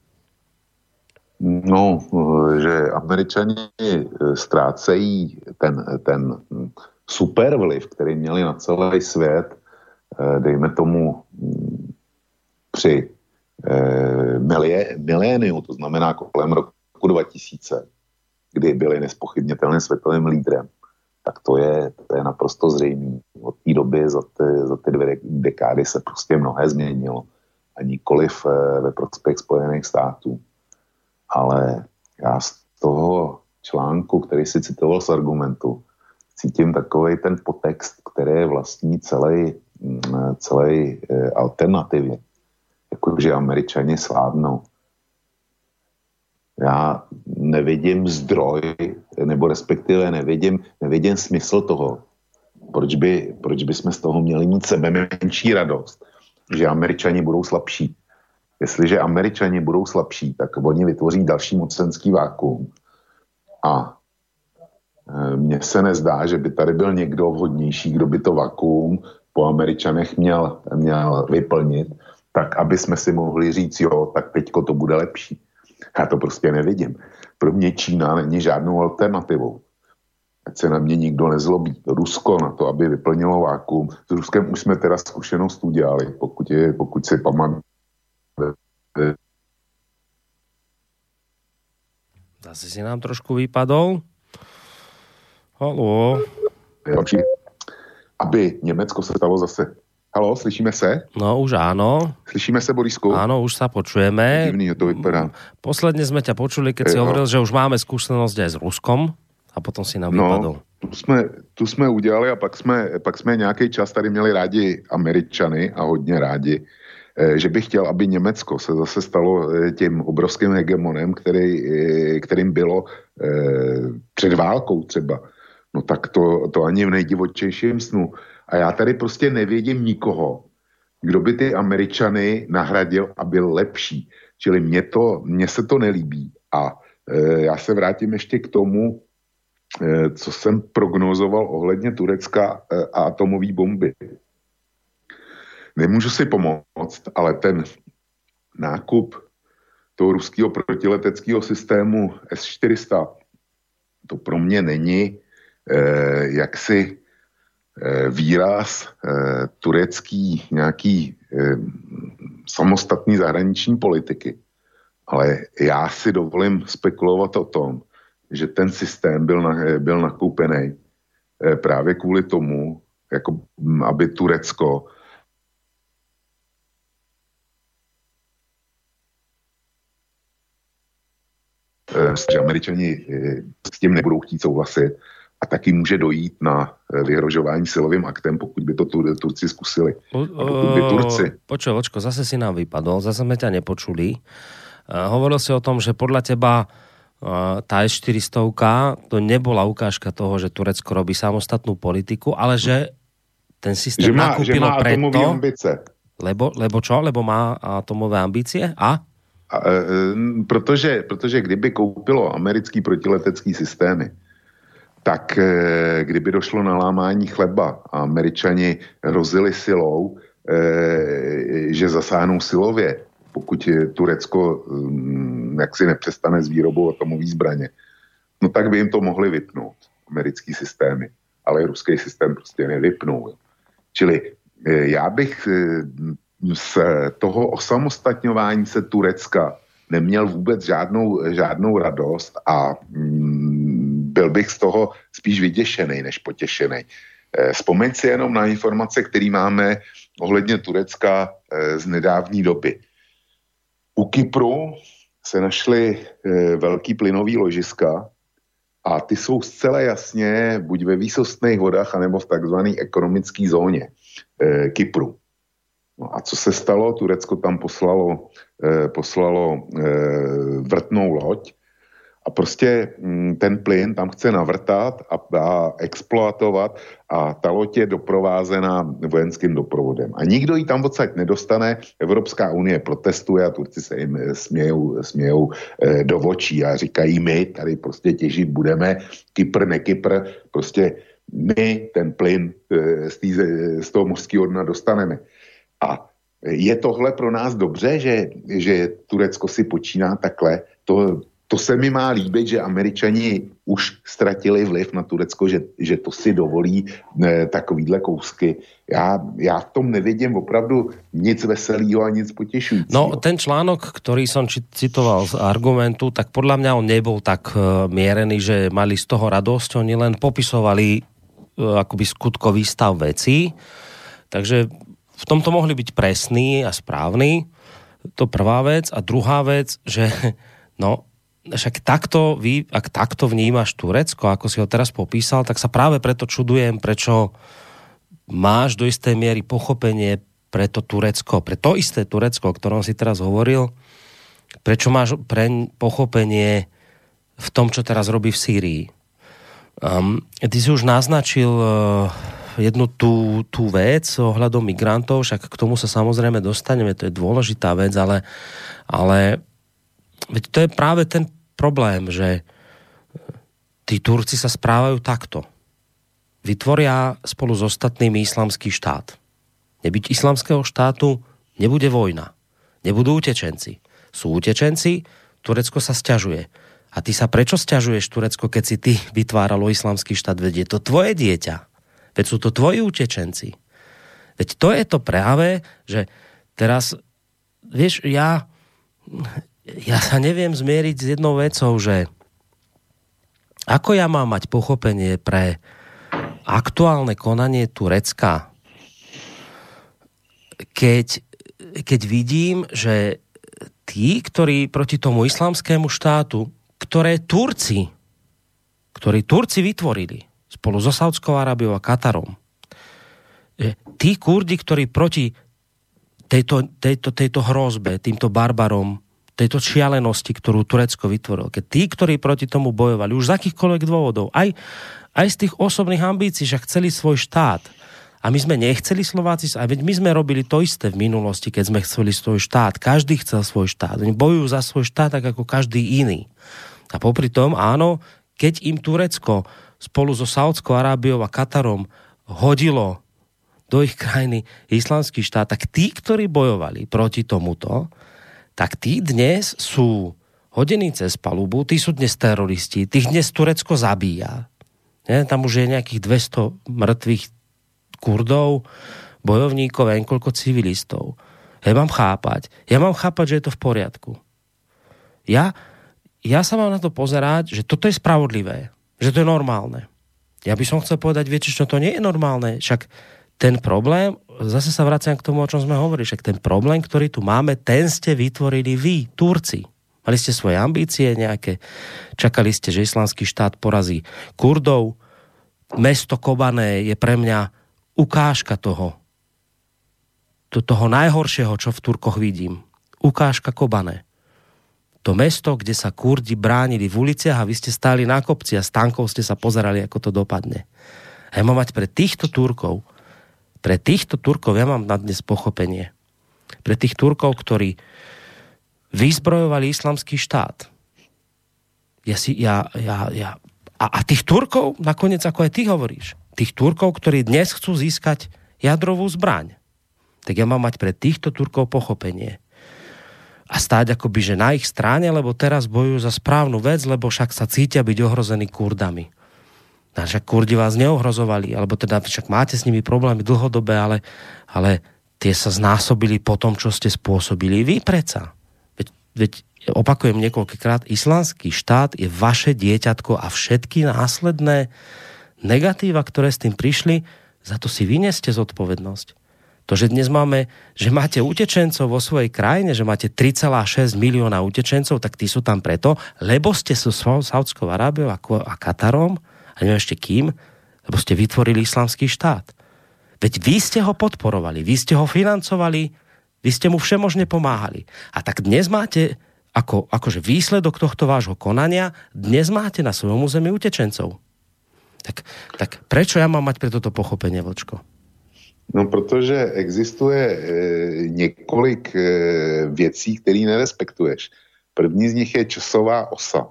No, že Američani ztrácejí ten, ten supervliv, který měli na celý svět, dejme tomu při milie, miléniu, to znamená kolem roku dva tisíce, kdy byli nespochybnitelným světovým lídrem, tak to je, to je naprosto zřejmé. Od té doby za ty, za ty dvě dekády se prostě mnohé změnilo. A nikoliv ve prospěch Spojených států. Ale já z toho článku, který si citoval z argumentu, cítím takovej ten podtext, který je vlastní celý celé alternativě. Jakože Američani sládnou. Já nevidím zdroj, nebo respektive nevidím, nevidím smysl toho, proč by, proč by jsme z toho měli mít sebe menší radost, že Američani budou slabší. Jestliže Američani budou slabší, tak oni vytvoří další mocenský vákuum. A mně se nezdá, že by tady byl někdo vhodnější, kdo by to vakuum po Američanech měl, měl vyplnit, tak aby jsme si mohli říct, jo, tak teďko to bude lepší. Já to prostě nevidím. Pro mě Čína není žádnou alternativou. Ať se na mě nikdo nezlobí. Rusko na to, aby vyplnilo vákuum. S Ruskem už jsme teda zkušenost udělali, pokud, je, pokud si pamatujeme. Zase si nám trošku vypadol. Haló. Aby Německo se stalo zase. Haló, slyšíme se? No už áno. Slyšíme se, Borisku? Áno, už sa počujeme. Divný, to vypadá. Posledne sme ťa počuli, keď si e, hovoril, že už máme skúsenosť aj s Ruskom a potom si nám no, vypadol. Tu jsme, tu jsme udělali a pak jsme, pak jsme nějaký čas tady měli rádi Američany a hodně rádi, že bych chtěl, aby Německo se zase stalo tím obrovským hegemonem, který, kterým bylo před válkou třeba. No tak to, to ani v nejdivočejším snu. A já tady prostě nevědím nikoho, kdo by ty Američany nahradil a byl lepší. Čili mně, to, mně se to nelíbí. A e, já se vrátím ještě k tomu, e, co jsem prognozoval ohledně Turecka e, a atomové bomby. Nemůžu si pomoct, ale ten nákup toho ruského protileteckého systému S čtyři sta, to pro mě není eh, jaksi eh, výraz eh, turecký nějaký eh, samostatný zahraniční politiky. Ale já si dovolím spekulovat o tom, že ten systém byl, na, byl nakoupený eh, právě kvůli tomu, jako, aby Turecko že Američani s tím nebudou chtít souhlasit a taky může dojít na vyhrožování silovým aktem, pokud by to Turci zkusili. A pokud by Turci... Počuj, Vočko, zase si nám vypadol, zase sme ťa nepočuli. Hovoril si o tom, že podľa teba tá S štyri sta to nebola ukážka toho, že Turecko robí samostatnú politiku, ale že ten systém že má, nakúpilo že má preto... ambice. Lebo, lebo čo? Lebo má atomové ambície? A? A, e, protože, protože kdyby koupilo americký protiletecký systémy, tak e, kdyby došlo na lámání chleba a Američani hrozili silou, e, že zasáhnou silově, pokud Turecko m, jaksi nepřestane s výrobou atomové zbraně, no tak by jim to mohli vypnout, americký systémy, ale ruský systém prostě nevypnou. Čili e, já bych... E, z toho osamostatňování se Turecka neměl vůbec žádnou, žádnou radost a mm, byl bych z toho spíš vyděšený než potěšený. E, vzpomeň si jenom na informace, které máme ohledně Turecka e, z nedávní doby. U Kypru se našly e, velký plynový ložiska a ty jsou zcela jasně buď ve výsostných vodách, anebo v takzvané ekonomické zóně e, Kypru. No a co se stalo? Turecko tam poslalo, eh, poslalo eh, vrtnou loď a prostě hm, ten plyn tam chce navrtat a, a exploatovat a ta loď je doprovázená vojenským doprovodem. A nikdo ji tam odsaď nedostane, Evropská unie protestuje a Turci se jim smějou, smějou eh, do očí a říkají, my tady prostě těžit budeme, Kypr, ne Kypr, prostě my ten plyn eh, z, tý, z toho mořského dna dostaneme. A je tohle pro nás dobře, že, že Turecko si počíná takhle? To, to se mi má líbit, že Američani už ztratili vliv na Turecko, že, že to si dovolí ne, takovýhle kousky. Já, já v tom nevidím opravdu nic veselého a nic potěšujícího. No, ten článok, ktorý som citoval z Argumentu, tak podľa mňa on nebol tak uh, mierený, že mali z toho radosť. Oni len popisovali uh, akoby skutkový stav vecí. Takže v tomto mohli byť presní a správni. To prvá vec. A druhá vec, že no, však takto, vy, ak takto vnímaš Turecko, ako si ho teraz popísal, tak sa práve preto čudujem, prečo máš do istej miery pochopenie pre to Turecko, pre to isté Turecko, o ktorom si teraz hovoril, prečo máš pre pochopenie v tom, čo teraz robí v Sýrii. Um, ty si už naznačil uh, jednu tú, tú vec ohľadom migrantov, však k tomu sa samozrejme dostaneme, to je dôležitá vec, ale, ale veď to je práve ten problém, že tí Turci sa správajú takto. Vytvoria spolu s ostatnými islamský štát. Nebyť islamského štátu, nebude vojna. Nebudú utečenci. Sú utečenci, Turecko sa sťažuje. A ty sa prečo sťažuješ, Turecko, keď si ty vytváralo islamský štát? Veď je to tvoje dieťa. Veď sú to tvoji utečenci. Veď to je to práve, že teraz, vieš, ja, ja sa neviem zmieriť s jednou vecou, že ako ja mám mať pochopenie pre aktuálne konanie Turecka, keď, keď vidím, že tí, ktorí proti tomu islamskému štátu, ktoré Turci, ktorí Turci vytvorili, spolu so Saudskou Arábiou a Katarom. Tí Kurdi, ktorí proti tejto, tejto, tejto hrozbe, týmto barbarom, tejto šialenosti, ktorú Turecko vytvorilo, keď tí, ktorí proti tomu bojovali, už z akýchkoľvek dôvodov, aj, aj z tých osobných ambícií, že chceli svoj štát, A my sme nechceli Slováci, a veď my sme robili to isté v minulosti, keď sme chceli svoj štát. Každý chcel svoj štát. Oni bojujú za svoj štát tak ako každý iný. A popri tom, áno, keď im Turecko spolu so Saudskou Arábiou a Katarom hodilo do ich krajiny islamský štát, tak tí, ktorí bojovali proti tomuto, tak tí dnes sú hodení cez palubu, tí sú dnes teroristi, tých dnes Turecko zabíja. Nie? Tam už je nejakých dvesto mŕtvych Kurdov, bojovníkov a niekoľko civilistov. Ja mám chápať. Ja mám chápať, že je to v poriadku. Ja, ja sa mám na to pozerať, že toto je spravodlivé. Že to je normálne. Ja by som chcel povedať, viete, čo to nie je normálne. Však ten problém, zase sa vraciam k tomu, o čom sme hovorili, však ten problém, ktorý tu máme, ten ste vytvorili vy, Turci. Mali ste svoje ambície nejaké, čakali ste, že islamský štát porazí Kurdov. Mesto Kobane je pre mňa ukážka toho. To, toho najhoršieho, čo v Turkoch vidím. Ukážka Kobane. To mesto, kde sa Kurdi bránili v uliciach a vy ste stáli na kopci a z tankov ste sa pozerali, ako to dopadne. A ja mám mať pre týchto Turkov, pre týchto Turkov ja mám na dnes pochopenie. Pre tých Turkov, ktorí vyzbrojovali islamský štát. Ja si, ja, ja, ja. A, a tých Turkov, nakoniec, ako aj ty hovoríš, tých Turkov, ktorí dnes chcú získať jadrovú zbraň. Tak ja mám mať pre týchto Turkov pochopenie. A stáť akoby, že na ich strane, lebo teraz bojujú za správnu vec, lebo však sa cítia byť ohrození Kurdami. A však Kurdi vás neohrozovali, alebo teda však máte s nimi problémy dlhodobé, ale, ale tie sa znásobili po tom, čo ste spôsobili vy predsa. Veď, veď opakujem niekoľkokrát, islamský štát je vaše dieťatko a všetky následné negatíva, ktoré s tým prišli, za to si vyneste zodpovednosť. To, že dnes máme, že máte utečencov vo svojej krajine, že máte tri celé šesť milióna utečencov, tak tí sú tam preto, lebo ste so Saudskou Arábiou a Katarom, a neviem ešte kým, lebo ste vytvorili islamský štát. Veď vy ste ho podporovali, vy ste ho financovali, vy ste mu všemožne pomáhali. A tak dnes máte, ako, akože výsledok tohto vášho konania, dnes máte na svojom území utečencov. Tak, tak prečo ja mám mať pre toto pochopenie, Vlčko? No, protože existuje e, několik e, věcí, které nerespektuješ. První z nich je časová osa.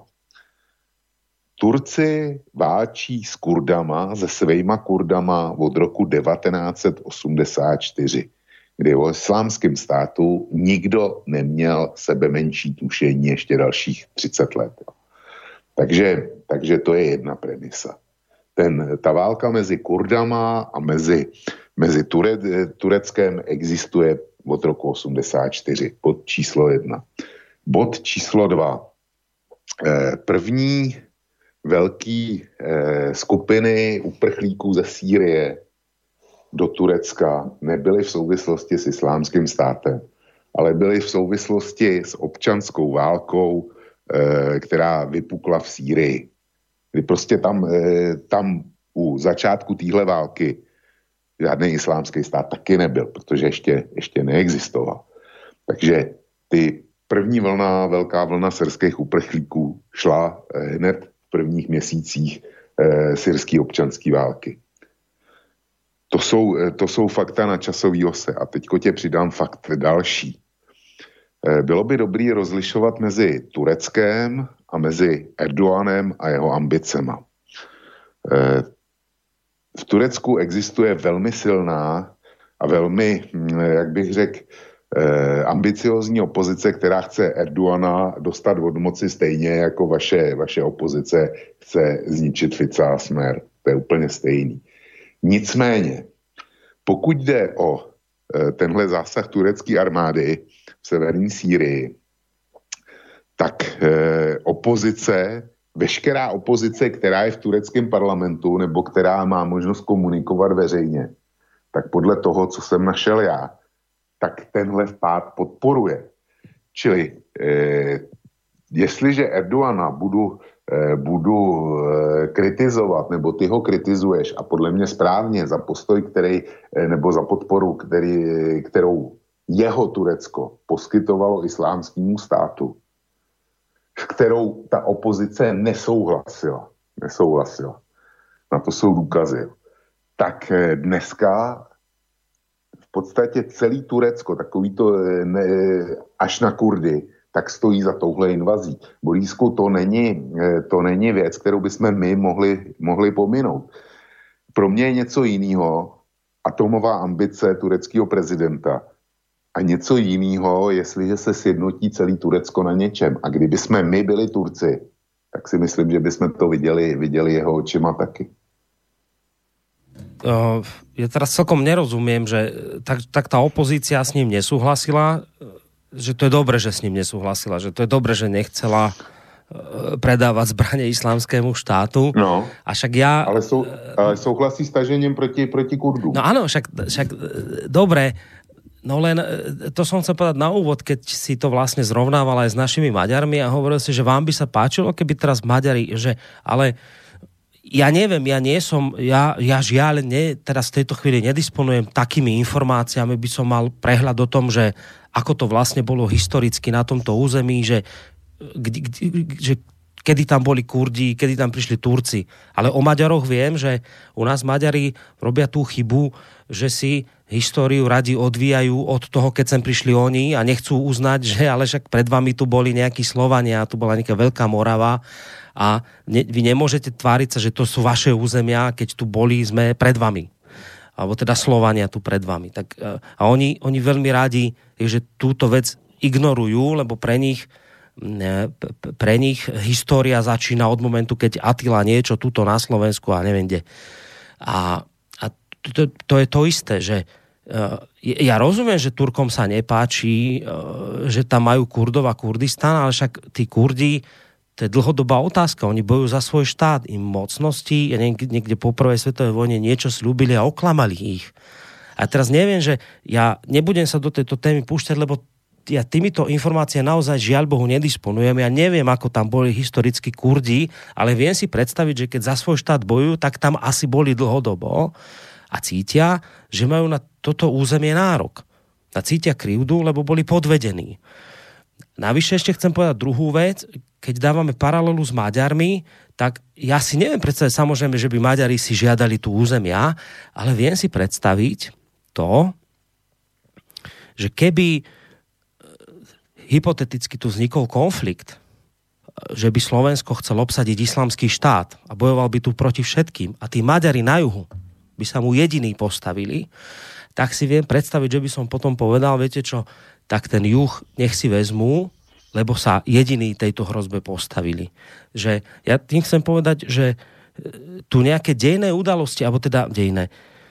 Turci válčí s Kurdama, se svejma Kurdama od roku devatenáct set osmdesát čtyři, kdy o islámském státu nikdo neměl sebe menší tušení ještě dalších třicet let. Takže, takže to je jedna premisa. Ten, ta válka mezi Kurdama a mezi, mezi Ture, Tureckem existuje od roku osmdesát čtyři. Bod číslo jedna. Bod číslo dva. První velký eh, skupiny uprchlíků ze Sýrie do Turecka nebyly v souvislosti s islámským státem, ale byly v souvislosti s občanskou válkou, eh, která vypukla v Sýrii. Kdy prostě tam, eh, tam u začátku téhle války žádný islámský stát taky nebyl, protože ještě, ještě neexistoval. Takže ty první vlna, velká vlna syrských uprchlíků šla eh, hned prvních měsících e, syrské občanské války. To jsou, e, to jsou fakta na časový ose. A teďko tě přidám fakt další. E, bylo by dobré rozlišovat mezi Tureckem a mezi Erdoganem a jeho ambicema. E, v Turecku existuje velmi silná a velmi, jak bych řekl, Eh, ambiciozní opozice, která chce Erdogana dostat od moci stejně jako vaše, vaše opozice chce zničit Fica a Smer. To je úplně stejný. Nicméně, pokud jde o eh, tenhle zásah turecké armády v severní Sýrii, tak eh, opozice, veškerá opozice, která je v tureckém parlamentu nebo která má možnost komunikovat veřejně, tak podle toho, co jsem našel já, tak tenhle vpád podporuje. Čili eh, jestliže Erdogana budu, eh, budu eh, kritizovat, nebo ty ho kritizuješ a podle mě správně za postoj, který, eh, nebo za podporu, který, kterou jeho Turecko poskytovalo islámskému státu, kterou ta opozice nesouhlasila. Nesouhlasila. Na to jsou důkazy. tak dneska v podstatě celý Turecko, takový to ne, až na Kurdy, tak stojí za touhle invazí. Borísku, to není, to není věc, kterou bychom my mohli, mohli pominout. Pro mě je něco jiného atomová ambice tureckého prezidenta a něco jiného, jestliže se sjednotí celý Turecko na něčem. A kdyby jsme my byli Turci, tak si myslím, že bychom to viděli, viděli jeho očima taky. Uh, ja teraz celkom nerozumiem, že tak, tak tá opozícia s ním nesúhlasila, že to je dobre, že s ním nesúhlasila, že to je dobre, že nechcela uh, predávať zbrane islamskému štátu. No, a však ja... Ale, sú, ale súhlasí s tažením proti, proti Kurdom. No áno, však, však dobre, no len to som chcel povedať na úvod, keď si to vlastne zrovnával aj s našimi Maďarmi a hovoril si, že vám by sa páčilo, keby teraz Maďari, že ale ja neviem, ja nie som, ja, ja žiaľ ne, teraz v tejto chvíli nedisponujem takými informáciami, by som mal prehľad o tom, že ako to vlastne bolo historicky na tomto území, že, že kedy tam boli Kurdi, kedy tam prišli Turci. Ale o Maďaroch viem, že u nás Maďari robia tú chybu, že si históriu radi odvíjajú od toho, keď sem prišli oni a nechcú uznať, že ale však pred vami tu boli nejakí Slovania, tu bola nejaká Veľká Morava a ne, vy nemôžete tváriť sa, že to sú vaše územia, keď tu boli sme pred vami. Alebo teda Slovania tu pred vami. Tak, a oni, oni veľmi rádi, že túto vec ignorujú, lebo pre nich pre nich história začína od momentu, keď Attila niečo tuto na Slovensku a neviem kde. A, a to, to je to isté, že uh, ja rozumiem, že Turkom sa nepáči, uh, že tam majú Kurdov a Kurdistan, ale však tí Kurdi, to je dlhodobá otázka, oni bojujú za svoj štát, im mocnosti, ja niekde, niekde po prvej svetovej vojne niečo slúbili a oklamali ich. A teraz neviem, že ja nebudem sa do tejto témy púšťať, lebo ja týmito informáciami naozaj žiaľ Bohu nedisponujem. Ja neviem, ako tam boli historicky Kurdi, ale viem si predstaviť, že keď za svoj štát bojujú, tak tam asi boli dlhodobo a cítia, že majú na toto územie nárok. A cítia krivdu, lebo boli podvedení. Navyše ešte chcem povedať druhú vec. Keď dávame paralelu s Maďarmi, tak ja si neviem predstaviť, samozrejme, že by Maďari si žiadali tú územia, ale viem si predstaviť to, že keby hypoteticky tu vznikol konflikt, že by Slovensko chcel obsadiť islamský štát a bojoval by tu proti všetkým a tí Maďari na juhu by sa mu jediní postavili, tak si viem predstaviť, že by som potom povedal, viete čo, tak ten juh nech si vezmú, lebo sa jediní tejto hrozbe postavili. Že ja tým chcem povedať, že tu nejaké dejné udalosti, alebo teda dejné,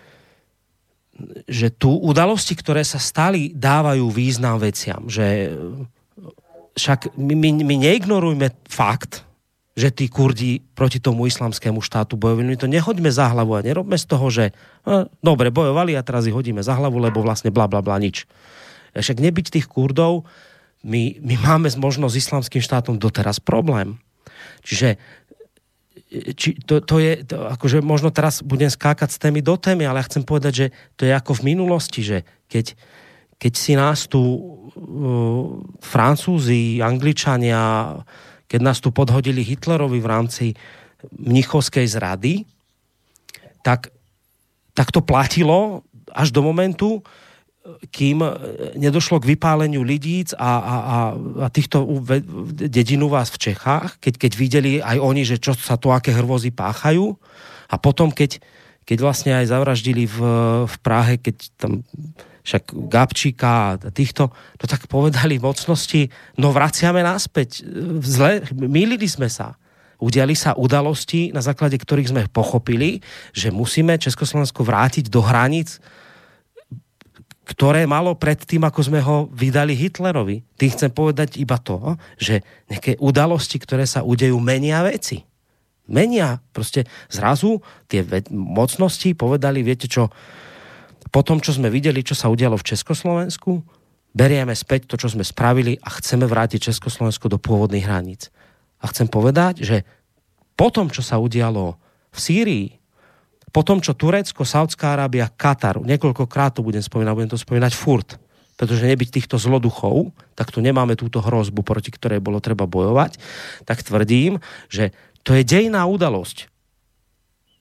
že tu udalosti, ktoré sa stali, dávajú význam veciam. Že však my, my, my neignorujme fakt, že tí Kurdi proti tomu islamskému štátu bojovali. My to nehoďme za hlavu a nerobme z toho, že no, dobre, bojovali a teraz ich hodíme za hlavu, lebo vlastne bla bla bla nič. Však nebyť tých Kurdov, my, my máme možno s islamským štátom doteraz problém. Čiže Či to, to je, to, akože možno teraz budem skákať z témy do témy, ale ja chcem povedať, že to je ako v minulosti, že keď, keď si nás tu uh, Francúzi, Angličania, keď nás tu podhodili Hitlerovi v rámci mnichovskej zrady, tak, tak to platilo až do momentu, kým nedošlo k vypáleniu Lidíc a, a, a, a týchto dedín u vás v Čechách, keď, keď videli aj oni, že čo sa to, aké hrôzy páchajú. A potom, keď, keď vlastne aj zavraždili v, v Prahe, keď tam však Gabčíka a týchto, to tak povedali mocnosti, no vraciame naspäť. Zle, mýlili sme sa. Udiali sa udalosti, na základe ktorých sme pochopili, že musíme Československo vrátiť do hraníc, ktoré malo pred tým, ako sme ho vydali Hitlerovi. Tým chcem povedať iba to, že nejaké udalosti, ktoré sa udejú, menia veci. Menia. Proste zrazu tie mocnosti povedali, viete čo, po tom, čo sme videli, čo sa udialo v Československu, berieme späť to, čo sme spravili a chceme vrátiť Československo do pôvodných hraníc. A chcem povedať, že po tom, čo sa udialo v Sýrii, po tom, čo Turecko, Saudská Arábia, Katar, niekoľkokrát to budem spomínať, budem to spomínať furt, pretože nebyť týchto zloduchov, tak tu nemáme túto hrozbu, proti ktorej bolo treba bojovať, tak tvrdím, že to je dejná udalosť.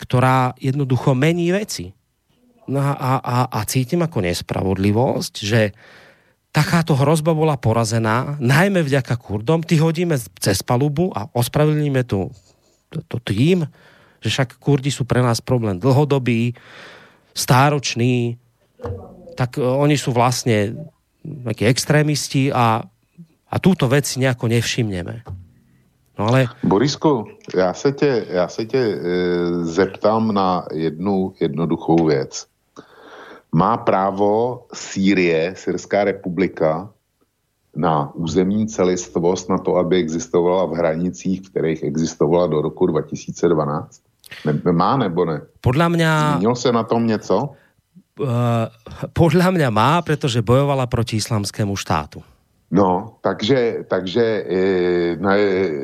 ktorá jednoducho mení veci. No a, a, a cítim ako nespravodlivosť, že takáto hrozba bola porazená, najmä vďaka Kurdom, ty hodíme cez palubu a ospravedlníme tu to, to tým, že však Kurdi sú pre nás problém dlhodobý, stáročný, tak oni sú vlastne takí extrémisti a, a túto vec si nejako nevšimneme. No ale... Borisku, já se tě, já se tě e, zeptám na jednu jednoduchou věc. Má právo Sýrie, Syrská republika, na územní celistvost, na to, aby existovala v hranicích, v kterých existovala do roku dva tisíce dvanáct? Ne, má nebo ne? Podľa mňa... Zmínil se na tom něco? Uh, podľa mňa má, pretože bojovala proti islamskému štátu. No, takže, takže, e, ne,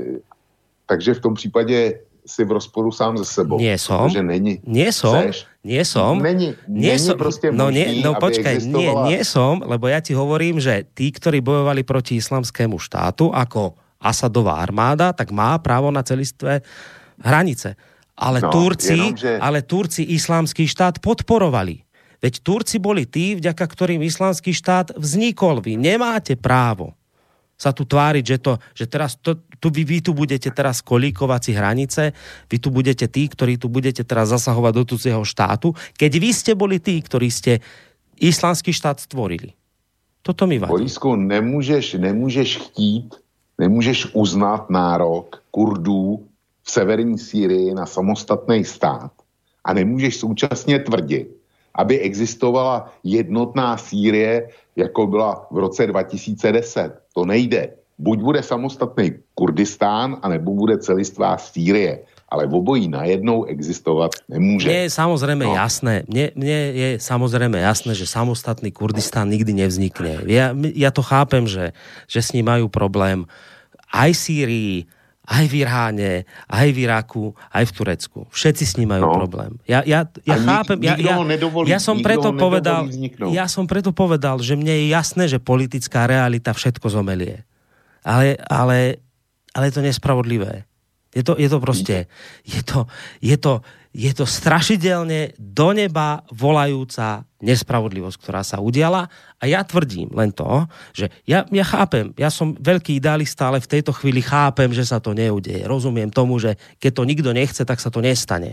takže v tom případě si v rozporu sám ze sebou. Nie som. Není. Nie som. Chceš? Nie som. Není, nie není som. proste no, možný, nie, no počkaj, existovala... nie, nie som, lebo ja ti hovorím, že tí, ktorí bojovali proti islamskému štátu, ako Asadová armáda, tak má právo na celistvé hranice. Ale, no, Turci, jenom, že... ale Turci islamský štát podporovali. Veď Turci boli tí, vďaka ktorým islamský štát vznikol. Vy nemáte právo sa tu tváriť, že, to, že teraz to, tu, vy, vy tu budete teraz kolíkovať si hranice, vy tu budete tí, ktorí tu budete teraz zasahovať do cudzieho štátu, keď vy ste boli tí, ktorí ste islamský štát stvorili. Toto mi vadí. Borisku, nemůžeš, nemůžeš chtít, nemůžeš uznat nárok Kurdů v severní Sýrii na samostatný stát a nemůžeš současně tvrdit, aby existovala jednotná Sýrie, jako byla v roce dva tisíce deset. To nejde. Buď bude samostatný Kurdistán, anebo bude celistvá Sýrie. Ale v obojí najednou existovat nemůže. Mne je samozrejme no. jasné, mne, mne je samozrejme jasné, že samostatný Kurdistán nikdy nevznikne. Ja, ja to chápem, že, že s ním majú problém aj v Sýrii, aj v Iráne, aj v Iraku, aj v Turecku. Všetci s ním majú no. problém. Ja, ja, ja chápem, ja, ja, nedovolí, ja som preto povedal, ja som preto povedal, že mne je jasné, že politická realita všetko zomelie. Ale, ale, ale je to nespravodlivé. Je to, je to proste, je to, je to, je to strašidelne do neba volajúca nespravodlivosť, ktorá sa udiala. A ja tvrdím len to, že ja, ja chápem, ja som veľký idealista, ale v tejto chvíli chápem, že sa to neudeje. Rozumiem tomu, že keď to nikto nechce, tak sa to nestane.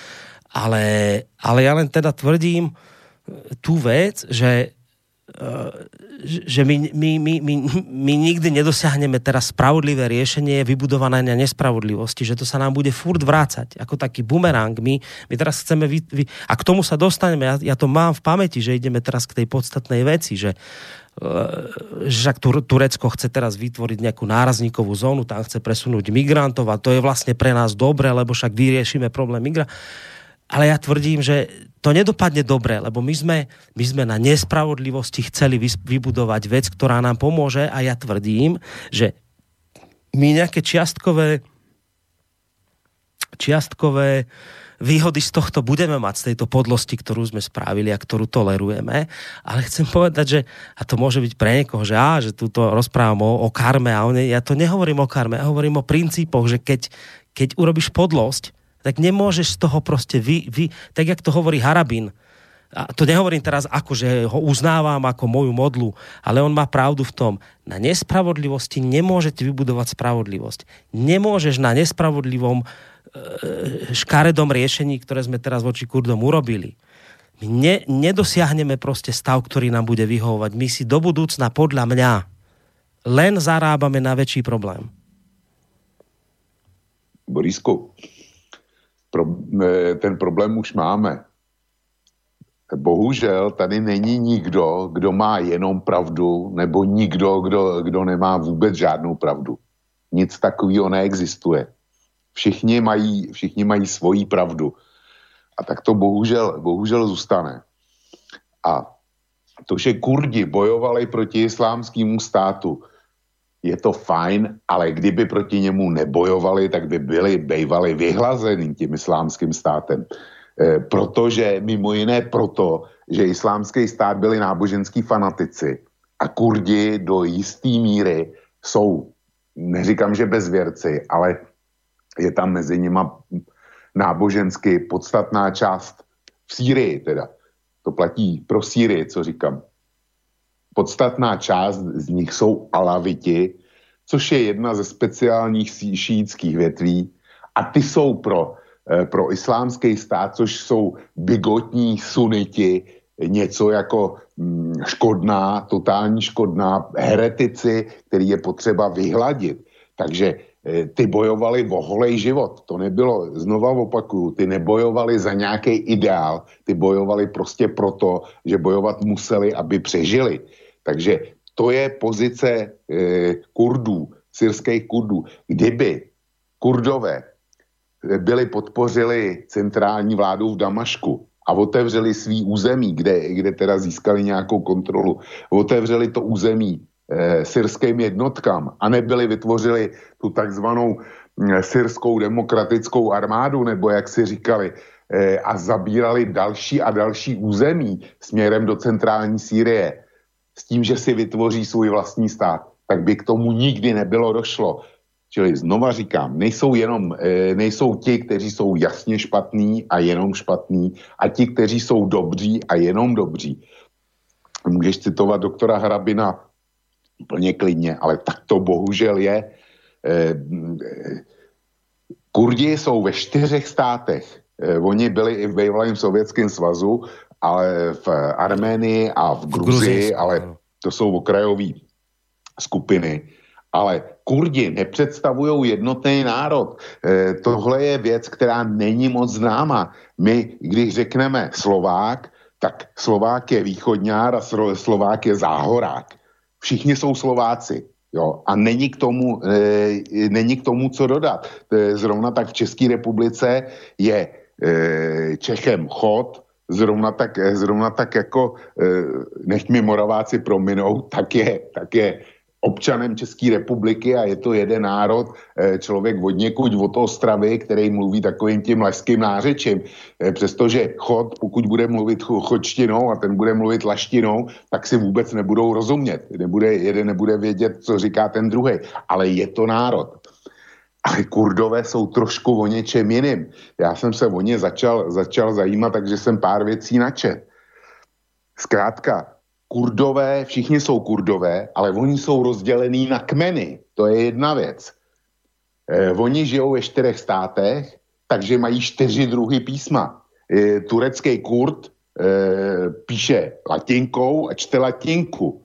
Ale, ale ja len teda tvrdím tú vec, že že my, my, my, my, my nikdy nedosiahneme teraz spravodlivé riešenie vybudované na nespravodlivosti, že to sa nám bude furt vrácať, ako taký bumerang. My, my teraz chceme, vy, vy, a k tomu sa dostaneme, ja, ja to mám v pamäti, že ideme teraz k tej podstatnej veci, že že Turecko chce teraz vytvoriť nejakú nárazníkovú zónu, tam chce presunúť migrantov a to je vlastne pre nás dobre, lebo však vyriešime problém migrantov. Ale ja tvrdím, že to nedopadne dobre, lebo my sme, my sme na nespravodlivosti chceli vybudovať vec, ktorá nám pomôže a ja tvrdím, že my nejaké čiastkové čiastkové výhody z tohto budeme mať, z tejto podlosti, ktorú sme spravili a ktorú tolerujeme. Ale chcem povedať, že, a to môže byť pre niekoho, že á, že túto rozprávam o, o karme a o ne, ja to nehovorím o karme, ja hovorím o princípoch, že keď, keď urobíš podlosť, tak nemôžeš z toho proste vy, vy, tak jak to hovorí Harabin, a to nehovorím teraz ako, že ho uznávam ako moju modlu, ale on má pravdu v tom, na nespravodlivosti nemôžete vybudovať spravodlivosť. Nemôžeš na nespravodlivom e, škaredom riešení, ktoré sme teraz voči Kurdom urobili. My ne, nedosiahneme proste stav, ktorý nám bude vyhovovať. My si do budúcna, podľa mňa, len zarábame na väčší problém. Borisku, Pro, ten problém už máme. Bohužel tady není nikdo, kdo má jenom pravdu, nebo nikdo, kdo, kdo nemá vůbec žádnou pravdu. Nic takového neexistuje. Všichni mají, všichni mají svoji pravdu. A tak to bohužel, bohužel zůstane. A to, že Kurdi bojovali proti islámskému státu, je to fajn, ale kdyby proti němu nebojovali, tak by byli bejvali vyhlazený tím islámským státem. E, protože, mimo jiné proto, že islámský stát byli náboženský fanatici a Kurdi do jisté míry jsou, neříkám, že bezvěrci, ale je tam mezi nima nábožensky podstatná část v Sýrii teda. To platí pro Sýrii, co říkám. Podstatná část z nich jsou alaviti, což je jedna ze speciálních šíitských větví a ty jsou pro, pro islámský stát, což jsou bigotní suniti, něco jako škodná, totální škodná, heretici, který je potřeba vyhladit. Takže ty bojovali o holej život. To nebylo, znova opakuju, ty nebojovali za nějaký ideál, ty bojovali prostě proto, že bojovat museli, aby přežili. Takže to je pozice eh, Kurdů, syrských Kurdů. Kdyby Kurdové byli podpořili centrální vládu v Damašku a otevřeli svý území, kde, kde teda získali nějakou kontrolu, otevřeli to území eh, syrským jednotkám a nebyli vytvořili tu takzvanou eh, syrskou demokratickou armádu, nebo jak si říkali, eh, a zabírali další a další území směrem do centrální Sýrie, s tím, že si vytvoří svůj vlastní stát, tak by k tomu nikdy nebylo došlo. Čili znova říkám, nejsou jenom, nejsou ti, kteří jsou jasně špatní a jenom špatní, a ti, kteří jsou dobří a jenom dobří. Můžeš citovat doktora Hrabina úplně klidně, ale tak to bohužel je. Kurdi jsou ve čtyřech státech. Oni byli i v bývalém Sovětském svazu, ale v Arménii a v Gruzii, ale to jsou okrajové skupiny. Ale Kurdi nepředstavují jednotný národ. E, tohle je věc, která není moc známa. My, když řekneme Slovák, tak Slovák je východňár a Slovák je záhorák. Všichni jsou Slováci. Jo, a není k tomu, e, není k tomu co dodat. E, zrovna tak v České republice je e, Čechem chod, Zrovna tak, zrovna tak jako, nech mi Moraváci prominou, tak je, tak je občanem České republiky a je to jeden národ, člověk od někud od Ostravy, který mluví takovým tím leským nářečím. Přestože chod, pokud bude mluvit chodštinou a ten bude mluvit laštinou, tak si vůbec nebudou rozumět. Nebude, jeden nebude vědět, co říká ten druhý. Ale je to národ. Ale Kurdové jsou trošku o něčem jiným. Já jsem se o ně začal, začal zajímat, takže jsem pár věcí načet. Zkrátka, Kurdové, všichni jsou Kurdové, ale oni jsou rozdělení na kmeny. To je jedna věc. Eh, oni žijou ve čtyřech státech, takže mají čtyři druhy písma. Eh, turecký Kurd eh, píše latinkou a čte latinku.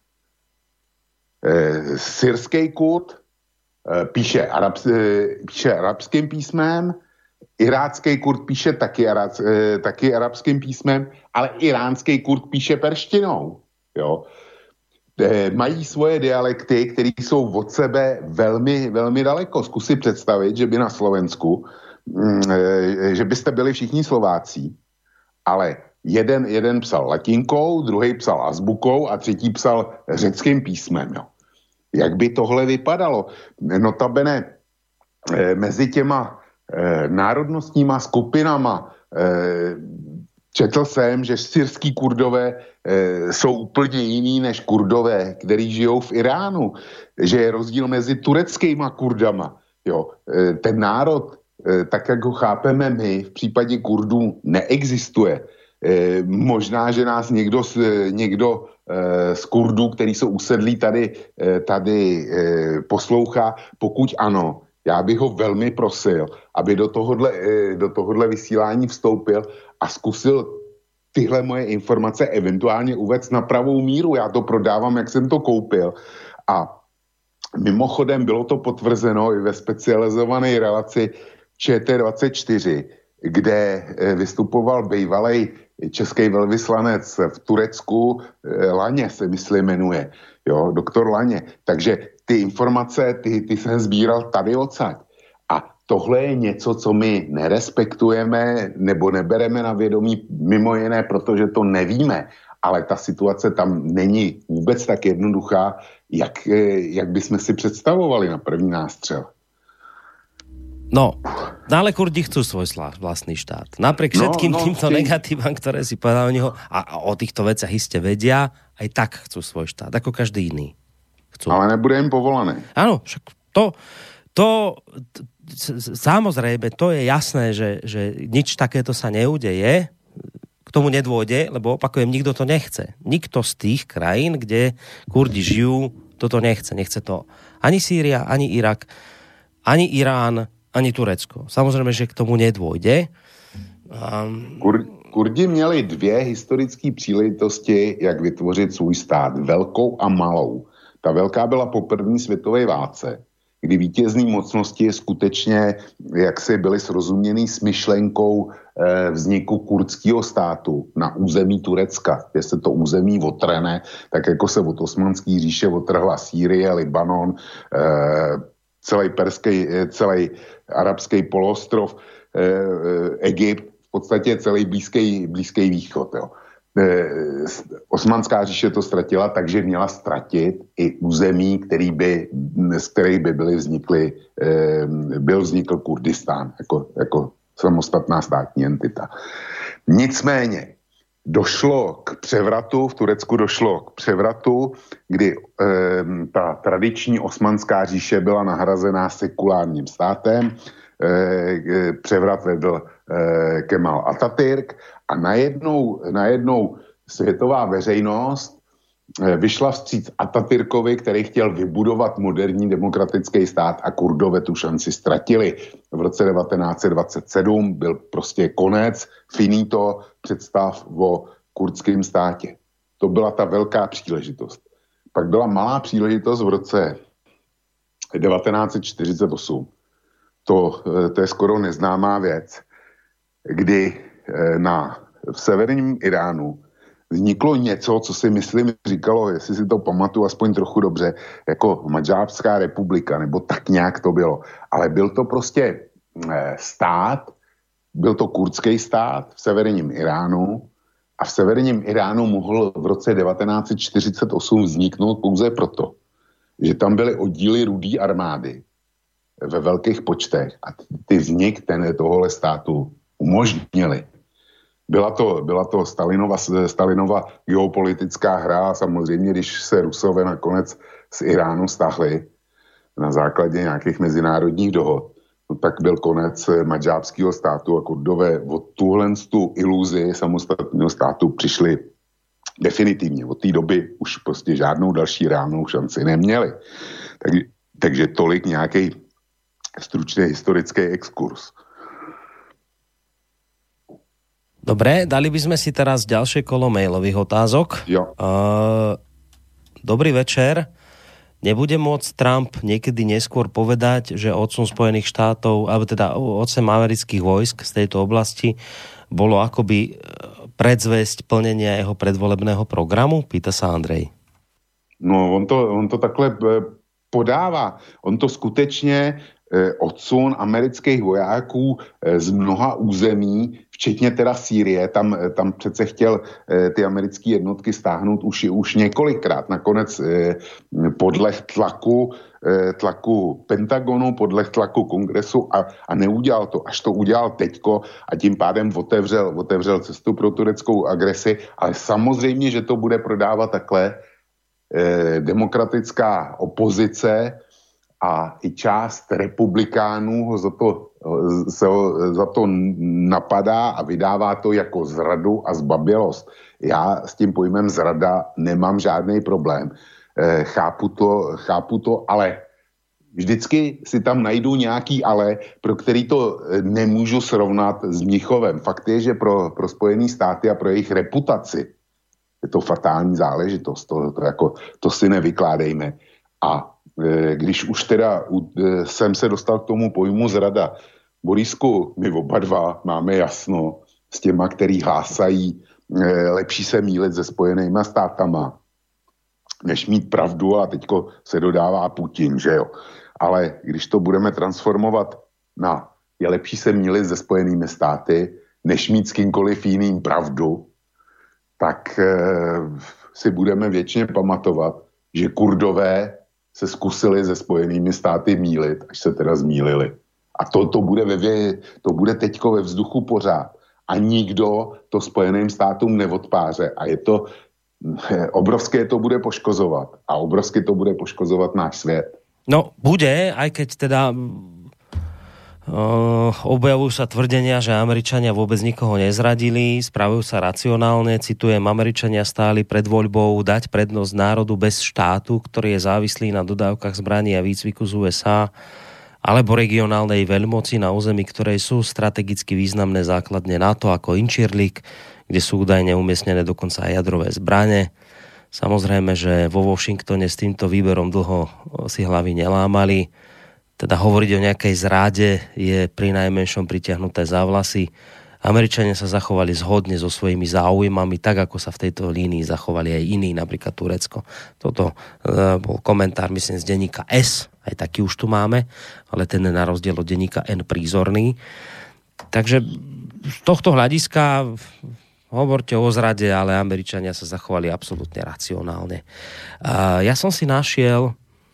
Eh, syrský Kurd Píše, arabs, píše arabským písmem, irácký Kurd píše taky, arab, taky arabským písmem, ale iránský Kurd píše perštinou. Jo. Mají svoje dialekty, které jsou od sebe velmi, velmi daleko. Zkus si představit, že by na Slovensku, že byste byli všichni Slováci, ale jeden, jeden psal latinkou, druhý psal azbukou a třetí psal řeckým písmem. Jo. Jak by tohle vypadalo? Notabene eh, mezi těma eh, národnostníma skupinama eh, četl jsem, že syrský Kurdové eh, jsou úplně jiný než Kurdové, který žijou v Iránu, že je rozdíl mezi tureckýma Kurdama. Jo, eh, ten národ, eh, tak jak ho chápeme my, v případě Kurdů neexistuje. Eh, možná, že nás někdo, někdo eh, z Kurdů, který jsou usedlí tady, eh, tady eh, poslouchá. Pokud ano, já bych ho velmi prosil, aby do tohohle, eh, do tohohle vysílání vstoupil a zkusil tyhle moje informace eventuálně uvést na pravou míru. Já to prodávám, jak jsem to koupil. A mimochodem bylo to potvrzeno i ve specializované relaci Č T dvacet čtyři, kde eh, vystupoval bývalej český velvyslanec v Turecku, Laně se myslím jmenuje, jo, doktor Laně. Takže ty informace, ty, ty jsem sbíral tady odsaď. A tohle je něco, co my nerespektujeme nebo nebereme na vědomí, mimo jiné, protože to nevíme. Ale ta situace tam není vůbec tak jednoduchá, jak, jak bychom si představovali na první nástřel. No, ale Kurdi chcú svoj vlastný štát. Napriek všetkým no, no, týmto ty... negatívam, ktoré si povedal o neho, a o týchto veciach iste vedia, aj tak chcú svoj štát, ako každý iný. Chcú. Ale nebude im povolané. Áno, však to, to, samozrejme, to je jasné, že, že nič takéto sa neudeje, k tomu nedôjde, lebo opakujem, nikto to nechce. Nikto z tých krajín, kde Kurdi žijú, toto nechce. Nechce to ani Sýria, ani Irak, ani Irán, ani Turecko. Samozrejme, že k tomu nedôjde. Um... Kur, Kurdi měli dvě historické příležitosti, jak vytvořit svůj stát. Velkou a malou. Ta velká byla po první světové válce, kdy vítězný mocnosti skutečně jaksi byly srozuměný s myšlenkou eh, vzniku kurdského státu na území Turecka. Jestli to území otrhne, tak jako se od Osmanské říše otrhla Sýrie, Libanon, eh, celý perský, celý arabský poloostrov, eh, Egypt, v podstatě celý blízký, blízký východ. Jo. Osmanská říše to ztratila, takže měla ztratit i území, který by, z kterých by byly vznikly, byl vznikl Kurdistán jako, jako samostatná státní entita. Nicméně došlo k převratu, v Turecku došlo k převratu, kdy eh, ta tradiční osmanská říše byla nahrazená sekulárním státem, eh, převrat vedl eh, Kemal Atatürk a najednou, najednou světová veřejnost eh, vyšla vstříc Atatürkovi, který chtěl vybudovat moderní demokratický stát a Kurdové tu šanci ztratili. V roce devatenáct set dvacet sedm byl prostě konec, finito představ o kurdském státě. To byla ta velká příležitost. Pak byla malá příležitost v roce devatenáct set čtyřicet osm. To, to je skoro neznámá věc, kdy na, v severním Iránu vzniklo něco, co si myslím říkalo, jestli si to pamatuju aspoň trochu dobře, jako Madžábská republika, nebo tak nějak to bylo. Ale byl to prostě stát, byl to kurdský stát v severním Iránu a v severním Iránu mohl v roce devatenáct set čtyřicet osm vzniknout pouze proto, že tam byly oddíly Rudé armády ve velkých počtech a ty vznik ten, tohohle státu umožnili. Byla to, byla to Stalinova, Stalinova geopolitická hra a samozřejmě, když se Rusové nakonec z Iránu stáhli na základě nějakých mezinárodních dohod, no tak byl konec madžábského státu a Kurdové od tuhle tu iluzi samostatného státu přišli definitivně. Od té doby už prostě žádnou další reálnou šanci neměli. Tak, takže tolik nějaký stručný historický exkurs. Dobre, dali by sme si teraz ďalšie kolo mailových otázok. Jo. Uh, dobrý večer. Nebude môcť Trump niekedy neskôr povedať, že odsun Spojených štátov, alebo teda odsun amerických vojsk z tejto oblasti bolo akoby predzvesť plnenia jeho predvolebného programu? Pýta sa Andrej. No, on to, on to takhle podává. On to skutečně odsun amerických vojáků z mnoha území, včetně teda Sýrie, tam, tam přece chtěl ty americké jednotky stáhnout už, už několikrát. Nakonec podleh tlaku, tlaku Pentagonu, podleh tlaku Kongresu a, a neudělal to. Až to udělal teďko a tím pádem otevřel, otevřel cestu pro tureckou agresi, ale samozřejmě, že to bude prodávat takhle demokratická opozice a i část republikánů ho za to, se ho za to napadá a vydává to jako zradu a zbabělost. Já s tím pojmem zrada nemám žádný problém. E, chápu to, chápu to, ale vždycky si tam najdu nějaký ale, pro který to nemůžu srovnat s Mnichovem. Fakt je, že pro, pro Spojené státy a pro jejich reputaci je to fatální záležitost. To, to, jako, to si nevykládejme. A když už teda jsem se dostal k tomu pojmu zrada. Borisku, my oba dva máme jasno s těma, který hlásají lepší se mýlit se Spojenýma státama, než mít pravdu a teďko se dodává Putin, že jo. Ale když to budeme transformovat na je lepší se mýlit se Spojenými státy, než mít s kýmkoliv jiným pravdu, tak e, si budeme věčně pamatovat, že Kurdové se zkusili se Spojenými státy mýlit, až se teda zmýlili. A to, to, bude, ve, to bude teďko ve vzduchu pořád. A nikdo to Spojeným státům neodpáře. A je to, obrovské to bude poškozovat. A obrovsky to bude poškozovat náš svět. No, bude, aj keď teda Uh, objavujú sa tvrdenia, že Američania vôbec nikoho nezradili, spravujú sa racionálne, citujem, Američania stáli pred voľbou dať prednosť národu bez štátu, ktorý je závislý na dodávkach zbraní a výcviku z ú es á, alebo regionálnej veľmoci na území, ktorej sú strategicky významné základne NATO ako Incirlik, kde sú údajne umiestnené dokonca aj jadrové zbrane. Samozrejme, že vo Washingtone s týmto výberom dlho si hlavy nelámali. Teda hovoriť o nejakej zráde je pri najmenšom pritiahnuté za vlasy. Američania sa zachovali zhodne so svojimi záujmami, tak ako sa v tejto línii zachovali aj iní, napríklad Turecko. Toto uh, bol komentár, myslím, z denníka S, aj taký už tu máme, ale ten je na rozdiel od denníka N prízorný. Takže z tohto hľadiska hovorte o zrade, ale Američania sa zachovali absolútne racionálne. Uh, ja som si našiel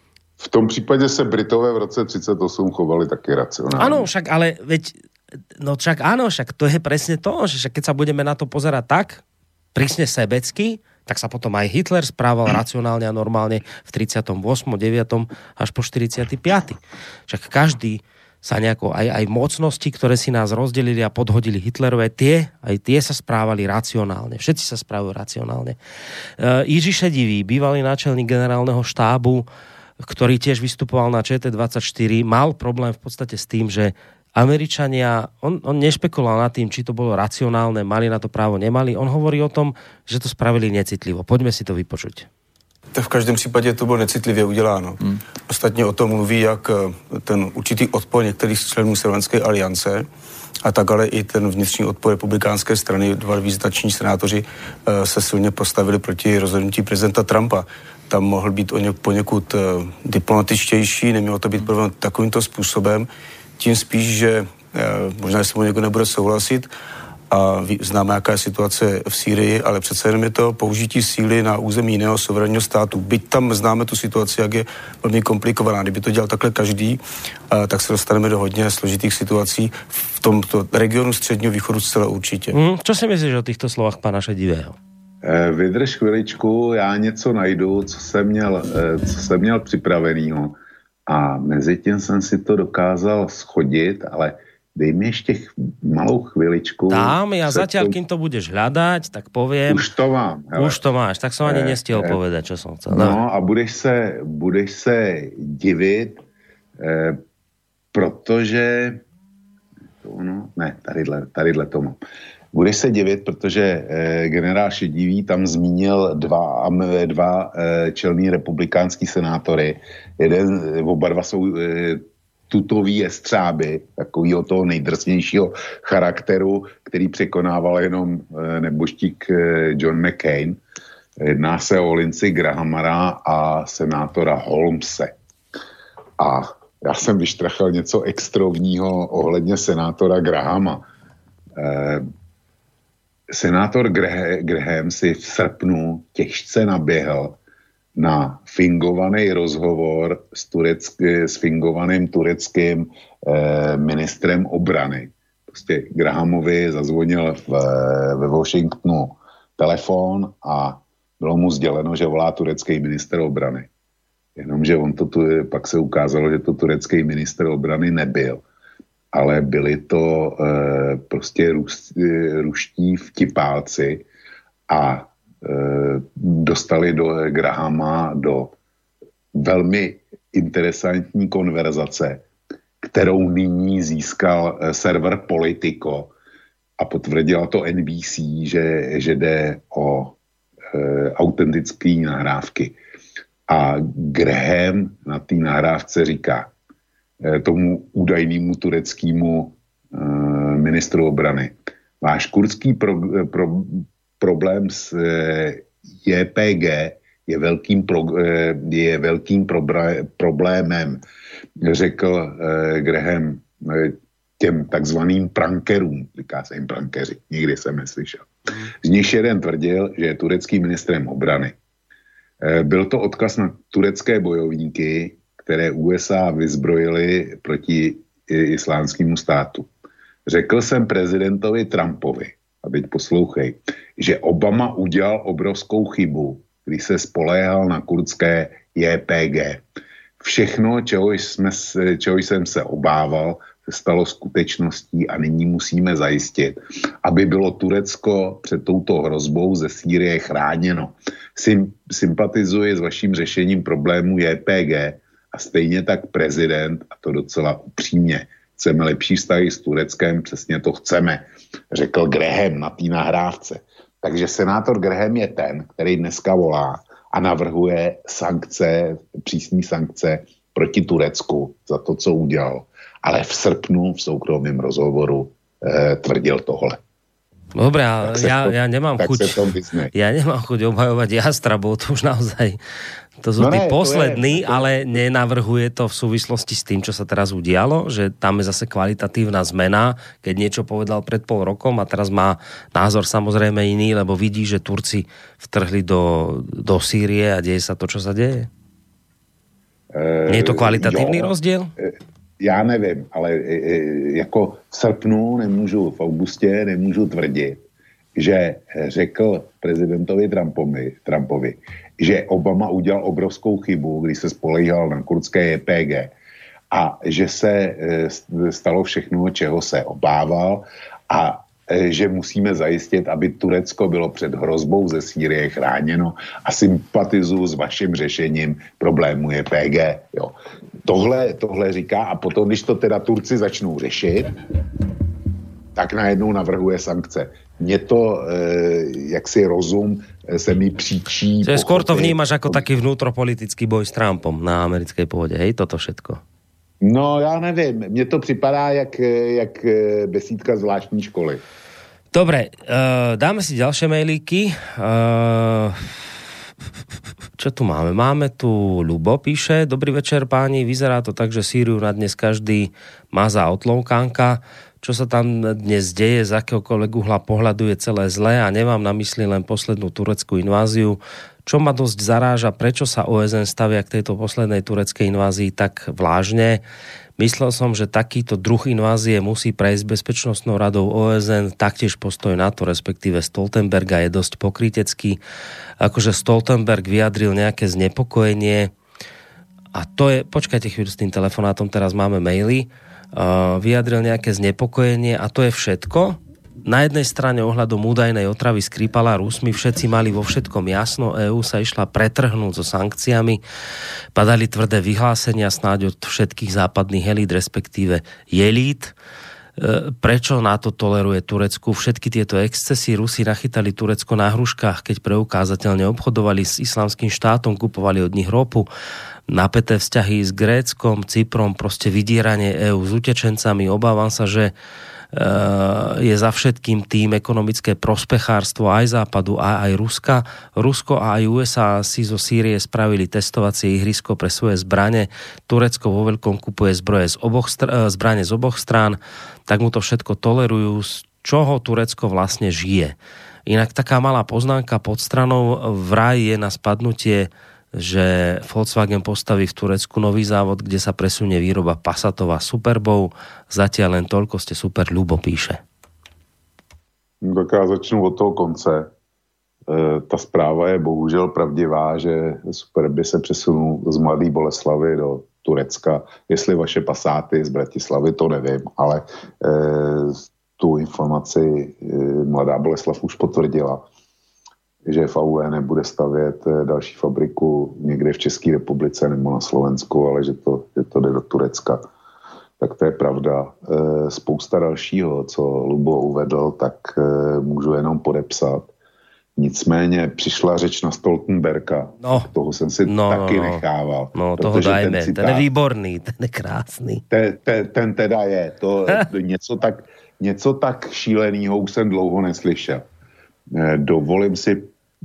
v tom případě se Britové v roce třicet osm chovali taky racionálne. Áno, však ale veď, no však áno, však to je presne to, že však keď sa budeme na to pozerať tak, prísne sebecky, tak sa potom aj Hitler správal racionálne a normálne v tridsiatom ôsmom, deviatom až po štyridsiatom piatom Však každý sa nejako, aj, aj mocnosti, ktoré si nás rozdelili a podhodili Hitlerové, tie, aj tie sa správali racionálne. Všetci sa správajú racionálne. Uh, Jiří Šedivý, bývalý náčelník generálneho štábu, ktorý tiež vystupoval na Č T dvadsaťštyri, mal problém v podstate s tým, že Američania, on, on nešpekuloval nad tým, či to bolo racionálne, mali na to právo, nemali. On hovorí o tom, že to spravili necitlivo. Poďme si to vypočuť. Tak v každém případě to bylo necitlivě uděláno. Hmm. Ostatně o tom mluví jak ten určitý odpor některých členů Severanské aliance, a tak ale i ten vnitřní odpor republikánské strany. Dva význační senátoři se silně postavili proti rozhodnutí prezidenta Trumpa. Tam mohl být poněkud uh, diplomatičtější, nemělo to být provedeno takovýmto způsobem, tím spíš, že uh, možná se mu někdo nebude souhlasit a ví, známe, jaká je situace v Sýrii, ale přece jenom je to použití síly na území jiného suverénního státu. Byť tam známe tu situaci, jak je velmi komplikovaná. Kdyby to dělal takhle každý, uh, tak se dostaneme do hodně složitých situací v tomto regionu středního východu zcela určitě. Mm, čo si myslíš o týchto slovách pana Šedivého? Vydrž chviličku, já něco najdu, co jsem měl, co jsem měl připravenýho a mezi tím jsem si to dokázal schodit, ale dej mi ještě ch- malou chviličku. Dám, ja zatiaľ, kým to budeš hľadať, tak poviem. Už to mám. Hele. Už to máš, tak som ani nestihol eh, povedať, čo som chcel. No a budeš se, budeš se divit, eh, protože no, ne, tadyhle, tadyhle to mám. Budeš se divit, protože eh, generál Šedivý tam zmínil dva, dva eh, čelný republikánský senátory. Jeden, oba dva jsou eh, tutový jestřáby, takovýho toho nejdrsnějšího charakteru, který překonával jenom eh, neboštík eh, John McCain. Jedná se o Lindsey Grahamara a senátora Holmese. A já jsem vyštrachal něco extrovního ohledně senátora Grahama. Eh, Senátor Graham si v srpnu těžce naběhl na fingovaný rozhovor s, turecky, s fingovaným tureckým eh, ministrem obrany. Prostě Grahamovi zazvonil v, ve Washingtonu telefon a bylo mu sděleno, že volá turecký minister obrany. Jenomže on to tu, pak se ukázalo, že to turecký minister obrany nebyl. Ale byli to e, prostě rus, e, ruští vtipálci a e, dostali do Grahama do velmi interesantní konverzace, kterou nyní získal e, server Politico a potvrdila to N B C, že, že jde o e, autentické nahrávky. A Graham na té nahrávce říká tomu údajnému tureckému e, ministru obrany. Váš kurdský pro, pro, problém s e, J P G je velkým, pro, e, je velkým probra, problémem, řekl e, Graham e, těm takzvaným prankerům, říká se jim prankeři, nikdy jsem neslyšel. Z nich jeden tvrdil, že je turecký ministrem obrany. E, byl to odkaz na turecké bojovníky, které U S A vyzbrojili proti islámskému státu. Řekl jsem prezidentovi Trumpovi, a teď poslouchej, že Obama udělal obrovskou chybu, když se spoléhal na kurdské J P G. všechno, čeho, jsme, čeho jsem se obával, se stalo skutečností a nyní musíme zajistit, aby bylo Turecko před touto hrozbou ze Sýrie chráněno. Sym, sympatizuji s vaším řešením problému J P G a stejně tak prezident, a to docela upřímně, chceme lepší vztahy s Tureckem, přesně to chceme, řekl Graham na té nahrávce. Takže senátor Graham je ten, který dneska volá a navrhuje sankce, přísné sankce proti Turecku za to, co udělal. Ale v srpnu v soukromém rozhovoru e, tvrdil tohle. Dobre, ale ja, to, ja nemám chuť ja nemám chuť obhajovať Jastrabov, to už naozaj to sú no tí ne, poslední, to je, to... ale nenavrhuje to v súvislosti s tým, čo sa teraz udialo, že tam je zase kvalitatívna zmena, keď niečo povedal pred pol rokom a teraz má názor samozrejme iný, lebo vidí, že Turci vtrhli do, do Sýrie a deje sa to, čo sa deje? E, Nie je to kvalitatívny jo, rozdiel? E, Já nevím, ale e, jako v srpnu nemůžu, v augustě nemůžu tvrdit, že řekl prezidentovi Trumpovi, Trumpovi, že Obama udělal obrovskou chybu, když se spolehal na kurdské J P G a že se e, stalo všechno, čeho se obával a e, že musíme zajistit, aby Turecko bylo před hrozbou ze Sýrie chráněno a sympatizuju s vaším řešením problému J P G. Jo. Tohle, tohle říká a potom, když to teda Turci začnou řešit, tak najednou navrhuje sankce. Mně to, e, jaksi rozum, se mi příčí... Čiže skôr to vnímaš ako taký vnútropolitický boj s Trumpom na americkej pôde, hej, toto všetko? No, já nevím. Mně to připadá jak, jak besídka zvláštní školy. Dobre, uh, dáme si ďalšie mailíky. Uh, čo tu máme? Máme tu Ľubo, píše. Dobrý večer, páni. Vyzerá to tak, že Sýriu na dnes každý má za otlovkánka. Čo sa tam dnes deje, z akéhokoľvek uhla pohľadu je celé zlé a nemám na mysli len poslednú tureckú inváziu. Čo ma dosť zaráža, prečo sa ó es en stavia k tejto poslednej tureckej invázii tak vážne. Myslel som, že takýto druh invázie musí prejsť Bezpečnostnou radou ó es en, taktiež postoj NATO, respektíve Stoltenberga je dosť pokrytecký. Akože Stoltenberg vyjadril nejaké znepokojenie a to je, počkajte chvíľu s tým telefonátom, teraz máme maily, Uh, vyjadril nejaké znepokojenie a to je všetko. Na jednej strane ohľadom údajnej otravy Skripala Rusmi všetci mali vo všetkom jasno, EÚ sa išla pretrhnúť so sankciami, padali tvrdé vyhlásenia snáď od všetkých západných elít, respektíve jelít. Uh, prečo NATO toleruje Turecku? Všetky tieto excesy Rusi nachytali Turecko na hruškách, keď preukázateľne obchodovali s Islamským štátom, kupovali od nich ropu, napäté vzťahy s Gréckom, Cyprom, proste vydieranie EÚ s utečencami. Obávam sa, že je za všetkým tým ekonomické prospechárstvo aj Západu, aj, aj Ruska. Rusko a aj ú es á si zo Sýrie spravili testovacie ihrisko pre svoje zbrane. Turecko vo veľkom kupuje zbroje z oboch str- zbrane z oboch strán, tak mu to všetko tolerujú, z čoho Turecko vlastne žije. Inak taká malá poznámka pod stranou, vraj je na spadnutie, že Volkswagen postaví v Turecku nový závod, kde sa presunie výroba Passatov a Superbov. Zatiaľ len toľko, ste super, Ľubo píše. Tak já začnu od toho konce. E, ta zpráva je bohužel pravdivá, že Superby se přesunul z Mladé Boleslavy do Turecka. Jestli vaše Passáty z Bratislavy, to nevím, ale e, tu informaci e, Mladá Boleslav už potvrdila, že V A U E nebude stavět další fabriku někde v České republice nebo na Slovensku, ale že to, že to jde do Turecka. Tak to je pravda. E, spousta dalšího, co Lubo uvedl, tak e, můžu jenom podepsat. Nicméně přišla řeč na Stoltenberga. No, toho jsem si no, taky no, nechával. No, toho dajme. Ten, citát, ten je výborný, ten je krásný. Ten, ten, ten teda je. To, něco, tak, něco tak šílenýho už jsem dlouho neslyšel. Dovolím si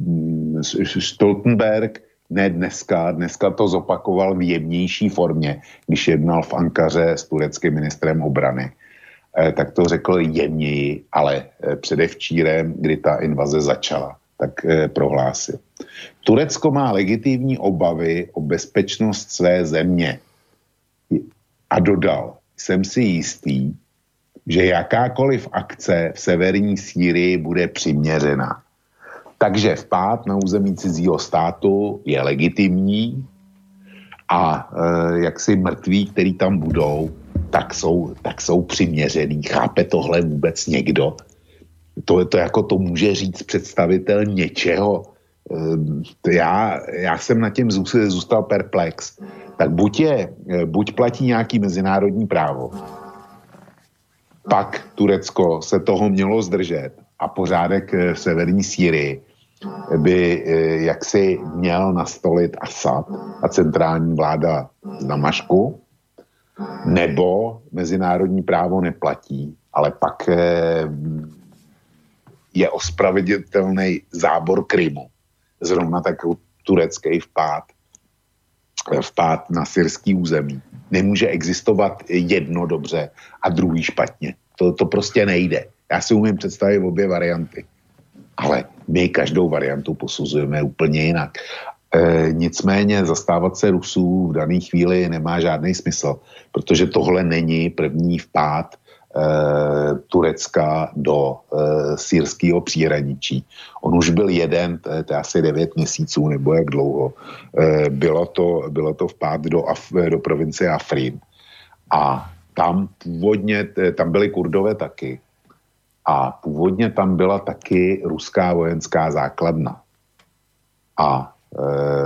Stoltenberg, ne dneska, dneska to zopakoval v jemnější formě, když jednal v Ankaře s tureckým ministrem obrany. Tak to řekl jemněji, ale předevčírem, kdy ta invaze začala, tak prohlásil. Turecko má legitimní obavy o bezpečnost své země. A dodal, jsem si jistý, že jakákoliv akce v severní Sýrii bude přiměřená. Takže vpád na území cizího státu je legitimní A e, jaksi mrtví, který tam budou, tak jsou, tak jsou přiměřený. Chápe tohle vůbec někdo? To, to jako to může říct představitel něčeho. E, já, já jsem na tím zůstal perplex. Tak buď, je, buď platí nějaký mezinárodní právo, pak Turecko se toho mělo zdržet a pořádek v severní Sýrii by jaksi měl nastolit Asad a centrální vláda z Damašku, nebo mezinárodní právo neplatí, ale pak je ospravedlnitelný zábor Krymu. Zrovna tak turecký vpád, vpád na syrský území. Nemůže existovat jedno dobře a druhý špatně. To, to prostě nejde. Já si umím představit obě varianty. Ale my každou variantu posuzujeme úplně jinak. E, nicméně zastávat se Rusů v dané chvíli nemá žádný smysl, protože tohle není první vpád e, Turecka do e, syrského příhraničí. On už byl jeden, to je, to je asi devět měsíců nebo jak dlouho. E, bylo, to, bylo to vpád do, Af, do provincie Afrin. A tam původně, tam byly Kurdové taky. A původně tam byla taky ruská vojenská základna. A e,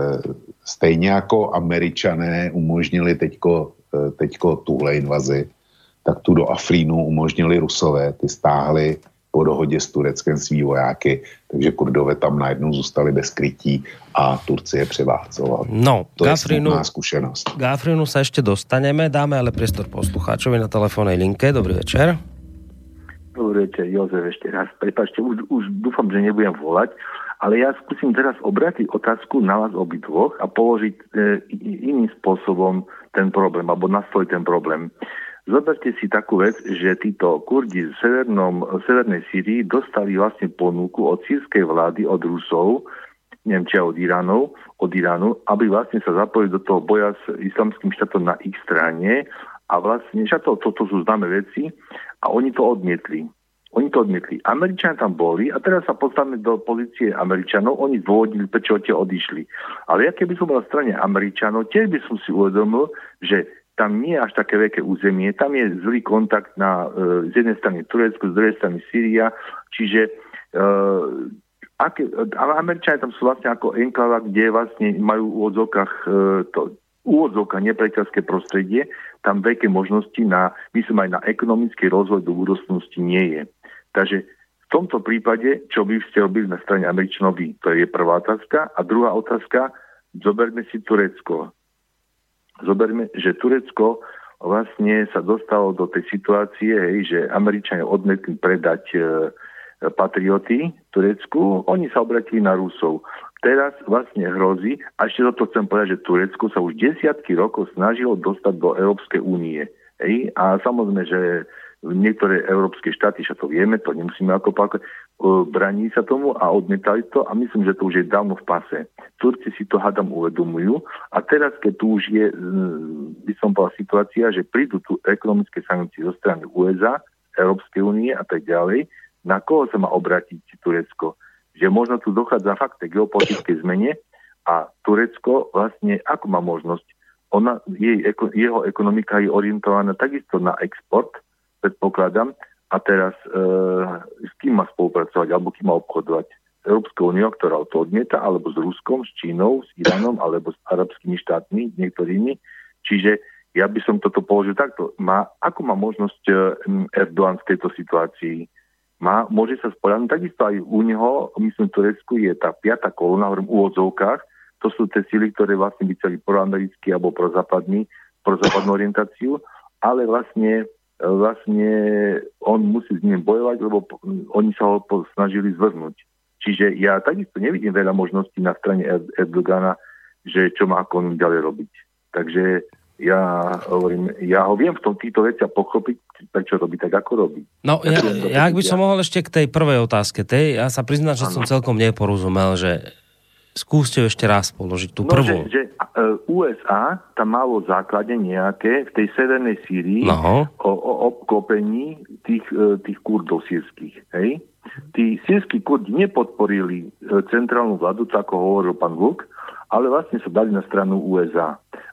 stejně jako Američané umožnili teďko, e, teďko tuhle invazi, tak tu do Afrínu umožnili Rusové, ty stáhli po dohodě s Tureckem svý vojáky, takže Kurdové tam najednou zůstali bez krytí a Turci je převálcovali. No, to k je Afrínu, smutná skúsenosť. K Afrínu sa ešte dostaneme, dáme ale priestor poslucháčovi na telefónnej linke. Dobrý večer. Dobrý večer, Jozef, ešte raz. Prepáčte, už, už dúfam, že nebudem volať, ale ja skúsim teraz obrátiť otázku na vás obidvoch a položiť e, iným spôsobom ten problém, alebo nastoliť ten problém. Zoberte si takú vec, že títo Kurdi v severnom, severnej Sýrii dostali vlastne ponuku od sírskej vlády, od Rusov, neviem či od Iránov, od Iránu, aby vlastne sa zapojili do toho boja s islamským štátom na ich strane a vlastne, že to, to, to sú známe veci a oni to odmietli. Oni to odmietli. Američania tam boli a teraz sa postavíme do pozície Američanov, oni zdôvodnili, prečo tie odišli. Ale ja keby som bol na strane Američanov, tiež by som si uvedomil, že tam nie je až také veľké územie, tam je zlý kontakt na, e, z jednej strany Turecko, z druhej strany Sýria, čiže e, aké, Američania tam sú vlastne ako enklava, kde vlastne majú v úvodzovkách e, to úvodzovka nepriateľské prostredie, tam veľké možnosti na, myslím aj na ekonomický rozvoj do budúcnosti nie je. Takže v tomto prípade, čo by ste robili na strane Američanov, to je prvá otázka. A druhá otázka, zoberme si Turecko. Zoberme, že Turecko vlastne sa dostalo do tej situácie, hej, že Američania odmietli predať e, patrioty Turecku, oni sa obratili na Rusov. Teraz vlastne hrozí, a ešte toto chcem povedať, že Turecko sa už desiatky rokov snažilo dostať do Európskej únie. Hej, a samozrejme, že niektoré európske štáty, že to vieme, to nemusíme ako pákať, braní sa tomu a odmietali to a myslím, že to už je dávno v pase. Turci si to hádam uvedomujú a teraz, keď tu už je, by som povedal, situácia, že prídu tu ekonomické sankcie zo strany ú es á, Európskej únie a tak ďalej, na koho sa má obrátiť Turecko? Že možno tu dochádza fakt k geopolitickej zmene a Turecko vlastne, ako má možnosť? Ona, jej, jeho ekonomika je orientovaná takisto na export, predpokladám, a teraz e, s kým má spolupracovať, alebo kým má obchodovať? Európskou úniou, ktorá to odmieta, alebo s Ruskom, s Čínou, s Iránom, alebo s arabskými štátmi, niektorými. Čiže ja by som toto položil takto. Má, ako má možnosť e, Erdogan v tejto situácii? Má, môže sa spoľahnúť, takisto aj u neho, myslím, v Turecku je tá piata kolóna, hovorím v úvodzovkách, to sú tie síly, ktoré vlastne by chceli proamerický alebo prozápadný, prozápadnú orientáciu, ale vlastne vlastne on musí s ním bojovať, lebo oni sa ho snažili zvrhnúť. Čiže ja takisto nevidím veľa možností na strane Erdogana, že čo má ako ďalej robiť. Takže ja hovorím, ja ho viem v tom týchto veciach pochopiť, prečo robí tak, ako robí. No, ja, ja ak by som mohol ešte k tej prvej otázke, tej, ja sa priznám, že ano. som celkom neporozumel, že skúste ešte raz položiť tú no, prvú. Že, že ú es á tam malo základe nejaké v tej severnej Sýrii no. o, o obklopení tých, tých Kurdov sírskych. Hej? Tí sírski Kurdi nepodporili centrálnu vládu, tak ako hovoril pán Vlk, ale vlastne sa dali na stranu ú es á.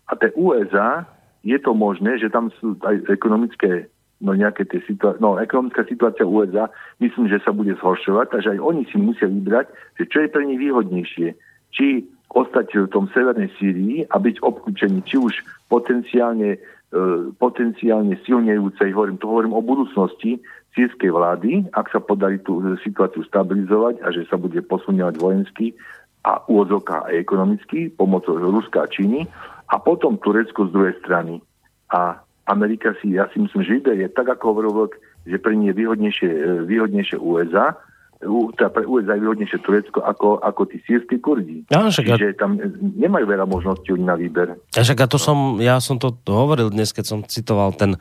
A tie ú es á, je to možné, že tam sú aj ekonomické, no nejaké tie situácie, no ekonomická situácia ú es á, myslím, že sa bude zhoršovať, takže aj oni si musia vybrať, že čo je pre nich výhodnejšie. Či ostať v tom severnej Sýrii a byť obklúčení, či už potenciálne, e, potenciálne silnejúcej, hovorím, to hovorím o budúcnosti sýrskej vlády, ak sa podarí tú situáciu stabilizovať a že sa bude posuňovať vojensky a úvodzovka aj ekonomicky pomocou Ruska a Číny a potom Turecko z druhej strany. A Amerika si, ja si myslím, že vyberie tak, ako hovoril, že pre nie je výhodnejšie, výhodnejšie ú es á, teda pre ú es á je výhodnejšie Turecko ako, ako tí sýrski Kurdi. Ja, Čiže tam nemajú veľa možností na výber. Ja, však, a to som, ja som to hovoril dnes, keď som citoval ten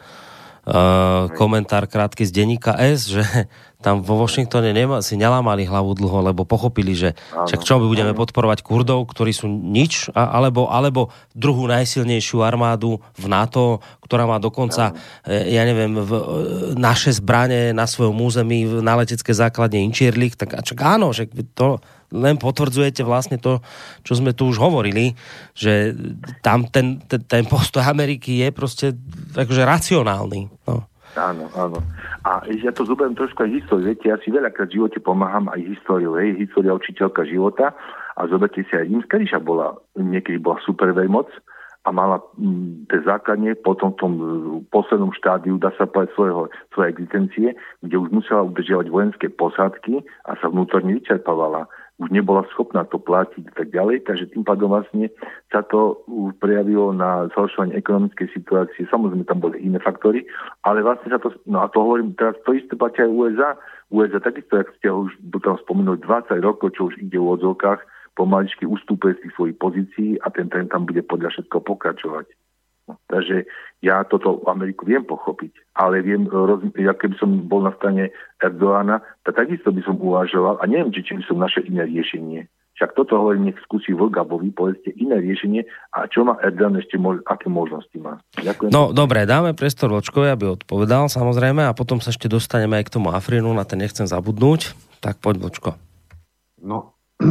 Uh, komentár krátky z denníka S, že tam vo Washingtone nema, si nelámali hlavu dlho, lebo pochopili, že však čo my budeme podporovať Kurdov, ktorí sú nič, a, alebo, alebo druhú najsilnejšiu armádu v NATO, ktorá má dokonca, e, ja neviem, v, e, naše zbrane na svojom území na letecké základne Inčirlik, tak čak áno, že to len potvrdzujete vlastne to, čo sme tu už hovorili, že tam ten, ten, ten postoj Ameriky je proste akože racionálny. No. Áno, áno. A ja to zoberiem trošku aj históriu. Viete, ja si veľakrát v živote pomáham aj históriu. Hej, história učiteľka života. A zoberte si aj rímska ríša bola, niekedy bola super veľmoc a mala m, tie základne potom v tom poslednom štádiu, dá sa povedať, svojho, svojej existencie, kde už musela udržiavať vojenské posádky a sa vnútorne vyčerpávala. Už nebola schopná to platiť a tak ďalej, takže tým pádom vlastne sa to prejavilo na zhoršovanie ekonomickej situácie. Samozrejme, tam boli iné faktory, ale vlastne sa to, no a to hovorím, teraz to isté platia aj ú es á. ú es á takisto, jak ste už tam spomenuli, dvadsať rokov, čo už ide v odzovkách, pomaličky ustúpuje z tých svojich pozícií a ten trend tam bude podľa všetko pokračovať. No, takže ja toto Ameriku viem pochopiť, ale viem, roz, ja keby som bol na strane Erdoána, tak takisto by som uvažoval a neviem, či, či by som našiel iné riešenie. Však toto hovorím, nech skúsi Vlgabovi, povedzte iné riešenie a čo má Erdoğan ešte, mož, aké možnosti má. Ďakujem. No dobre, dáme priestor Vlčkovi, aby odpovedal samozrejme a potom sa ešte dostaneme aj k tomu Afrinu, na ten nechcem zabudnúť. Tak poď Vlčko. No,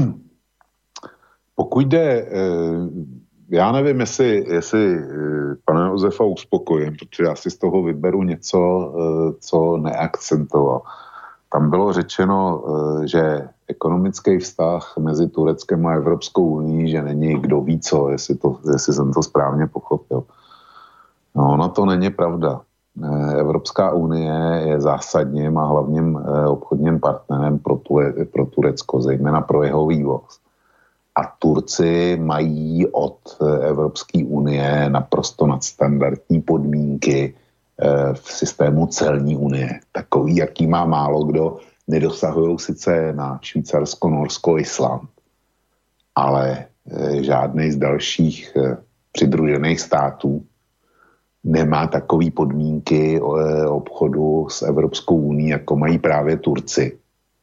pokud jde... E... Já nevím, jestli, jestli pana Josefa uspokojím, protože já si z toho vyberu něco, co neakcentoval. Tam bylo řečeno, že ekonomický vztah mezi Tureckem a Evropskou unii, že není kdo ví co, jestli, to, jestli jsem to správně pochopil. No, ono to není pravda. Evropská unie je zásadním a hlavním obchodním partnerem pro, Ture, pro Turecko, zejména pro jeho vývoz. A Turci mají od Evropské unie naprosto nadstandardní podmínky v systému celní unie. Takový, jaký má málo kdo, nedosahují sice na Švýcarsko, Norsko, Island, ale žádný z dalších přidružených států nemá takové podmínky obchodu s Evropskou unií, jako mají právě Turci.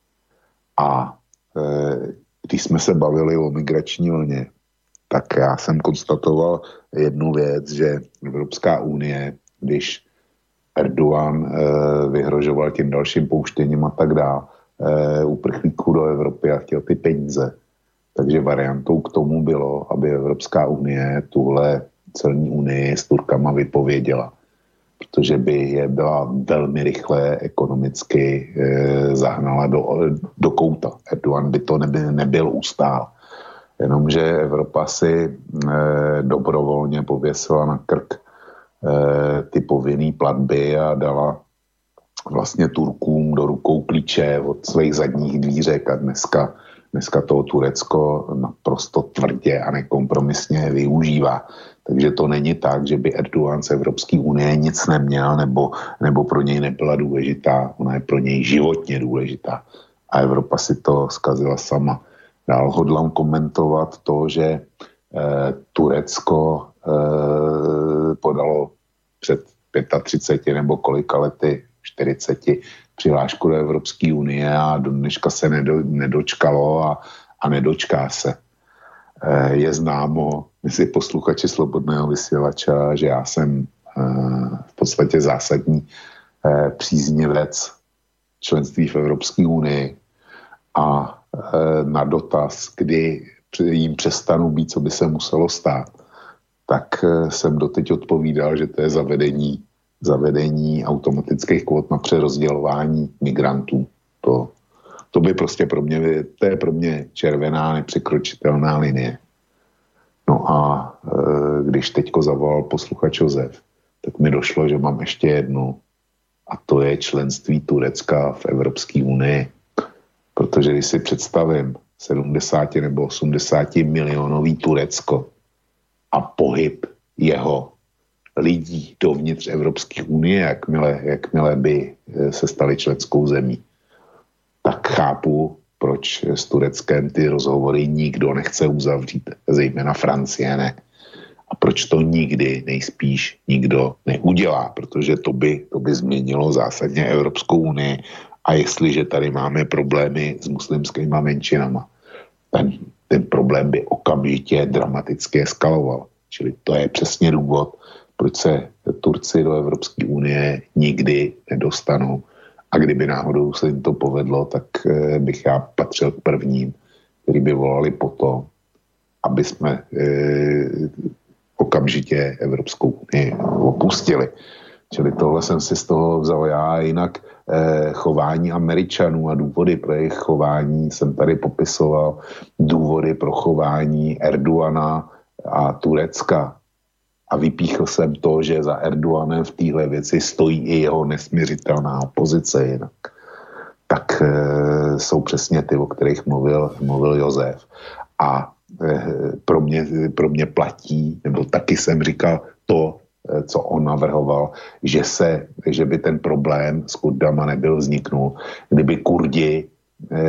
A když jsme se bavili o migrační vlně, tak já jsem konstatoval jednu věc, že Evropská unie, když Erdoğan e, vyhrožoval tím dalším pouštěním a tak dále e, uprchlíků do Evropy a chtěl ty peníze, takže variantou k tomu bylo, aby Evropská unie tuhle celní unii s Turkama vypověděla, protože by je byla velmi rychle ekonomicky e, zahnala do, do kouta. Erdoğan by to neby, nebyl ustál. Jenomže Evropa si e, dobrovolně pověsila na krk e, ty povinný platby a dala vlastně Turkům do rukou klíče od svých zadních dvířek a dneska, dneska toho Turecko naprosto tvrdě a nekompromisně využívá. Takže to není tak, že by Erdoğan z Evropské unie nic neměl nebo, nebo pro něj nebyla důležitá. Ona je pro něj životně důležitá. A Evropa si to zkazila sama. Dál hodlám komentovat to, že eh, Turecko eh, podalo před třiceti pěti nebo kolika lety, čtyřiceti, přihlášku do Evropské unie a do dneška se nedo, nedočkalo a, a nedočká se. Eh, je známo mezi posluchači Slobodného vysílača, že já jsem eh, v podstatě zásadní eh, příznivec členství v Evropské unii a na dotaz, kdy jim přestanu být, co by se muselo stát, tak jsem doteď odpovídal, že to je zavedení, zavedení automatických kvót na přerozdělování migrantů. To, to by prostě pro mě, to je pro mě červená, nepřekročitelná linie. No a e, když teďko zavolal posluchač Josef, tak mi došlo, že mám ještě jednu, a to je členství Turecka v Evropské unii. Protože když si představím sedmdesát nebo osmdesát milionový Turecko a pohyb jeho lidí dovnitř Evropské unie, jakmile, jakmile by se stali členskou zemí, tak chápu, proč s Tureckem ty rozhovory nikdo nechce uzavřít, zejména Francie ne. A proč to nikdy nejspíš nikdo neudělá, protože to by, to by změnilo zásadně Evropskou unii. A jestliže tady máme problémy s muslimskými menšinama, ten, ten problém by okamžitě dramaticky eskaloval. Čili to je přesně důvod, proč se Turci do Evropské unie nikdy nedostanou. A kdyby náhodou se jim to povedlo, tak bych já patřil k prvním, který by volali po tom, aby jsme eh, okamžitě Evropskou unii opustili. Čili tohle jsem si z toho vzal já. Jinak eh, chování Američanů a důvody pro jejich chování jsem tady popisoval. Důvody pro chování Erdogana a Turecka. A vypíchl jsem to, že za Erdoganem v téhle věci stojí i jeho nesměřitelná opozice jinak. Tak e, jsou přesně ty, o kterých mluvil, mluvil Josef. A e, pro, mě, pro mě platí, nebo taky jsem říkal to, e, co on navrhoval, že, se, že by ten problém s Kurdama nebyl vzniknul, kdyby Kurdi e,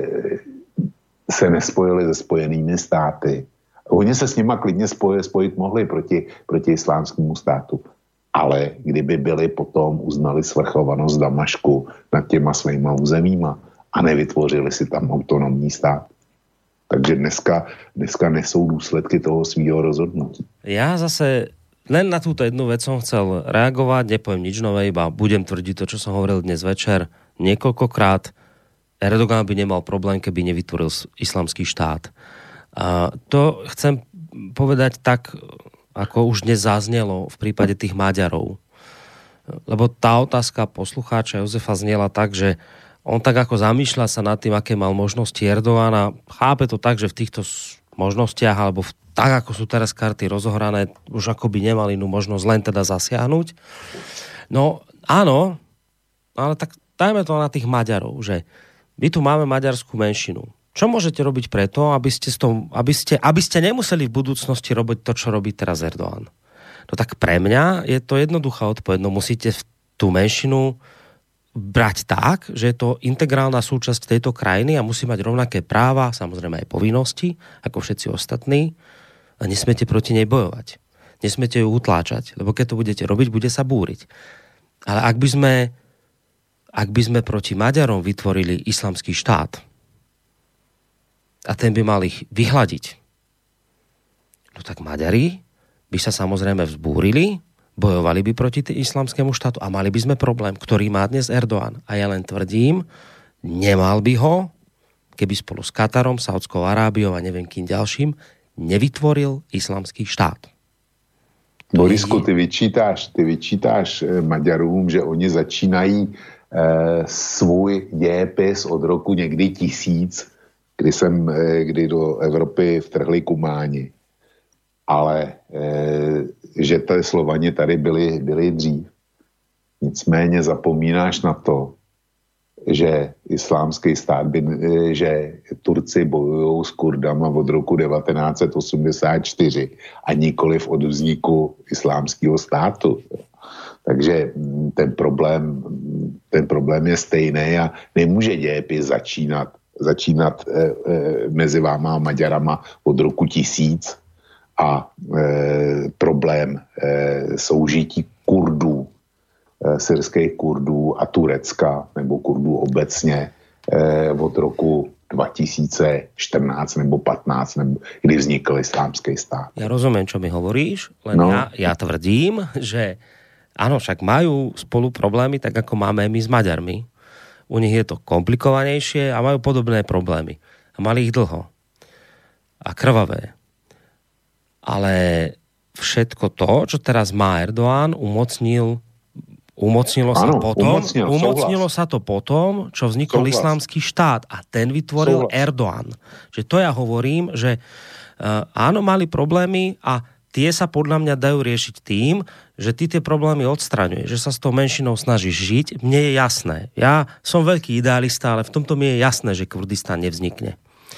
se nespojili se Spojenými státy. Oni se s nima klidně spojit, spojit mohli proti, proti islámskému státu. Ale kdyby byli potom uznali svrchovanost Damašku nad těma svýma územíma a nevytvořili si tam autonomní stát. Takže dneska, dneska nesou důsledky toho svýho rozhodnutí. Ja zase len na túto jednu vec som chcel reagovať, nepoviem nič nové, iba budem tvrdiť to, čo som hovoril dnes večer niekoľkokrát. Erdogan by nemal problém, keby nevytvoril islamský štát. A to chcem povedať tak, ako už dnes zaznelo v prípade tých Maďarov. Lebo tá otázka poslucháča Jozefa znela tak, že on tak ako zamýšľa sa nad tým, aké mal možnosti Erdogana, chápe to tak, že v týchto možnostiach, alebo v, tak, ako sú teraz karty rozohrané, už ako by nemali inú možnosť len teda zasiahnuť. No áno, ale tak dajme to na tých Maďarov, že my tu máme maďarskú menšinu. Čo môžete robiť preto, aby ste, tom, aby, ste, aby ste nemuseli v budúcnosti robiť to, čo robí teraz Erdogan? No tak pre mňa je to jednoduchá odpoveď. No musíte tú menšinu brať tak, že je to integrálna súčasť tejto krajiny a musí mať rovnaké práva, samozrejme aj povinnosti, ako všetci ostatní, a nesmiete proti nej bojovať. Nesmiete ju utláčať, lebo keď to budete robiť, bude sa búriť. Ale ak by sme, ak by sme proti Maďarom vytvorili islamský štát, a ten by mal ich vyhľadiť, no tak Maďari by sa samozrejme vzbúrili, bojovali by proti islamskému štátu a mali by sme problém, ktorý má dnes Erdogan. A ja len tvrdím, nemal by ho, keby spolu s Katarom, Saudskou Arábiou a neviem kým ďalším nevytvoril islamský štát. Borisku, ty vyčítáš, ty vyčítáš Maďarům, že oni začínají e, svůj dějepis od roku někdy tisíc, kdy, jsem, kdy do Evropy vtrhli Kumáni. Ale e, že ty Slovani tady byli, byli dřív. Nicméně zapomínáš na to, že islámský stát, by, e, že Turci bojují s Kurdama od roku devatenáct set osmdesát čtyři a nikoliv od vzniku islámského státu. Takže ten problém, ten problém je stejný a nemůže dějepis začínat začínat e, e, mezi váma a Maďarama od roku tisíc a e, problém e, soužití Kurdů, e, syrských Kurdů a Turecka, nebo Kurdů obecně e, od roku dva tisíce čtrnáct nebo patnáct, nebo kdy vznikl islámský stát. Ja rozumiem, čo mi hovoríš, len no. ja, ja tvrdím, že áno, však majú spolu problémy, tak ako máme my s Maďarmi. U nich je to komplikovanejšie a majú podobné problémy. A mali ich dlho. A krvavé. Ale v všetko to, čo teraz má Erdoğan, umocnil Umocnilo sa, ano, potom, umocnil, umocnilo sa to potom, čo vznikol souhlas. Islamský štát a ten vytvoril souhlas. Erdoğan. Že to ja hovorím, že uh, áno, mali problémy a tie sa podľa mňa dajú riešiť tým, že ty tie problémy odstraňuješ, že sa s tou menšinou snažíš žiť. Mne je jasné. Ja som veľký idealista, ale v tomto mi je jasné, že Kurdistan nevznikne.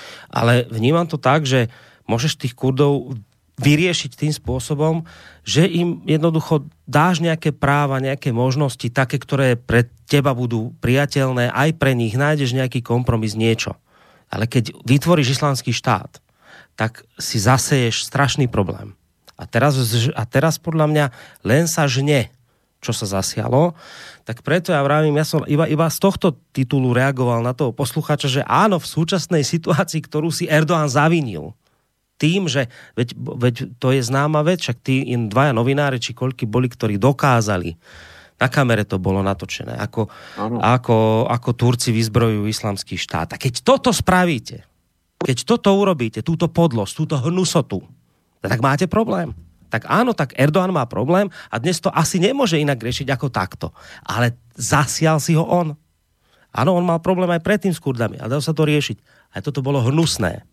Ale vnímam to tak, že môžeš tých Kurdov vyriešiť tým spôsobom, že im jednoducho dáš nejaké práva, nejaké možnosti, také, ktoré pre teba budú priateľné, aj pre nich nájdeš nejaký kompromis, niečo. Ale keď vytvoríš islamský štát, tak si zaseješ strašný problém. A teraz, a teraz podľa mňa len sa žne, čo sa zasialo, tak preto ja vravím, ja som iba, iba z tohto titulu reagoval na toho poslucháča, že áno, v súčasnej situácii, ktorú si Erdoğan zavinil, tým, že veď, veď to je známa vec, však tí in dvaja novinári, či koľky boli, ktorí dokázali, na kamere to bolo natočené, ako, ako, ako Turci vyzbrojujú islamský štát. A keď toto spravíte, keď toto urobíte, túto podlosť, túto hnusotu, tak máte problém. Tak áno, tak Erdoğan má problém a dnes to asi nemôže inak riešiť ako takto. Ale zasial si ho on. Áno, on mal problém aj predtým s Kurdami, ale dalo sa to riešiť. Aj toto bolo hnusné.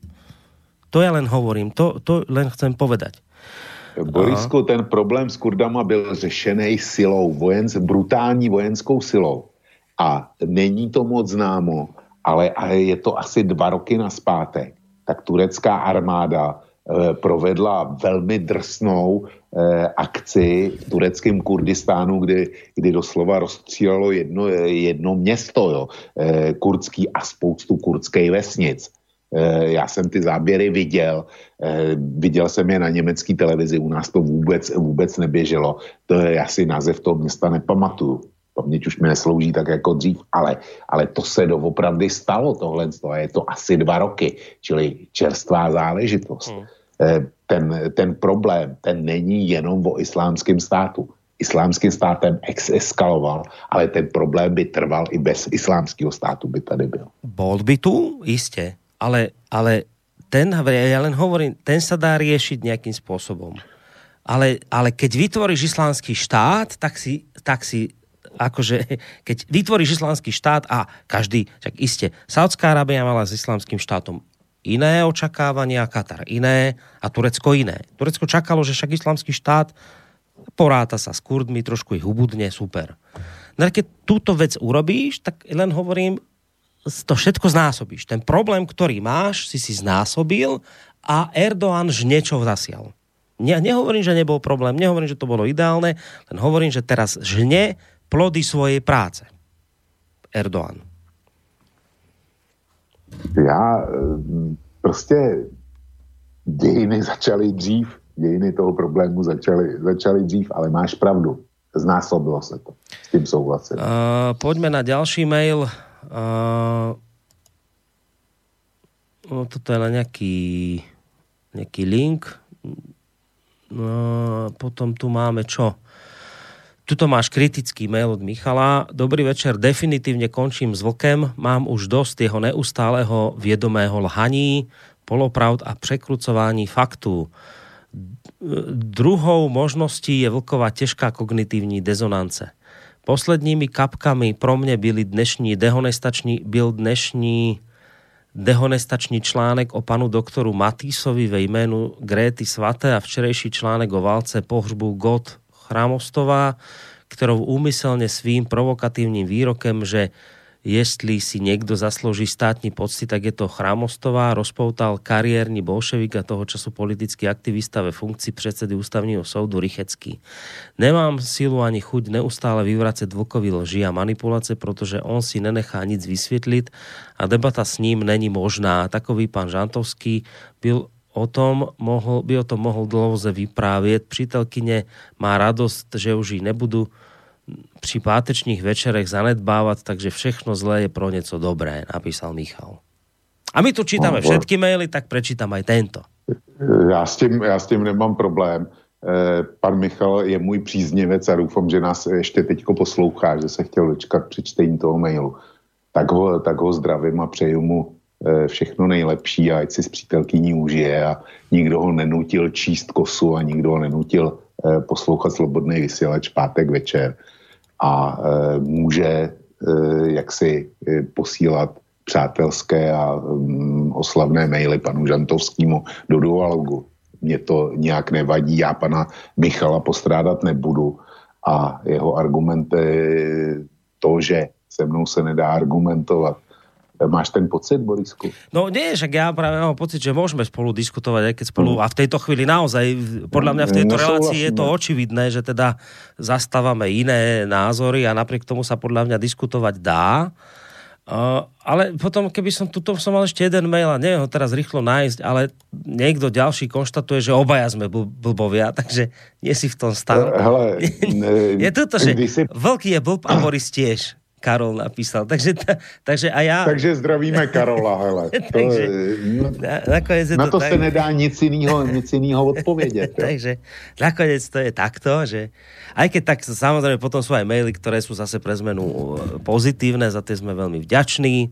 To ja len hovorím, to, to len chcem povedať. Borisku, ten problém s Kurdama byl řešený silou, vojenc, brutální vojenskou silou. A není to moc známo, ale, ale je to asi dva roky naspátek. Tak turecká armáda eh, provedla velmi drsnou eh, akci v tureckém Kurdistánu, kdy, kdy doslova rozstřílelo jedno, jedno město, jo, eh, kurdský a spoustu kurdských vesnic. Já jsem ty záběry viděl, viděl jsem je na německé televizi, u nás to vůbec, vůbec neběželo, to je, já si název toho města nepamatuju, paměť už mi neslouží tak jako dřív, ale, ale to se doopravdy stalo tohle, a je to asi dva roky, čili čerstvá záležitost. Hmm. Ten, ten problém, ten není jenom o islámském státu. Islámským státem ex- eskaloval, ale ten problém by trval i bez islámského státu by tady byl. Bol by tu? Iste. Ale, ale ten, ja len hovorím, ten sa dá riešiť nejakým spôsobom. Ale, ale keď vytvoríš islamský štát, tak si, tak si akože, keď vytvoríš islamský štát a každý, však iste, Saudská Arábia mala s islamským štátom iné očakávania, Katar iné a Turecko iné. Turecko čakalo, že však islamský štát poráta sa s Kurdmi, trošku ich ubudne, super. No keď túto vec urobíš, tak len hovorím, to všetko znásobíš. Ten problém, ktorý máš, si si znásobil a Erdoğan niečo zasial. Ne, nehovorím, že nebol problém, nehovorím, že to bolo ideálne, len hovorím, že teraz žne plody svojej práce. Erdoğan. Já prostě dějiny začaly dřív, dějiny toho problému začaly, začaly dřív, ale máš pravdu. Znásobilo se to. S tím souhlasím. Uh, poďme na ďalší mail. Uh, no, toto je na nejaký nejaký link. No, potom tu máme čo? Tuto máš kritický mail od Michala. Dobrý večer, definitívne končím s vlkem. Mám už dosť jeho neustáleho viedomého lhaní, polopravd a prekrucování faktů. Druhou možností je vlková těžká kognitivní dezonance. Posledními kapkami pro mne byli dnešní dehonestační, byl dnešní dehonestační článek o panu doktoru Matýsovi ve jménu Gréty Svaté a včerejší článek o válce pohřbu God Chramostová, ktorou úmyselne svým provokatívnym výrokem, že jestli si niekto zaslúži státní pocty, tak je to Chramostová, rozpoutal kariérny bolševik a toho času politický aktivista ve funkcii predsedy ústavního soudu Rychecký. Nemám silu ani chuť neustále vyvracať Vlkovi lži a manipulace, protože on si nenechá nic vysvetliť a debata s ním není možná. Takový pán Žantovský byl o tom mohol, by o tom mohol dlouze vyprávět. Přítelkyně má radost, že už ji nebudu pri pátečných večerech zanedbávať, takže všechno zlé je pro něco dobré, napísal Michal. A my tu čítame no, všetky maily, tak prečítam aj tento. Já s tím, já s tím nemám problém. Eh, pan Michal je můj příznivec a doufám, že nás ještě teďko poslouchá, že se chtěl dočkat při čtení toho mailu. Tak ho, tak ho zdravím a přeju mu všechno nejlepší a ať si s přítelkyní užije a nikdo ho nenutil číst kosu a nikdo ho nenutil poslouchat Slobodný vysílač pátek večer a může jaksi posílat přátelské a um, oslavné maily panu Žantovskému do dialogu. Mně to nějak nevadí, já pana Michala postrádat nebudu a jeho argumenty, to, že se mnou se nedá argumentovat. Máš ten pocit, Borisku? No nie, však ja práve mám pocit, že môžeme spolu diskutovať, aj keď spolu, mm. a v tejto chvíli naozaj, podľa mňa v tejto no, relácii je to očividné, že teda zastávame iné názory a napriek tomu sa podľa mňa diskutovať dá. Uh, ale potom, keby som tuto som mal ešte jeden mail a neviem ho teraz rýchlo nájsť, ale niekto ďalší konštatuje, že obaja sme bl- blbovia, takže nie si v tom stave. Hele, ne, je toto, že si... Vlk je blb a Boris tiež. Karol napísal. Takže, ta, takže a já... Takže zdravíme Karola, hele. takže, to, na, na, na to, to se nedá nic jinýho, nic jinýho odpovědět. takže nakoniec to je takto, že aj keď tak samozrejme potom sú aj maily, ktoré sú zase pre zmenu pozitívne, za tie sme veľmi vďační.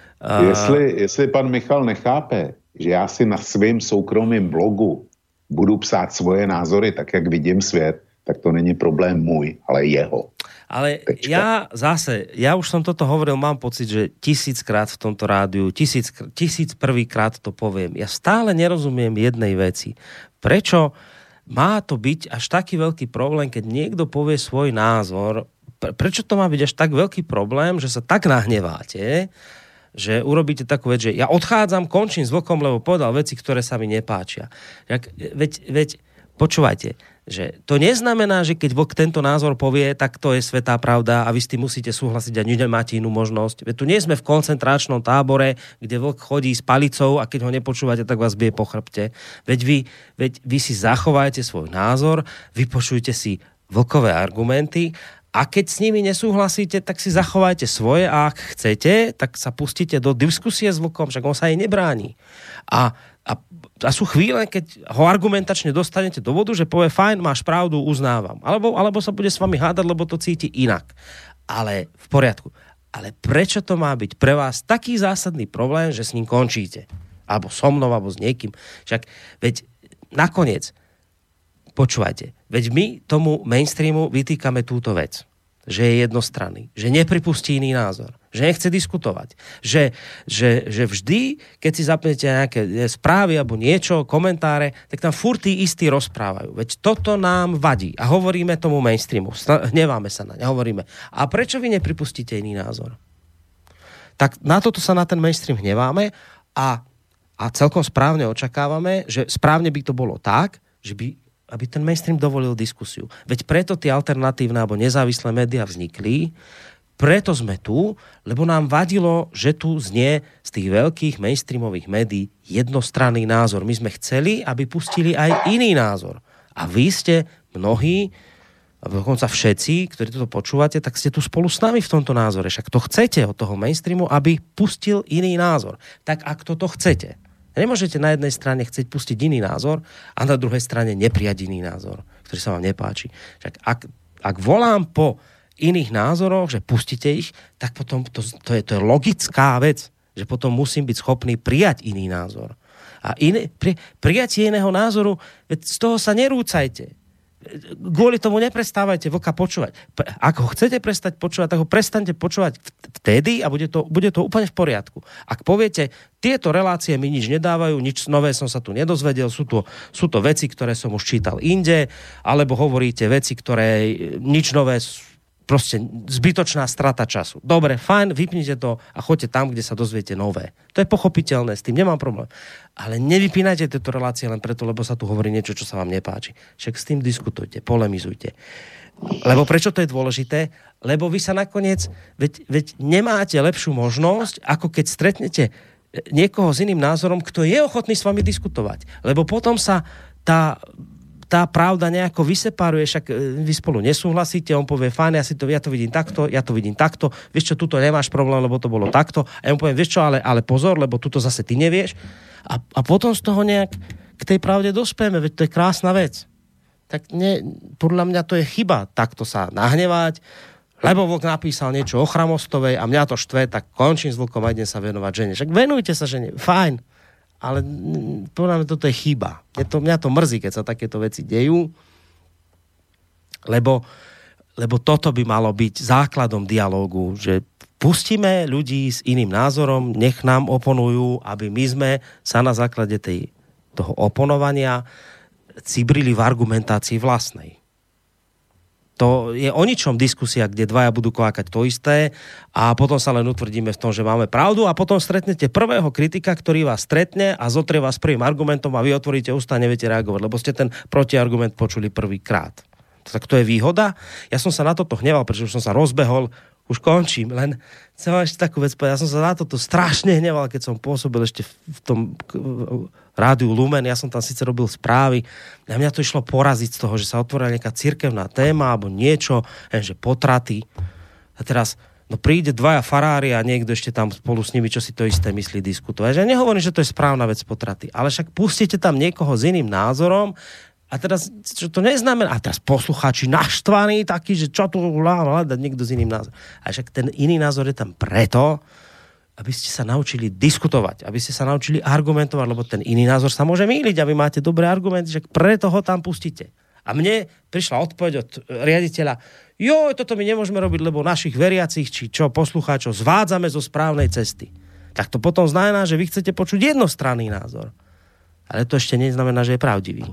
Jestli, jestli pan Michal nechápe, že já si na svém soukromém blogu budu psát svoje názory tak, jak vidím svět, tak to není problém můj, ale jeho. Ale Tečka. ja zase, ja už som toto hovoril, mám pocit, že tisíckrát v tomto rádiu, tisíc, tisíc prvýkrát to poviem. Ja stále nerozumiem jednej veci. Prečo má to byť až taký veľký problém, keď niekto povie svoj názor? Prečo to má byť až tak veľký problém, že sa tak nahneváte, že urobíte takú vec, že ja odchádzam, končím s Vlkom, lebo povedal veci, ktoré sa mi nepáčia. Jak, veď, veď, počúvajte, že to neznamená, že keď Vlk tento názor povie, tak to je svätá pravda a vy s tým musíte súhlasiť a nemáte inú možnosť. Veď tu nie sme v koncentračnom tábore, kde Vlk chodí s palicou a keď ho nepočúvate, tak vás bije po chrbte. Veď vy, veď vy si zachovajte svoj názor, vypočujte si Vlkové argumenty a keď s nimi nesúhlasíte, tak si zachovajte svoje a ak chcete, tak sa pustíte do diskusie s Vlkom, však on sa jej nebráni. A A, a sú chvíle, keď ho argumentačne dostanete do vodu, že povie, fajn, máš pravdu, uznávam. Alebo, alebo sa bude s vami hádať, lebo to cíti inak. Ale v poriadku. Ale prečo to má byť pre vás taký zásadný problém, že s ním končíte? Alebo so mnou, alebo s niekým. Však, veď nakoniec, počúvajte, veď my tomu mainstreamu vytýkame túto vec. Že je jednostranný, že nepripustí iný názor, že nechce diskutovať, že, že, že vždy, keď si zapnete nejaké správy alebo niečo, komentáre, tak tam furt tí istí rozprávajú. Veď toto nám vadí a hovoríme tomu mainstreamu, hneváme sa na ne, hovoríme. A prečo vy nepripustíte iný názor? Tak na toto sa na ten mainstream hneváme a, a celkom správne očakávame, že správne by to bolo tak, že by aby ten mainstream dovolil diskusiu. Veď preto tie alternatívne alebo nezávislé médiá vznikli, preto sme tu, lebo nám vadilo, že tu znie z tých veľkých mainstreamových médií jednostranný názor. My sme chceli, aby pustili aj iný názor. A vy ste mnohí, a dokonca všetci, ktorí toto počúvate, tak ste tu spolu s nami v tomto názore. Však to chcete od toho mainstreamu, aby pustil iný názor. Tak ak toto chcete, nemôžete na jednej strane chcieť pustiť iný názor a na druhej strane neprijať iný názor, ktorý sa vám nepáči. Však ak, ak volám po iných názoroch, že pustíte ich, tak potom to, to, je, to je logická vec, že potom musím byť schopný prijať iný názor. A iné, pri, prijatie iného názoru, veď z toho sa nerúcajte. Kvôli tomu neprestávajte Vlka počúvať. Ak ho chcete prestať počúvať, tak ho prestaňte počúvať vtedy a bude to, bude to úplne v poriadku. Ak poviete, tieto relácie mi nič nedávajú, nič nové som sa tu nedozvedel, sú to, sú to veci, ktoré som už čítal inde, alebo hovoríte veci, ktoré nič nové, proste zbytočná strata času. Dobre, fajn, vypnite to a choďte tam, kde sa dozviete nové. To je pochopiteľné, s tým nemám problém. Ale nevypínajte tieto relácie len preto, lebo sa tu hovorí niečo, čo sa vám nepáči. Však s tým diskutujte, polemizujte. Lebo prečo to je dôležité? Lebo vy sa nakoniec, veď, veď nemáte lepšiu možnosť, ako keď stretnete niekoho s iným názorom, kto je ochotný s vami diskutovať. Lebo potom sa tá tá pravda nejako vyseparuje, však vy spolu nesúhlasíte, on povie, fajn, ja, si to, ja to vidím takto, ja to vidím takto, vieš čo, tuto nemáš problém, lebo to bolo takto, a ja mu poviem, vieš čo, ale, ale pozor, lebo tuto zase ty nevieš, a, a potom z toho nejak k tej pravde dospieme, veď to je krásna vec. Tak ne, podľa mňa to je chyba takto sa nahnevať, lebo Vlk napísal niečo o Chramostovej a mňa to štve, tak končím s Vlkom a idem sa venovať žene. Však venujte sa žene, fajn, ale podľa mňa toto je chyba. Je to, mňa to mrzí, keď sa takéto veci dejú, lebo, lebo toto by malo byť základom dialógu, že pustíme ľudí s iným názorom, nech nám oponujú, aby my sme sa na základe tej, toho oponovania cibrili v argumentácii vlastnej. To je o ničom diskusia, kde dvaja budú kvákať to isté a potom sa len utvrdíme v tom, že máme pravdu a potom stretnete prvého kritika, ktorý vás stretne a zotrie vás prvým argumentom a vy otvoríte ústa a neviete reagovať, lebo ste ten protiargument počuli prvýkrát. Tak to je výhoda. Ja som sa na toto hneval, pretože už som sa rozbehol, už končím, len chcem vám ešte takú vec povedať. Ja som sa na toto strašne hneval, keď som pôsobil ešte v tom rádiu Lumen. Ja som tam síce robil správy a mňa to išlo poraziť z toho, že sa otvorila nejaká cirkevná téma alebo niečo, že potraty. A teraz no príde dvaja farári a niekto ešte tam spolu s nimi, čo si to isté myslí, diskutovať. Ja nehovorím, že to je správna vec potraty, ale však pustíte tam niekoho s iným názorom. A teraz, čo to neznamená, a teraz poslucháči naštvaní takí, že čo tu hľadať niekto s iným názorom. A však ten iný názor je tam preto, aby ste sa naučili diskutovať, aby ste sa naučili argumentovať, lebo ten iný názor sa môže mýliť a vy máte dobré argumenty, že preto ho tam pustíte. A mne prišla odpoveď od riaditeľa, jo, toto my nemôžeme robiť, lebo našich veriacich, či čo, poslucháčov zvádzame zo správnej cesty. Tak to potom znamená, že vy chcete počuť jednostranný názor. Ale to ešte neznamená, že je pravdivý.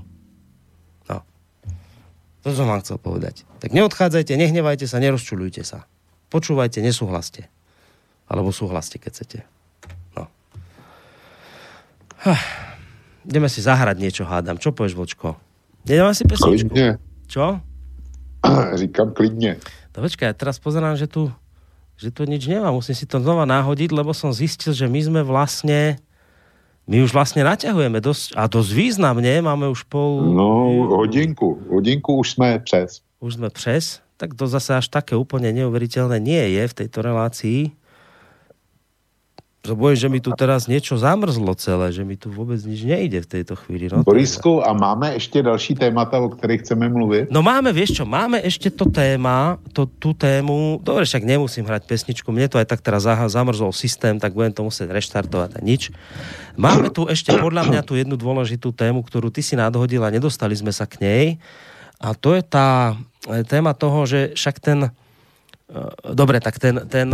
To som vám chcel povedať. Tak neodchádzajte, nehnevajte sa, nerozčuľujte sa. Počúvajte, nesúhlaste. Alebo súhlaste, keď chcete. No. Ideme si zahrať niečo, hádam. Čo povieš, Vočko? Nedáme si pesničku? Klidne. Čo? Říkam klidne. To počkaj, ja teraz pozerám, že tu, že tu nič nemá. Musím si to znova nahodiť, lebo som zistil, že my sme vlastne... My už vlastne naťahujeme dosť, a dosť významne, máme už pol... No, hodinku. Hodinku už sme přes. Už sme přes? Tak to zase až také úplne neuveriteľné nie je v tejto relácii. Bojím, že mi tu teraz niečo zamrzlo celé, že mi tu vôbec nič nejde v tejto chvíli. No, Borisku, a máme ešte další témata, o ktorých chceme mluviť? No máme, vieš čo, máme ešte to téma, to, tú tému, dobre, však nemusím hrať pesničku, mne to aj tak teraz zamrzol systém, tak budem to musieť reštartovať a nič. Máme tu ešte podľa mňa tú jednu dôležitú tému, ktorú ty si nadhodil a nedostali sme sa k nej. A to je tá téma toho, že však ten, dobre, tak ten, ten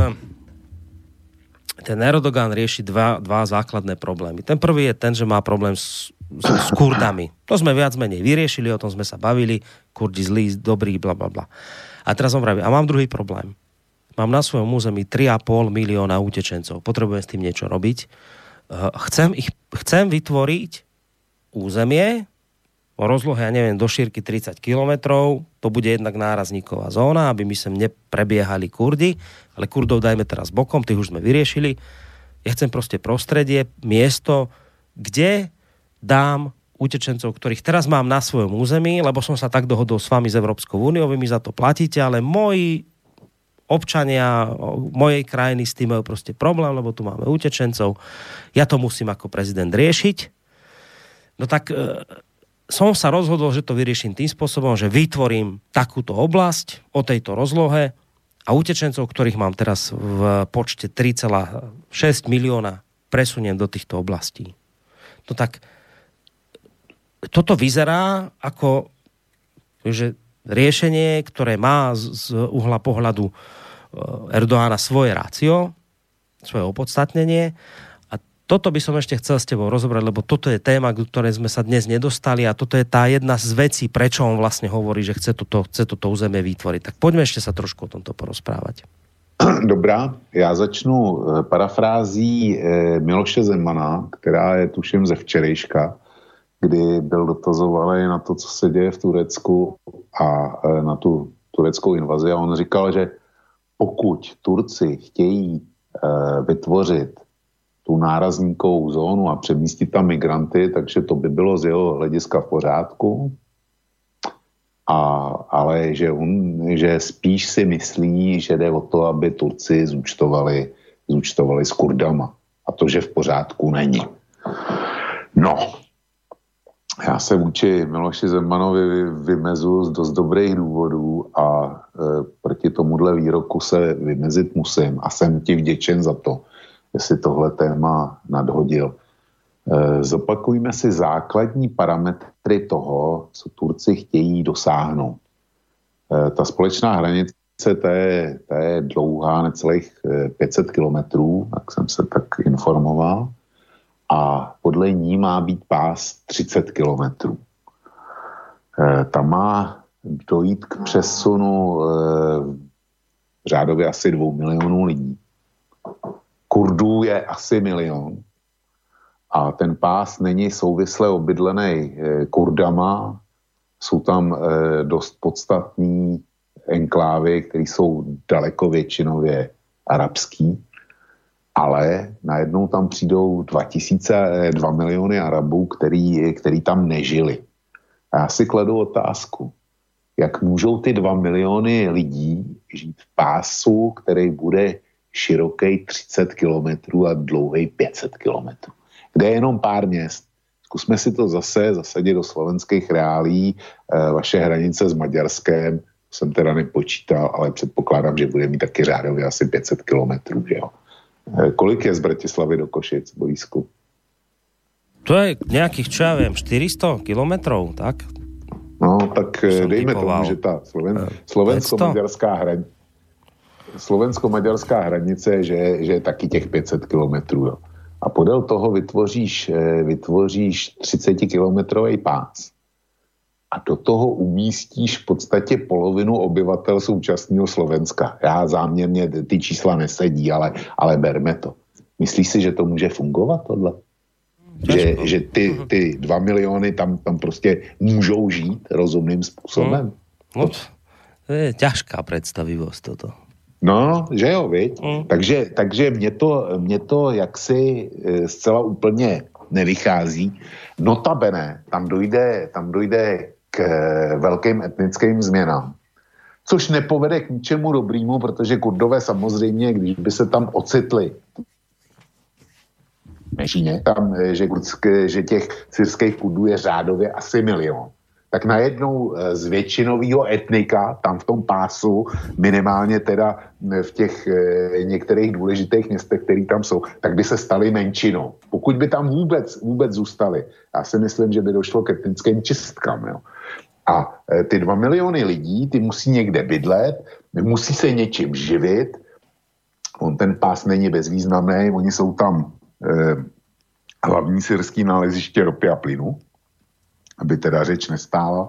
ten Erdogan rieši dva, dva základné problémy. Ten prvý je ten, že má problém s, s, s Kurdami. To sme viac menej vyriešili, o tom sme sa bavili. Kurdi zlí, dobrí, bla, bla, bla. A teraz on vraví, a mám druhý problém. Mám na svojom území tri a pol milióna utečencov. Potrebujem s tým niečo robiť. Chcem, ich, chcem vytvoriť územie o rozlohe, ja neviem, do šírky tridsať kilometrov. To bude jednak nárazníková zóna, aby my sem neprebiehali Kurdi. Ale Kurdov dajme teraz bokom, tých už sme vyriešili. Ja chcem proste prostredie, miesto, kde dám utečencov, ktorých teraz mám na svojom území, lebo som sa tak dohodol s vami z Európskou úniou, vy mi za to platíte, ale moji občania mojej krajiny s tým majú proste problém, lebo tu máme utečencov. Ja to musím ako prezident riešiť. No tak e, som sa rozhodol, že to vyrieším tým spôsobom, že vytvorím takúto oblasť o tejto rozlohe a utečencov, ktorých mám teraz v počte tri celé šesť milióna, presuniem do týchto oblastí. No tak toto vyzerá ako že riešenie, ktoré má z uhla pohľadu Erdoána svoje rácio, svoje opodstatnenie. A toto by som ešte chcel s tebou rozobrať, lebo toto je téma, k ktorej sme sa dnes nedostali a toto je tá jedna z vecí, prečo on vlastne hovorí, že chce toto, chce toto územie vytvoriť. Tak poďme ešte sa trošku o tomto porozprávať. Dobrá, já začnu parafrází Miloše Zemana, která je tuším ze včerejška, kdy byl dotazovaný na to, co se děje v Turecku a na tu tureckou invazi. A on říkal, že pokud Turci chtějí vytvořit tu nárazníkovou zónu a přemístit tam migranty, takže to by bylo z jeho hlediska v pořádku. A, ale že, on, že spíš si myslí, že jde o to, aby Turci zúčtovali, zúčtovali s Kurdama. A to, že v pořádku není. No, já se vůči Miloši Zemanovi vymezu z dost dobrých důvodů a e, proti proti tomuhle výroku se vymezit musím a jsem ti vděčen za to, jestli tohle téma nadhodil. Zopakujme si základní parametry toho, co Turci chtějí dosáhnout. Ta společná hranice, ta je, ta je dlouhá necelých pět set kilometrů, tak jsem se tak informoval, a podle ní má být pás třicet kilometrů. Tam má dojít k přesunu řádově asi dvou milionů lidí. Kurdů je asi milion. A ten pás není souvisle obydlený Kurdama, jsou tam dost podstatný enklávy, které jsou daleko většinově arabský, ale najednou tam přijdou dva tisíce, dva miliony Arabů, který, který tam nežili. A já si kladu otázku, jak můžou ty dva miliony lidí žít v pásu, který bude široký třicet kilometrů a dlouhý pět set kilometrů. Kde je jenom pár měst. Zkusme si to zase zasadit do slovenských reálí. E, vaše hranice s Maďarskem, jsem teda nepočítal, ale předpokládám, že bude mít taky řádově asi pět set kilometrů. Že jo? E, kolik je z Bratislavy do Košic, Borisku? To je nějakých, čo ja viem, štyristo kilometrov, tak? No, tak som dejme typoval tomu, že tá Sloven, slovensko-maďarská hranice slovensko-maďarská hranice, že, že je taky těch pět set kilometrů, jo. A podél toho vytvoříš, vytvoříš třicetikilometrový pás. A do toho umístíš v podstatě polovinu obyvatel současného Slovenska. Já záměrně ty čísla nesedí, ale, ale berme to. Myslíš si, že to může fungovat tohle? Že, že ty, ty dva miliony tam, tam prostě můžou žít rozumným způsobem? No, to je ťažká predstavivosť toto. No, že jo, viď? Mm. Takže, takže mě to, mě to jaksi zcela úplně nevychází. Notabene, tam dojde, tam dojde k velkým etnickým změnám. Což nepovede k ničemu dobrýmu, protože Kurdové samozřejmě, když by se tam ocitli menšině, tam, že, kurdské, že těch syrských Kurdů je řádově asi milion, tak najednou z většinového etnika tam v tom pásu, minimálně teda v těch e, některých důležitých městech, které tam jsou, tak by se staly menšinou. Pokud by tam vůbec, vůbec zůstali. Já si myslím, že by došlo k etnickým čistkám. Jo. A e, ty dva miliony lidí, ty musí někde bydlet, musí se něčím živit. On ten pás není bezvýznamný, oni jsou tam e, hlavní syrský náleziště ropy a plynu, aby teda řeč nestála.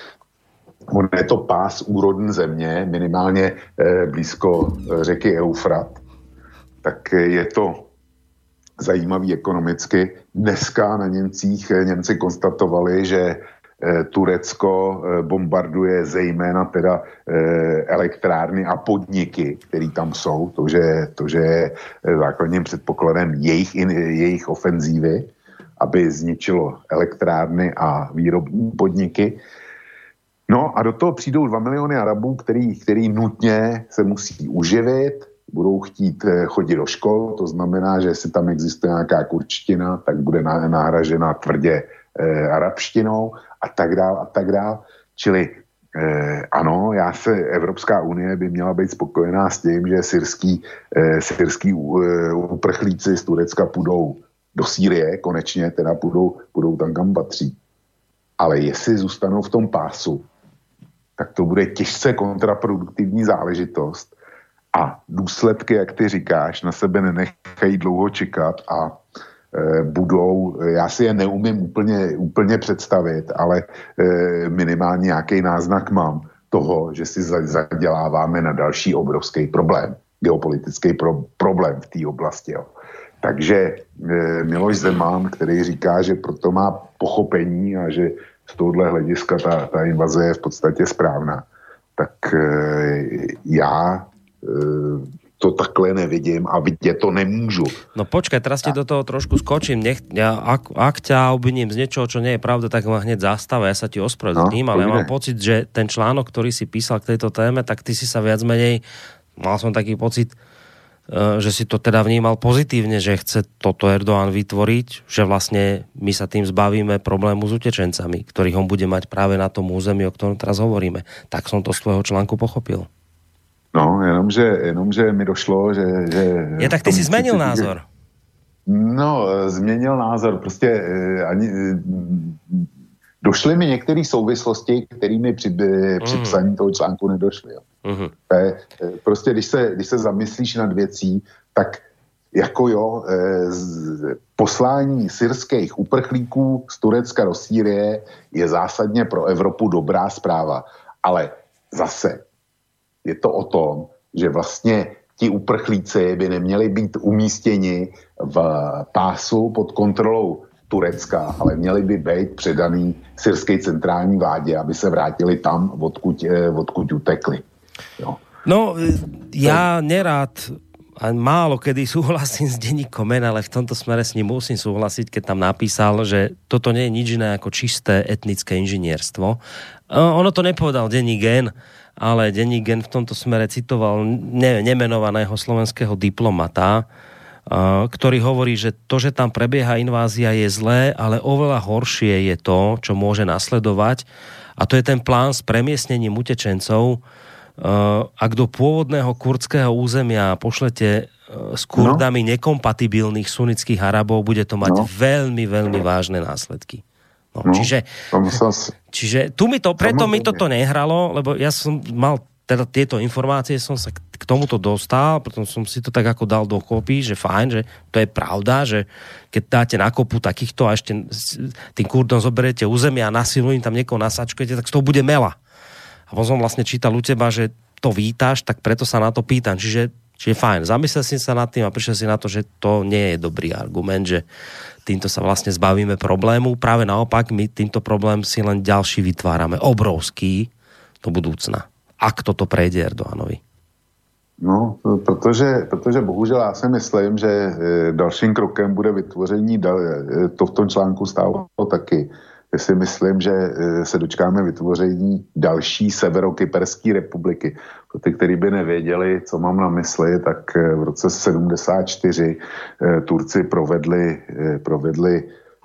On je to pás úrodn země, minimálně eh, blízko řeky Eufrat. Tak je to zajímavý ekonomicky. Dneska na Němcích Němci konstatovali, že eh, Turecko eh, bombarduje zejména teda eh, elektrárny a podniky, které tam jsou. To, že, to, že je základním předpokladem jejich, jejich ofenzívy, aby zničilo elektrárny a výrobní podniky. No a do toho přijdou dva miliony Arabů, který, který nutně se musí uživit, budou chtít chodit do škol, to znamená, že jestli tam existuje nějaká kurčtina, tak bude nahražena tvrdě eh, arabštinou a tak dál a tak dál. Čili eh, ano, já se, Evropská unie by měla být spokojená s tím, že syrský, eh, syrský eh, uprchlíci z Turecka půjdou do Sýrie, konečně teda půjdou, půjdou tam, kam patří. Ale jestli zůstanou v tom pásu, tak to bude těžce kontraproduktivní záležitost a důsledky, jak ty říkáš, na sebe nenechají dlouho čekat a e, budou, já si je neumím úplně, úplně představit, ale e, minimálně nějaký náznak mám toho, že si zaděláváme na další obrovský problém, geopolitický pro, problém v té oblasti. Jo. Takže e, Miloš Zeman, který říká, že proto má pochopení a že z tohohle hlediska ta, ta invaze je v podstatě správná, tak e, já e, to takhle nevidím a vidět to nemůžu. No počkaj, teraz ti do toho trošku skočím. Nech, ja, ak, ak ťa obviním z niečoho, čo nie je pravda, tak ma hneď zastava, ja sa ti ospravedlním, no, ale ja mám pocit, že ten článok, ktorý si písal k tejto téme, tak ty si sa viac menej, mal som taký pocit, že si to teda vnímal pozitívne, že chce toto Erdoğan vytvoriť, že vlastne my sa tým zbavíme problému s utečencami, ktorých on bude mať práve na tom území, o ktorom teraz hovoríme. Tak som to z tvojho článku pochopil. No, jenomže, jenomže mi došlo, že... že je, tak ty si zmenil názor. No, změnil názor. Prostě ani... Došly mi některé souvislosti, kterými při, při psaní toho článku nedošly. Jo. Uh-huh. Prostě, když se, když se zamyslíš nad věcí, tak jako jo, z, poslání syrských uprchlíků z Turecka do Sýrie je zásadně pro Evropu dobrá zpráva. Ale zase je to o tom, že vlastně ti uprchlíci by neměli být umístěni v pásu pod kontrolou Turecka, ale měli by být předaný syrské centrální vládě, aby se vrátili tam, odkud, odkud utekli. Jo. No, ja nerád a málo kedy súhlasím s denníkom N, ale v tomto smere s ním musím súhlasiť, keď tam napísal, že toto nie je nič iné ako čisté etnické inžinierstvo. Ono to nepovedal denník N, ale denník N v tomto smere citoval ne, nemenovaného slovenského diplomata, ktorý hovorí, že to, že tam prebieha invázia, je zlé, ale oveľa horšie je to, čo môže nasledovať, a to je ten plán s premiestnením utečencov. Ak do pôvodného kurdského územia pošlete s Kurdami no. nekompatibilných sunnických Arabov, bude to mať no. veľmi, veľmi vážne následky. No, no. Čiže, čiže tu mi to, preto mi toto nehralo, lebo ja som mal teda tieto informácie, som sa k tomuto dostal, potom som si to tak ako dal dokopy, že fajn, že to je pravda, že keď dáte na kopu takýchto a ešte tým Kurdom zoberiete územie a na silu im tam niekoho nasačkujete, tak z toho bude mela. A potom som vlastne čítal u teba, že to vítaš, tak preto sa na to pýtam. Čiže, čiže fajn, zamyslel si sa nad tým a prišiel si na to, že to nie je dobrý argument, že týmto sa vlastne zbavíme problému. Práve naopak, my týmto problém si len ďalší vytvárame. Obrovský do budúcna. Ak toto prejde Erdoganovi. No, protože, protože bohužel já si myslím, že dalším krokem bude vytvoření, to v tom článku stálo taky, já si myslím, že se dočkáme vytvoření další severokyperské republiky. Pro ty, kteří by nevěděli, co mám na mysli, tak v roce sedmdesát čtyři Turci provedli, provedli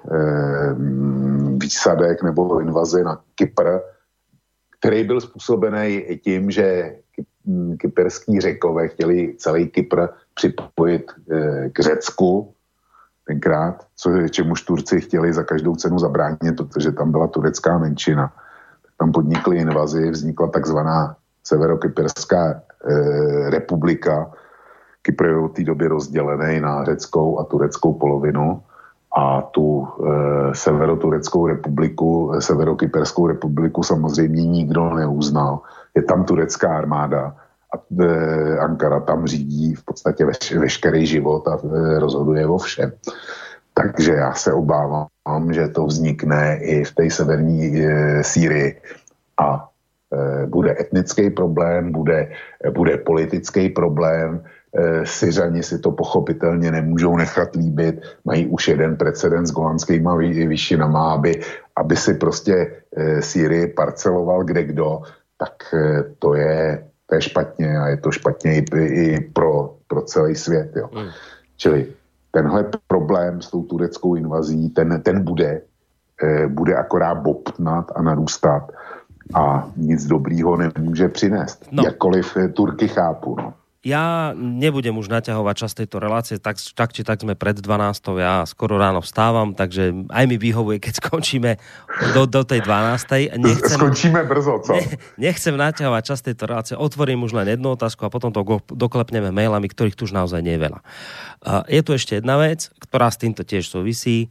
výsadek nebo invazi na Kypr, který byl způsobený tím, že kyperský Řekové chtěli celý Kypr připojit k Řecku tenkrát, co, čemuž Turci chtěli za každou cenu zabránit, protože tam byla turecká menšina. Tam podnikli invazi, vznikla takzvaná severokyperská e, republika. Kypr je od té doby rozdělený na řeckou a tureckou polovinu a tu e, severotureckou republiku, severokyperskou republiku samozřejmě nikdo neuznal. Je tam turecká armáda a e, Ankara tam řídí v podstatě veš, veškerý život a e, rozhoduje o všem. Takže já se obávám, že to vznikne i v té severní e, Sýrii a e, bude etnický problém, bude, e, bude politický problém. E, Syřani si to pochopitelně nemůžou nechat líbit, mají už jeden precedens s golanskýma výšinama, aby, aby si prostě e, Sýrii parceloval kdekdo, tak e, to je to je špatně a je to špatně i, i pro, pro celý svět. Jo. Mm. Čili tenhle problém s tou tureckou invazí, ten, ten bude, eh, bude akorát bobtnat a narůstat a nic dobrýho nemůže přinést. No. Jakkoliv Turky chápu. No. Ja nebudem už naťahovať čas tejto relácie, tak, tak či tak sme pred dvanástou, ja skoro ráno vstávam, takže aj mi vyhovuje, keď skončíme do, do tej dvanástej. Nechcem, Skončíme brzo, co? Ne, nechcem naťahovať čas tejto relácie, otvorím už len jednu otázku a potom to go, doklepneme mailami, ktorých tu už naozaj nie je veľa. Uh, je tu ešte jedna vec, ktorá s týmto tiež súvisí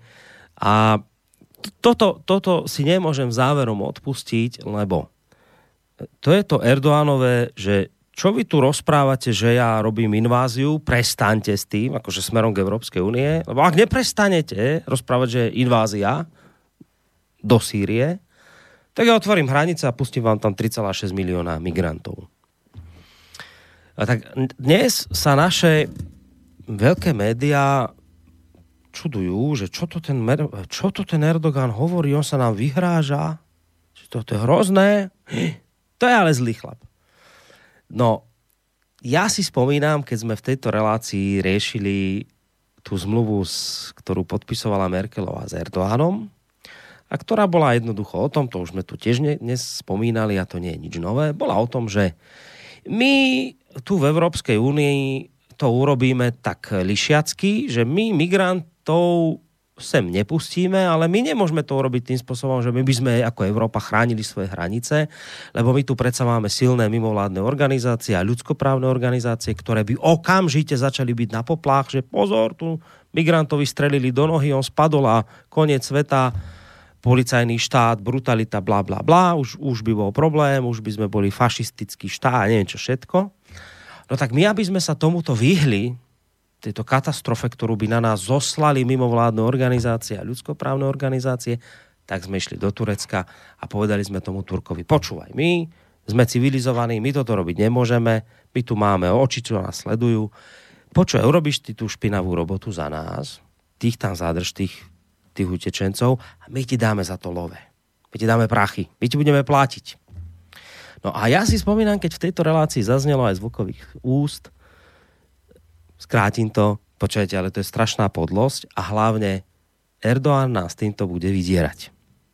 a toto, toto si nemôžem záverom odpustiť, lebo to je to Erdoganové, že čo vy tu rozprávate, že ja robím inváziu, prestaňte s tým, akože smerom k Európskej únie, lebo ak neprestanete rozprávať, že je invázia do Sýrie, tak ja otvorím hranice a pustím vám tam tri celé šesť milióna migrantov. A tak dnes sa naše veľké médiá čudujú, že čo to ten, čo to ten Erdogan hovorí, on sa nám vyhráža, že toto je hrozné, to je ale zlý chlap. No, ja si spomínam, keď sme v tejto relácii riešili tú zmluvu, ktorú podpisovala Merkelová s Erdoganom a ktorá bola jednoducho o tom, to už sme tu tiež dnes spomínali a to nie je nič nové, bola o tom, že my tu v Európskej únii to urobíme tak lišiacky, že my migrantov sem nepustíme, ale my nemôžeme to urobiť tým spôsobom, že my by sme ako Európa chránili svoje hranice, lebo my tu predsa máme silné mimovládne organizácie a ľudskoprávne organizácie, ktoré by okamžite začali byť na poplách, že pozor, tu migrantovi strelili do nohy, on spadol a koniec sveta, policajný štát, brutalita, bla bla bla, už, už by bol problém, už by sme boli fašistický štát a neviem čo všetko. No tak my, aby sme sa tomuto vyhli, tejto katastrofe, ktorú by na nás zoslali mimovládne organizácie a ľudskoprávne organizácie, tak sme išli do Turecka a povedali sme tomu Turkovi, počúvaj, my sme civilizovaní, my toto robiť nemôžeme, my tu máme oči, čo nás sledujú, počúvaj, urobíš ty tú špinavú robotu za nás, tých tam zadrž, tých, tých utečencov a my ti dáme za to love. My ti dáme prachy, my ti budeme platiť. No a ja si spomínam, keď v tejto relácii zaznelo aj zvukových úst, skrátim to, počujete, ale to je strašná podlosť a hlavne Erdoğan nás týmto bude vydierať.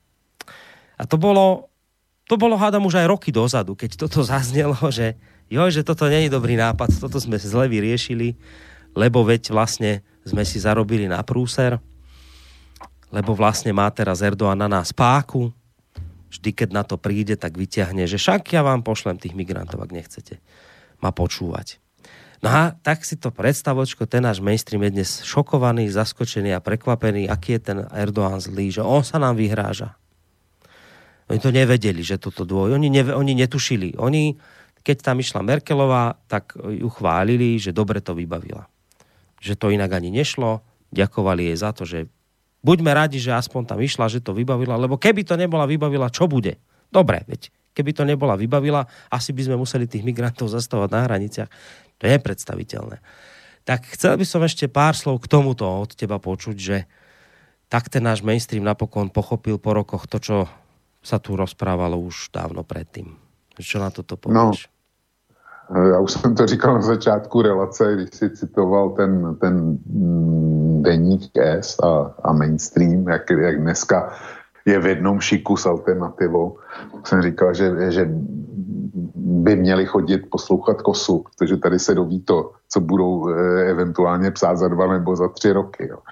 A to bolo, to bolo hádam už aj roky dozadu, keď toto zaznelo, že joj, že toto nie je dobrý nápad, toto sme zle vyriešili, lebo veď vlastne sme si zarobili na prúser, lebo vlastne má teraz Erdoğan na nás páku, vždy keď na to príde, tak vyťahne, že však ja vám pošlem tých migrantov, ak nechcete ma počúvať. No a tak si to predstavočko, ten náš mainstream je dnes šokovaný, zaskočený a prekvapený, aký je ten Erdoğan zlý, že on sa nám vyhráža. Oni to nevedeli, že toto dvoj, oni, neve, oni netušili. Oni, keď tam išla Merkelová, tak ju chválili, že dobre to vybavila. Že to inak ani nešlo, ďakovali jej za to, že buďme radi, že aspoň tam išla, že to vybavila, lebo keby to nebola vybavila, čo bude? Dobre, veď keby to nebola vybavila, asi by sme museli tých migrantov zastavovať na hraniciach. To je predstaviteľné. Tak chcel by som ešte pár slov k tomuto od teba počuť, že tak ten náš mainstream napokon pochopil po rokoch to, čo sa tu rozprávalo už dávno predtým. Čo na toto povieš? No, já už jsem to říkal na začátku relace, když si citoval ten, ten deník S a, a mainstream, jak, jak dneska je v jednom šiku s alternativou. Jsem říkal, že, že by měli chodit poslouchat Kosu, protože tady se doví to, co budou e, eventuálně psát za dva nebo za tři roky. Jo.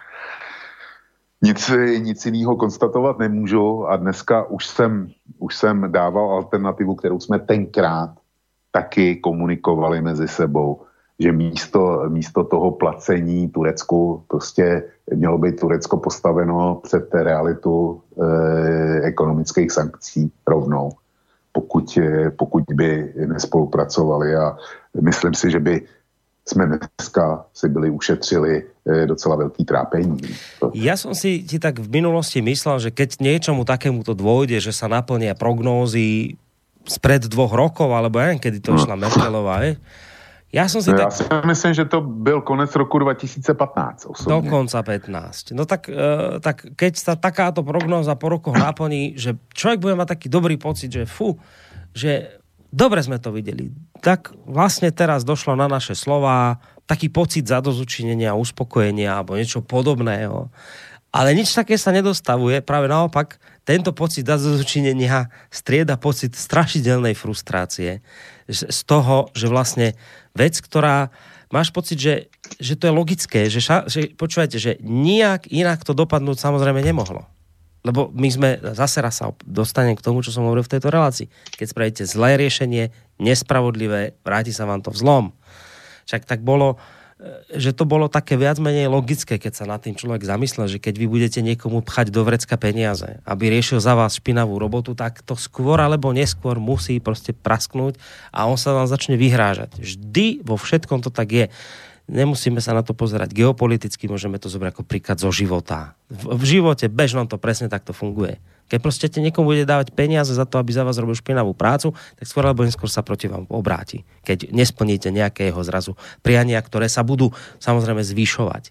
Nic, nic jiného konstatovat nemůžu a dneska už jsem, už jsem dával alternativu, kterou jsme tenkrát taky komunikovali mezi sebou, že místo, místo toho placení Turecku prostě mělo být Turecko postaveno před realitu e, ekonomických sankcí rovnou, pokud, pokud by nespolupracovali a myslím si, že by jsme dneska si byli ušetřili docela veľký trápení. Ja som si ti tak v minulosti myslel, že keď niečomu takémuto dôjde, že sa naplnia prognózy spred dvoch rokov, alebo ja neviem, kedy to išla Merkelová, je? Ja som si no, tak... Ja si myslím, že to byl konec roku dva tisíce pätnásť osobne. Do konca pätnásť. No tak, e, tak keď sa takáto prognóza po rokoch naplní, že človek bude mať taký dobrý pocit, že fú, že dobre sme to videli. Tak vlastne teraz došlo na naše slová taký pocit zadozučinenia, uspokojenia alebo niečo podobného. Ale nič také sa nedostavuje. Práve naopak, tento pocit zadozučinenia strieda pocit strašidelnej frustrácie z toho, že vlastne vec, ktorá máš pocit, že, že to je logické, že, ša, že počúvajte, že nijak inak to dopadnúť samozrejme nemohlo. Lebo my sme, zase raz sa dostanem k tomu, čo som hovoril v tejto relácii. Keď spravíte zlé riešenie, nespravodlivé, vráti sa vám to v zlom. Však tak bolo, že to bolo také viac menej logické, keď sa nad tým človek zamyslel, že keď vy budete niekomu pchať do vrecka peniaze, aby riešil za vás špinavú robotu, tak to skôr alebo neskôr musí proste prasknúť a on sa vám začne vyhrážať. Vždy vo všetkom to tak je. Nemusíme sa na to pozerať geopoliticky, môžeme to zobrať ako príklad zo života. V, v živote bežnom to presne takto funguje. Keď proste niekomu bude dávať peniaze za to, aby za vás robil špinavú prácu, tak skôr alebo neskôr sa proti vám obráti. Keď nesplníte nejakého zrazu priania, ktoré sa budú samozrejme zvyšovať.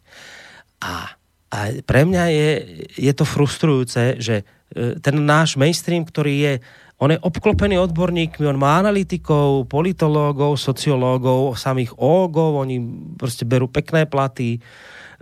A, a pre mňa je, je to frustrujúce, že ten náš mainstream, ktorý je on je obklopený odborníkmi, on má analytikov, politológov, sociológov, samých ógov, oni proste berú pekné platy,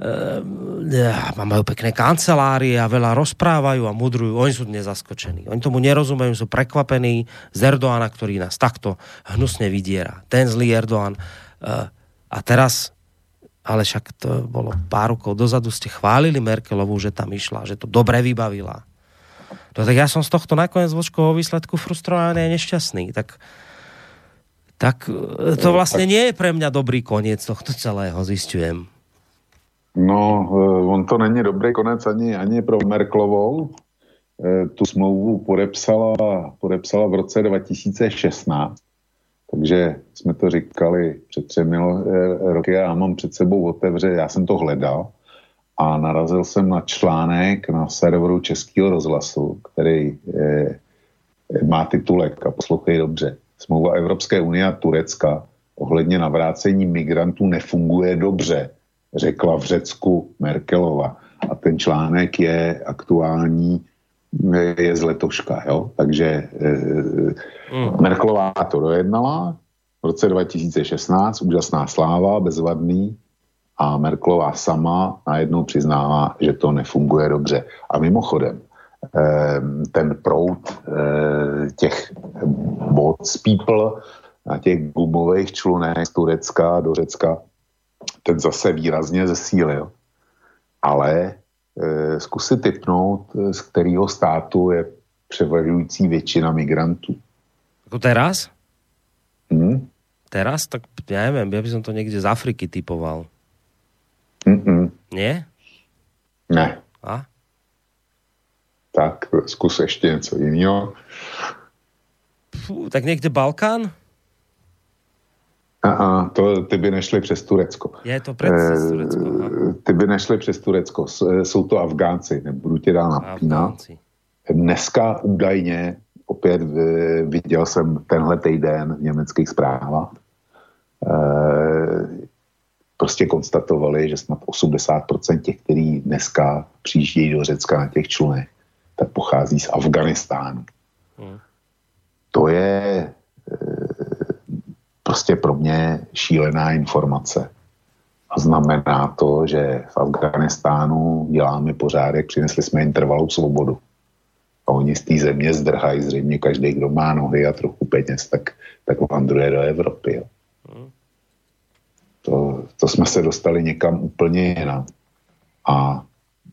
e, majú pekné kancelárie a veľa rozprávajú a mudrujú. Oni sú dnes zaskočení. Oni tomu nerozumejú, sú prekvapení z Erdoána, ktorý nás takto hnusne vydiera. Ten zlý Erdoán. E, a teraz, ale však to bolo pár rokov dozadu, ste chválili Merkelovú, že tam išla, že to dobre vybavila. No tak ja som z tohto nakoniec vočkového výsledku frustrovaný a nešťastný. Tak, tak to vlastne nie je pre mňa dobrý koniec tohto celého, zisťujem. No, on to není dobrý konec ani, ani pro Merkelovou. Tu smlouvu podepsala, podepsala v roce dva tisíce šestnáct. Takže jsme to říkali před třemi roky a já mám před sebou otevře, já jsem to hledal a narazil jsem na článek na serveru Českého rozhlasu, který je, má titulek, a poslouchej dobře, smlouva Evropské unie a Turecka ohledně navrácení migrantů nefunguje dobře, řekla v Řecku Merkelova. A ten článek je aktuální, je z letoška, jo? Takže mm. Merkelová to dojednala v roce dva tisíce šestnáct, úžasná sláva, bezvadný, a Merkelová sama najednou přiznává, že to nefunguje dobře. A mimochodem, ten proud těch boats people na těch gumových člunech z Turecka do Řecka, ten zase výrazně zesílil. Ale zkusit tipnout, z kterého státu je převažující většina migrantů. Ako teraz? Hmm? Teraz? Tak ja neviem, ja by som to niekde z Afriky typoval. Mm-mm. Nie? Ne. A? Tak, zkus ještě něco jiného. Fú, tak niekde Balkán? Aha, to ty by nešli přes Turecko. Je to přes Turecko. Aha. Ty by nešli přes Turecko. Jsou to Afgánci, nebudu tě dál napínat. Dneska údajně, opět viděl jsem tenhle týden v německých zprávách, prostě konstatovali, že snad osmdesát procent těch, kteří dneska přijíždějí do Řecka na těch člunech, tak pochází z Afganistánu. Hmm. To je prostě pro mě šílená informace. A znamená to, že v Afganistánu děláme pořádek, přinesli jsme jim trvalou svobodu. A oni z té země zdrhají, zřejmě každý, kdo má nohy a trochu peněz, tak, tak vandruje do Evropy. Jo. To, to jsme se dostali někam úplně jinam. A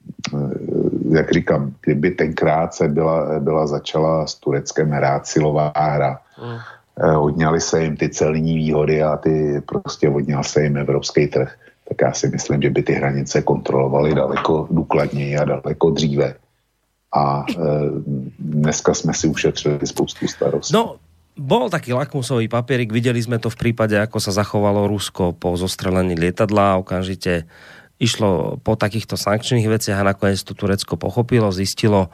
jak říkám, kdyby tenkrát se byla, byla začala s Tureckem hrát silová hra, mm. odňali se jim ty celní výhody a ty prostě odňal se jim evropský trh, tak já si myslím, že by ty hranice kontrolovaly daleko důkladněji a daleko dříve. A e, dneska jsme si ušetřili spoustu starostí. No, bol taký lakmusový papierik, videli sme to v prípade, ako sa zachovalo Rusko po zostrelení lietadla, okamžite išlo po takýchto sankčných veciach a nakoniec to Turecko pochopilo, zistilo,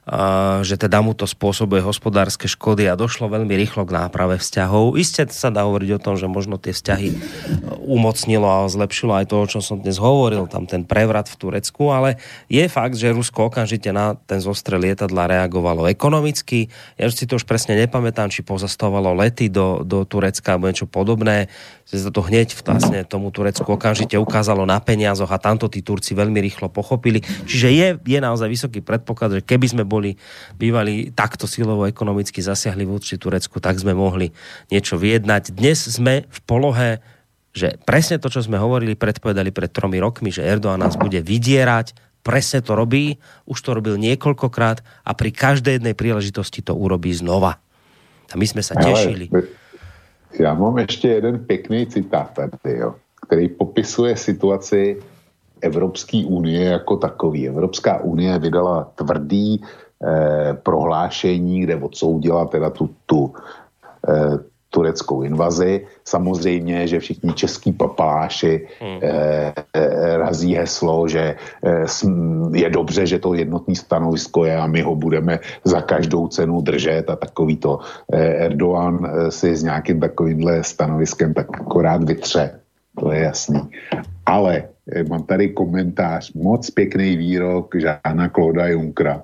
že teda mu to spôsobuje hospodárske škody a došlo veľmi rýchlo k náprave vzťahov. Isté sa dá hovoriť o tom, že možno tie vzťahy umocnilo a zlepšilo aj to, o čom som dnes hovoril, tam ten prevrat v Turecku, ale je fakt, že Rusko okamžite na ten zostrel lietadla reagovalo ekonomicky. Ja si to už presne nepamätám, či pozastavovalo lety do, do Turecka alebo niečo podobné. Že to hneď vlastne tomu Turecku okamžite ukázalo na peniazoch a tamto tí Turci veľmi rýchlo pochopili. Čiže je, je naozaj vysoký predpoklad, že keby sme boli bývali takto silovo ekonomicky zasiahli voči Turecku, tak sme mohli niečo vyjednať. Dnes sme v polohe, že presne to, čo sme hovorili, predpovedali pred tromi rokmi, že Erdoğan nás bude vydierať, presne to robí, už to robil niekoľkokrát a pri každej jednej príležitosti to urobí znova. A my sme sa tešili. Ale já mám ještě jeden pěkný citát tady, jo, který popisuje situaci Evropské unie jako takový. Evropská unie vydala tvrdý eh, prohlášení, kde odsoudila teda tu, tu eh, tureckou invazi. Samozřejmě, že všichni český papaláši hmm. eh, eh, razí heslo, že eh, je dobře, že to jednotné stanovisko je a my ho budeme za každou cenu držet a takový to eh, Erdoğan eh, si s nějakým takovýmhle stanoviskem tak akorát vytře. To je jasný. Ale eh, mám tady komentář, moc pěkný výrok Žána Clauda Junckera.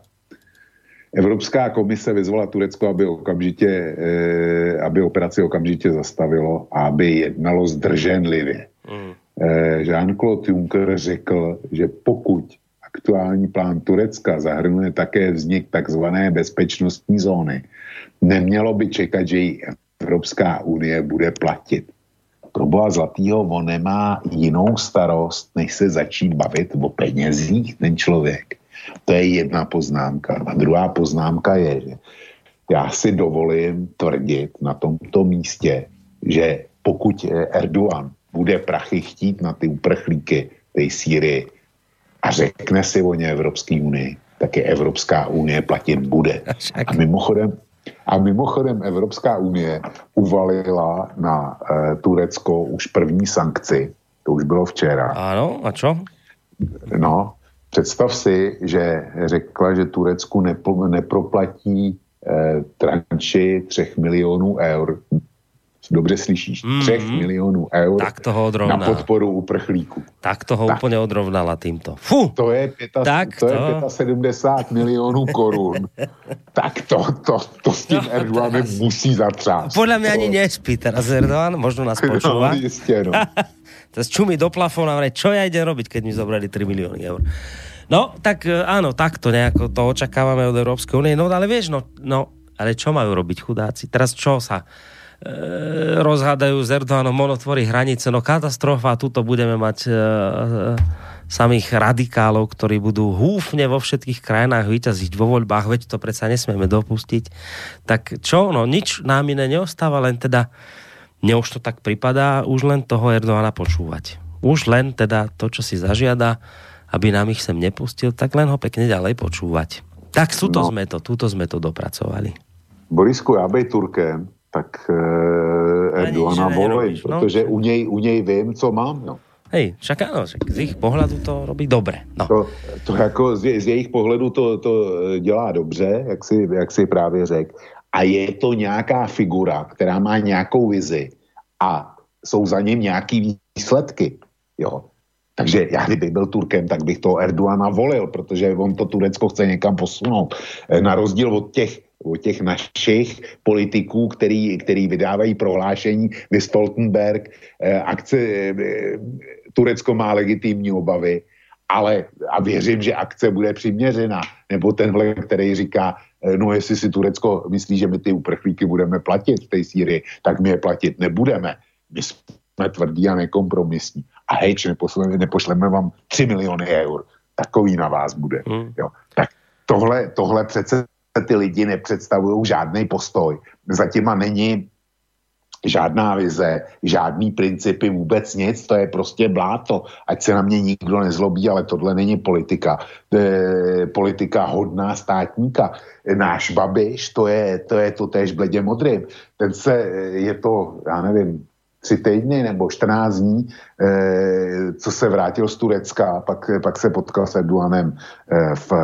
Evropská komise vyzvala Turecko, aby okamžitě, eh, aby operaci okamžitě zastavilo a aby jednalo zdrženlivě. Mm. Jean-Claude Juncker řekl, že pokud aktuální plán Turecka zahrnuje také vznik takzvané bezpečnostní zóny, nemělo by čekat, že ji Evropská unie bude platit. Pro boha zlatýho, on nemá jinou starost, než se začít bavit o penězích ten člověk. To je jedna poznámka. A druhá poznámka je, že já si dovolím tvrdit na tomto místě, že pokud Erdogan bude prachy chtít na ty uprchlíky té Sýrii a řekne si o ně Evropské unii, tak je Evropská unie platit bude. A mimochodem, a mimochodem Evropská unie uvalila na e, Turecko už první sankci, to už bylo včera. Ano, a čo? No, představ si, že řekla, že Turecku nepo, neproplatí e, tranši třech milionů eur. Dobře slyšíš, mm-hmm. třech milionů eur tak toho na podporu uprchlíků. Tak toho tak. Úplně odrovnala týmto. Fú! To je, pěta, tak to to... je sedmdesát pět milionů korun. Tak to, to, to s tím Erdoganem musí zatřást. Podľa mňa ani nespí teraz Erdogan, možno nás počúva. No, jistě, no. Teraz čumí do plafóna a vraj, čo ja idem robiť, keď mi zobrali tri milióny eur. No, tak áno, takto nejako to očakávame od Európskej únie. No, ale vieš, no, no, ale čo majú robiť chudáci? Teraz čo sa rozhádajú s Erdoganom, on otvorí hranice, no katastrofa, tuto budeme mať e, e, samých radikálov, ktorí budú húfne vo všetkých krajinách vyťaziť vo voľbách, veď to predsa nesmieme dopustiť. Tak čo, no nič nám iné neostáva, len teda mne už to tak pripadá, už len toho Erdogana počúvať. Už len teda to, čo si zažiada, aby nám ich sem nepustil, tak len ho pekne ďalej počúvať. Tak túto no. sme to, túto sme to dopracovali. Borisku, ja bej Turkem, tak uh, Erdogana volej, no? Protože u něj, u něj vím, co mám. No. Hej, však áno, však z jejich pohledu to robí dobre. No. To, to jako z, z jejich pohledu to, to dělá dobře, jak si, jak si právě řekl. A je to nějaká figura, která má nějakou vizi a jsou za ním nějaký výsledky. Jo. Takže já, kdybych byl Turkem, tak bych toho Erdogana volil, protože on to Turecko chce někam posunout. Na rozdíl od těch od těch našich politiků, který, který vydávají prohlášení, vy Stoltenberg, eh, akce, eh, Turecko má legitimní obavy, ale a věřím, že akce bude přiměřená. Nebo tenhle, který říká, eh, no jestli si Turecko myslí, že my ty uprchlíky budeme platit v té Sýrii, tak my je platit nebudeme. My jsme tvrdí a nekompromisní. A hejč, nepošleme, nepošleme vám tři miliony eur. Takový na vás bude. Hmm. Jo. Tak tohle, tohle přece ty lidi nepředstavují žádný postoj. Za těma není žádná vize, žádný principy, vůbec nic, to je prostě bláto. Ať se na mě nikdo nezlobí, ale tohle není politika. E, politika hodná státníka. Náš Babiš, to je to, je to též bledě modrým. Ten se, je to, já nevím, tři týdny nebo čtrnáct dní, eh, co se vrátil z Turecka, pak, pak se potkal s Erdoganem eh, v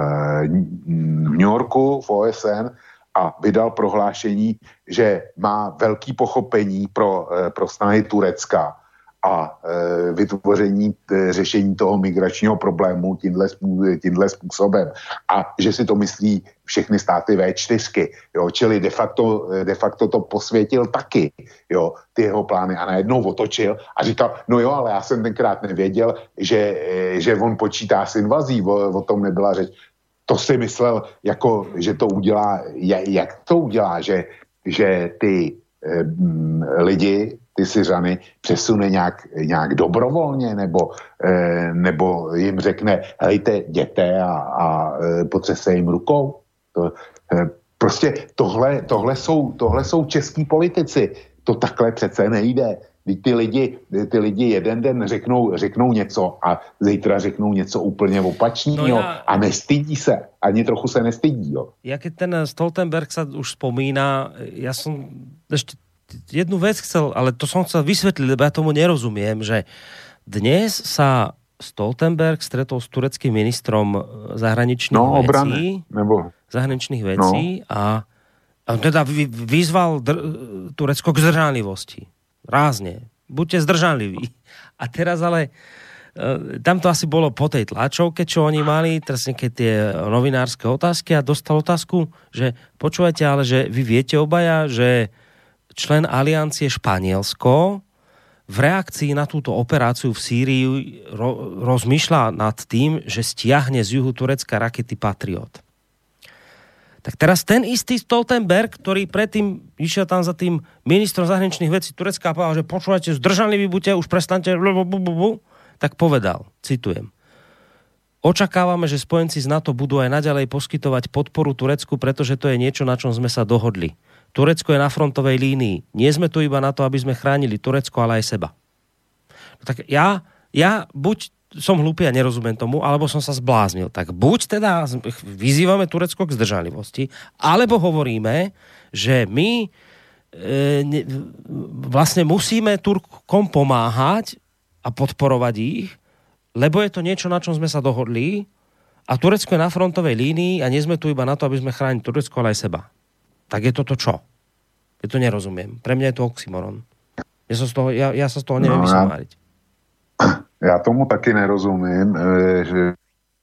New Yorku, v O S N a vydal prohlášení, že má velký pochopení pro, eh, pro snahy Turecka a e, vytvoření t, řešení toho migračního problému tímhle, tímhle způsobem. A že si to myslí všechny státy vé čtyřky. Jo? Čili de facto, de facto to posvětil taky, jo? Ty jeho plány a najednou otočil a říkal, no jo, ale já jsem tenkrát nevěděl, že, že on počítá s invazí, o, o tom nebyla řeč. To si myslel, jako, že to udělá, jak to udělá, že, že ty e, lidi ty Syřany přesune nějak, nějak dobrovolně, nebo, eh, nebo jim řekne, hejte, jděte a, a eh, potřese jim rukou. To, eh, prostě tohle, tohle, jsou, tohle jsou český politici. To takhle přece nejde. Ty lidi, ty lidi jeden den řeknou, řeknou něco a zítra řeknou něco úplně opačného no ja, a nestydí se. Ani trochu se nestydí. Jo. Ja keď ten Stoltenberg sa už spomína, ja som ešte jednu vec chcel, ale to som chcel vysvetliť, lebo ja tomu nerozumiem, že dnes sa Stoltenberg stretol s tureckým ministrom zahraničných no, vecí, obrany, nebo... zahraničných vecí no. a, a teda vyzval dr- Turecko k zdržanlivosti. Rázne. Buďte zdržanliví. A teraz ale tam to asi bolo po tej tlačovke, čo oni mali, teraz nejaké tie novinárske otázky a dostal otázku, že počúvajte, ale že vy viete obaja, že člen aliancie Španielsko v reakcii na túto operáciu v Sýrii ro- rozmýšľa nad tým, že stiahne z juhu Turecka rakety Patriot. Tak teraz ten istý Stoltenberg, ktorý predtým išiel tam za tým ministrom zahraničných vecí Turecka a povedal, že počúvajte, zdržanliví buďte, už prestaňte, tak povedal, citujem: očakávame, že spojenci z NATO budú aj naďalej poskytovať podporu Turecku, pretože to je niečo, na čom sme sa dohodli. Turecko je na frontovej línii. Nie sme tu iba na to, aby sme chránili Turecko, ale aj seba. No tak ja, ja buď som hlúpy a nerozumiem tomu, alebo som sa zbláznil. Tak buď teda vyzývame Turecko k zdržanlivosti, alebo hovoríme, že my e, ne, vlastne musíme Turkom pomáhať a podporovať ich, lebo je to niečo, na čom sme sa dohodli a Turecko je na frontovej línii a nie sme tu iba na to, aby sme chránili Turecko, ale aj seba. Tak je toto čo? Ja to nerozumiem. Pre mňa je to oxymoron. Ja sa z toho, ja, ja sa z toho neviem no, vysomáriť. Já tomu taky nerozumím, že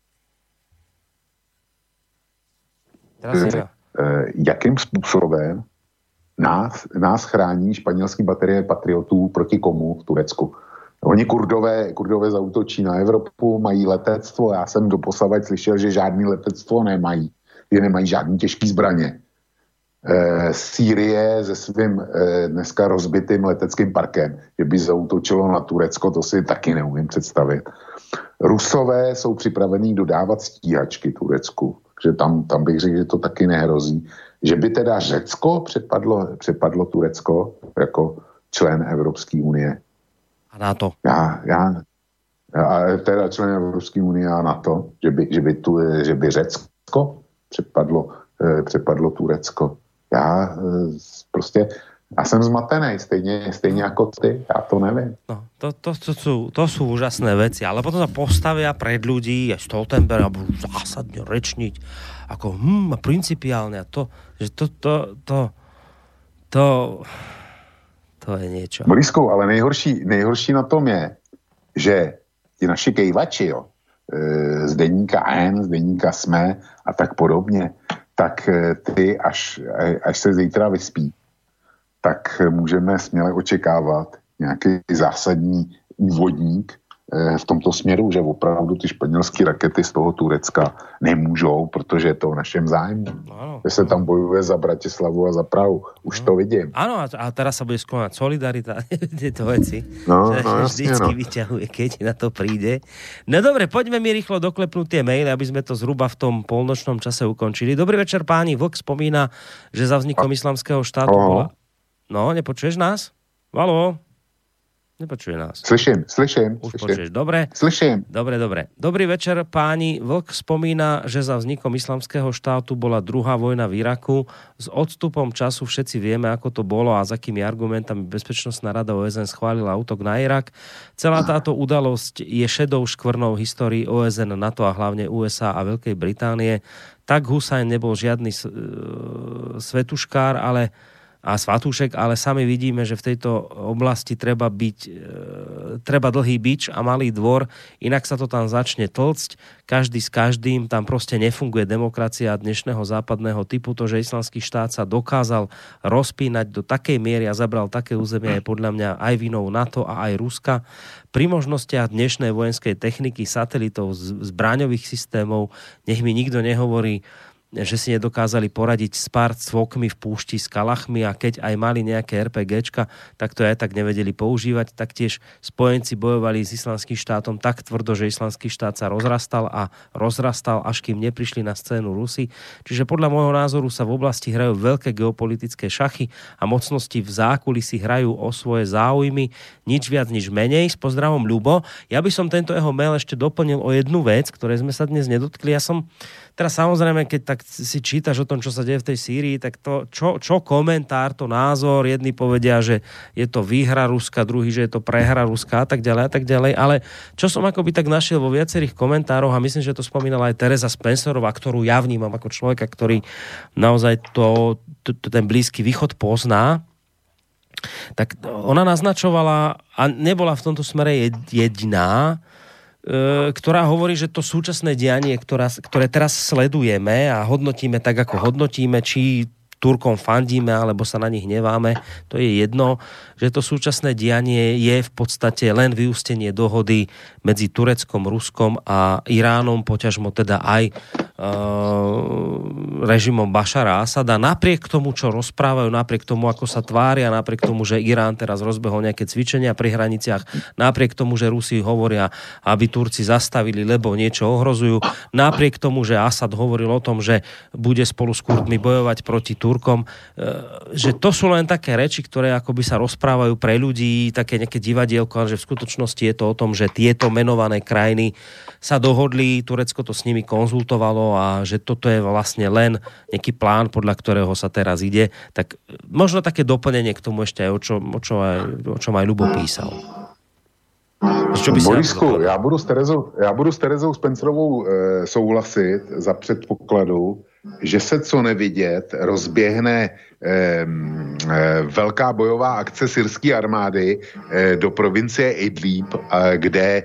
že jakým způsobem nás, nás chrání španělský baterie patriotů proti komu v Turecku. Oni kurdové, kurdové zaútočí na Evropu, mají letectvo, já jsem doposavad slyšel, že žádný letectvo nemají, že nemají žádný těžký zbraně. E, Sýrie se svým e, dneska rozbitým leteckým parkem, že by zaútočilo na Turecko, to si taky neumím představit. Rusové jsou připravení dodávat stíhačky Turecku, že tam, tam bych řekl, že to taky nehrozí. Že by teda Řecko přepadlo, přepadlo Turecko jako člen Evropské unie. A NATO. Já, já, a teda člen Evropské unie a NATO, že by, že by, tu, že by Řecko přepadlo, přepadlo Turecko. Já prostě, já jsem zmatený, stejně, stejně jako ty, já to nevím. No, to, to, to, sú, to sú úžasné veci, ale potom sa postavia pred ľudí a Stoltenberg a budú zásadne rečniť ako hm, principiálne a to, že to, to, to, to, to je niečo. Borisku, ale nejhorší, nejhorší na tom je, že ti naši kejvači, jo, z deníka N, z deníka SME a tak podobně, tak ty, až, až se zítra vyspí, tak můžeme směle očekávat nějaký zásadní úvodník v tomto směru, že opravdu ty španělské rakety z toho Turecka nemůžou, protože je to v našem zájmu. Ano. Že se tam bojuje za Bratislavu a za Prahu. Už ano. To vidím. Áno, a teraz sa bude skloňať solidarita, tieto veci. No, že, no, že jasne, vždycky no. vyťahuje, keď na to príde. No dobre, poďme mi rýchlo doklepnúť tie maily, aby sme to zhruba v tom polnočnom čase ukončili. Dobrý večer, páni. Vlk spomína, že za vznikom islamského štátu Oho. bola... No, nepočuješ nás? Haló? Nepočuje nás. Slyším, slyším. Už slyším. počuješ, dobre? Slyším. Dobre, dobre. Dobrý večer, páni. Vlk spomína, že za vznikom islamského štátu bola druhá vojna v Iraku. S odstupom času všetci vieme, ako to bolo a s akými argumentami Bezpečnostná rada ó es en schválila útok na Irak. Celá táto udalosť je šedou škvrnou histórii ó es en, NATO a hlavne ú es á a Veľkej Británie. Tak Husajn nebol žiadny svetuškár, ale a svatúšek, ale sami vidíme, že v tejto oblasti treba byť e, treba dlhý bič a malý dvor, inak sa to tam začne tlcť, každý s každým, tam proste nefunguje demokracia dnešného západného typu. To, že islamský štát sa dokázal rozpínať do takej miery a zabral také územie, je podľa mňa aj vinou NATO a aj Ruska. Pri možnostiach dnešnej vojenskej techniky, satelitov, zbraňových systémov, nech mi nikto nehovorí, že si nedokázali poradiť s pár cvokmi v púšti s kalachmi a keď aj mali nejaké RPGčka, tak to aj tak nevedeli používať. Taktiež spojenci bojovali s islamským štátom tak tvrdo, že islamský štát sa rozrastal a rozrastal, až kým neprišli na scénu Rusi. Čiže podľa môjho názoru sa v oblasti hrajú veľké geopolitické šachy a mocnosti v zákulisí hrajú o svoje záujmy, nič viac, nič menej. S pozdravom, Ľubo. Ja by som tento jeho mail ešte doplnil o jednu vec, ktorej sme sa dnes nedotkli. Ja som teraz samozrejme, keď tak si čítaš o tom, čo sa deje v tej Sýrii, tak to, čo, čo komentár, to názor, jedni povedia, že je to výhra Ruska, druhý, že je to prehra Ruska a tak ďalej a tak ďalej, ale čo som akoby tak našiel vo viacerých komentároch a myslím, že to spomínala aj Teresa Spencerová, ktorú ja vnímam ako človeka, ktorý naozaj to, to, to ten Blízky východ pozná, tak ona naznačovala a nebola v tomto smere jediná, ktorá hovorí, že to súčasné dianie, ktorá, ktoré teraz sledujeme a hodnotíme tak, ako hodnotíme, či Turkom fandíme, alebo sa na nich hneváme, to je jedno, že to súčasné dianie je v podstate len vyústenie dohody medzi Tureckom, Ruskom a Iránom, poťažmo teda aj e, režimom Bašara Asada. Napriek tomu, čo rozprávajú, napriek tomu, ako sa tvária, napriek tomu, že Irán teraz rozbehol nejaké cvičenia pri hraniciach, napriek tomu, že Rusi hovoria, aby Turci zastavili, lebo niečo ohrozujú, napriek tomu, že Asad hovoril o tom, že bude spolu s Kurdmi bojovať proti Turkom, že to sú len také reči, ktoré akoby sa rozprávajú pre ľudí, také nejaké divadielko, ale že v skutočnosti je to o tom, že tieto menované krajiny sa dohodli, Turecko to s nimi konzultovalo a že toto je vlastne len nejaký plán, podľa ktorého sa teraz ide. Tak možno také doplnenie k tomu ešte aj o čom, o čom, aj, o čom aj Ľubo písal. Borisku, já budu s Terezou, já budu s Terezou Spencerovou e, souhlasit za předpokladu, že se co nevidět rozběhne e, e, velká bojová akce syrské armády e, do provincie Idlib, e, kde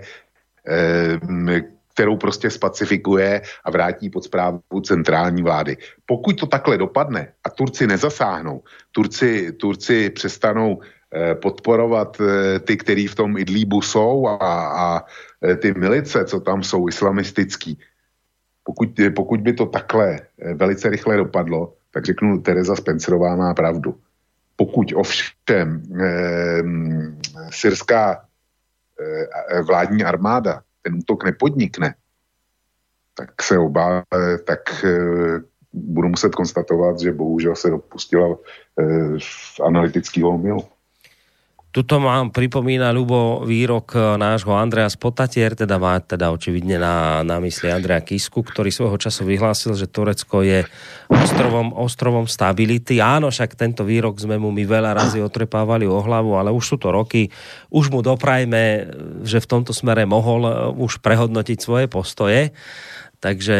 e, kterou prostě spacifikuje a vrátí pod správu centrální vlády. Pokud to takhle dopadne a Turci nezasáhnou, Turci, Turci přestanou podporovat ty, který v tom Idlíbu jsou a, a ty milice, co tam jsou islamistický. Pokud, pokud by to takhle velice rychle dopadlo, tak řeknu, Tereza Spencerová má pravdu. Pokud ovšem eh, syrská eh, vládní armáda ten útok nepodnikne, tak se obá, tak eh, budu muset konstatovat, že bohužel se dopustila eh, analytického omylu. Tuto mám, pripomína Ľubo výrok nášho Andreja Spotatier, teda má teda očividne na, na mysli Andreja Kisku, ktorý svojho času vyhlásil, že Turecko je ostrovom, ostrovom stability. Áno, však tento výrok sme mu my veľa razy otrepávali o hlavu, ale už sú to roky. Už mu doprajme, že v tomto smere mohol už prehodnotiť svoje postoje. Takže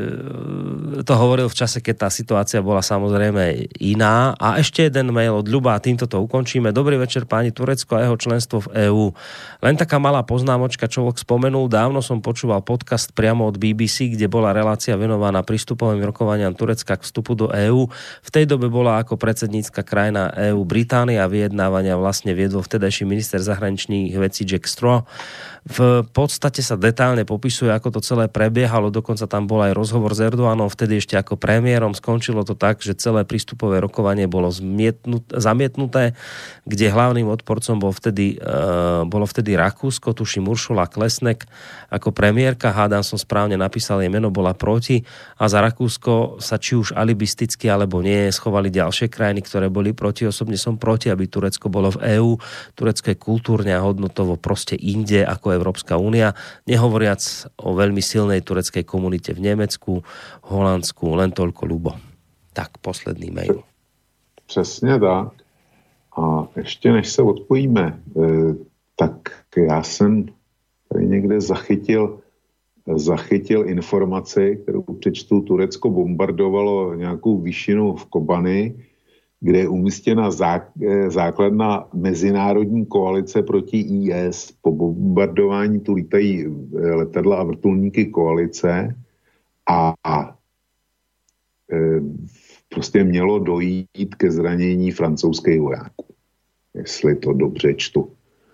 to hovoril v čase, keď tá situácia bola samozrejme iná. A ešte jeden mail od Ľuba a týmto to ukončíme. Dobrý večer, páni, Turecko a jeho členstvo v EÚ. Len taká malá poznámočka, človek spomenul. Dávno som počúval podcast priamo od bé bé cé, kde bola relácia venovaná prístupovým rokovaniam Turecka k vstupu do EÚ. V tej dobe bola ako predsednícka krajina EÚ Británia a vyjednávania vlastne viedol vtedajší minister zahraničných vecí Jack Straw. V podstate sa detálne popisuje, ako to celé prebiehalo, dokonca tam bol aj rozhovor s Erdoganom, vtedy ešte ako premiérom. Skončilo to tak, že celé prístupové rokovanie bolo zamietnuté, kde hlavným odporcom bol vtedy, uh, bolo vtedy Rakúsko, tuším Uršula Klesnek ako premiérka, hádam som správne napísal, jej meno, bola proti a za Rakúsko sa či už alibisticky alebo nie schovali ďalšie krajiny, ktoré boli proti. Osobne som proti, aby Turecko bolo v EÚ. Turecko je kultúrne a hodnotovo proste inde ako Európska únia, nehovoriac o veľmi silnej tureckej komunite v Nemecku, Holandsku, len toľko, Ľubo. Tak, posledný mail. Přesně tak. A ještě než se odpojíme, eh, tak já jsem tady někde zachytil, zachytil informaci, kterou přečtu, Turecko bombardovalo nějakou výšinu v Kobani, kde je umístěna základna mezinárodní koalice proti í es. Po bombardování tu lítají letadla a vrtulníky koalice a, a e, prostě mělo dojít ke zranění francouzských vojáků. Jestli to dobře čtu.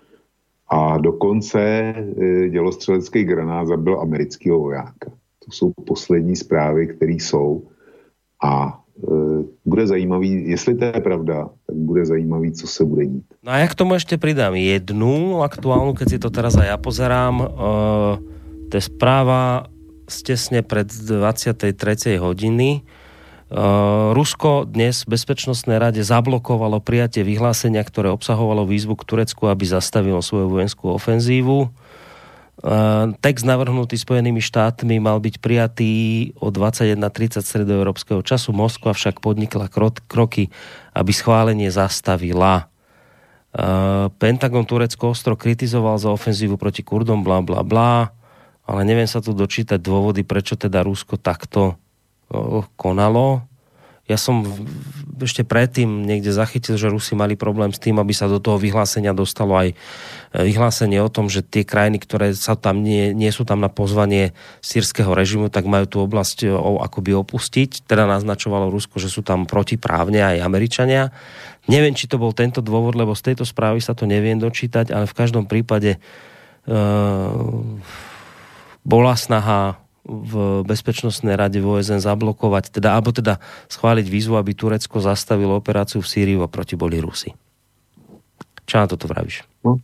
A dokonce e, dělostřelecký granát zabil amerického vojáka. To jsou poslední zprávy, které jsou. A bude zajímavý, jestli to je pravda, tak bude zajímavý, co se bude dít. No a ja k tomu ešte pridám jednu aktuálnu, keď si to teraz aj ja pozerám. Uh, to je správa z tesne pred dvadsiatej tretej hodiny. Uh, Rusko dnes v Bezpečnostnej rade zablokovalo prijatie vyhlásenia, ktoré obsahovalo výzvu k Turecku, aby zastavilo svoju vojenskú ofenzívu. Uh, text navrhnutý Spojenými štátmi mal byť prijatý o dvadsaťjeden tridsať stredoeurópskeho času. Moskva však podnikla krok, kroky, aby schválenie zastavila. Uh, Pentagon Turecko ostro kritizoval za ofenzívu proti Kurdom, bla bla bla, ale neviem sa tu dočítať dôvody, prečo teda Rusko takto uh, konalo. Ja som ešte predtým niekde zachytil, že Rusi mali problém s tým, aby sa do toho vyhlásenia dostalo aj vyhlásenie o tom, že tie krajiny, ktoré sa tam nie, nie sú tam na pozvanie sírskeho režimu, tak majú tú oblasť akoby opustiť. Teda naznačovalo Rusko, že sú tam protiprávne aj Američania. Neviem, či to bol tento dôvod, lebo z tejto správy sa to neviem dočítať, ale v každom prípade uh, bola snaha v Bezpečnostnej rade v ó es en zablokovať, teda, alebo teda schváliť výzvu, aby Turecko zastavilo operáciu v Sýrii a proti boli Rusi. Čo na toto vravíš?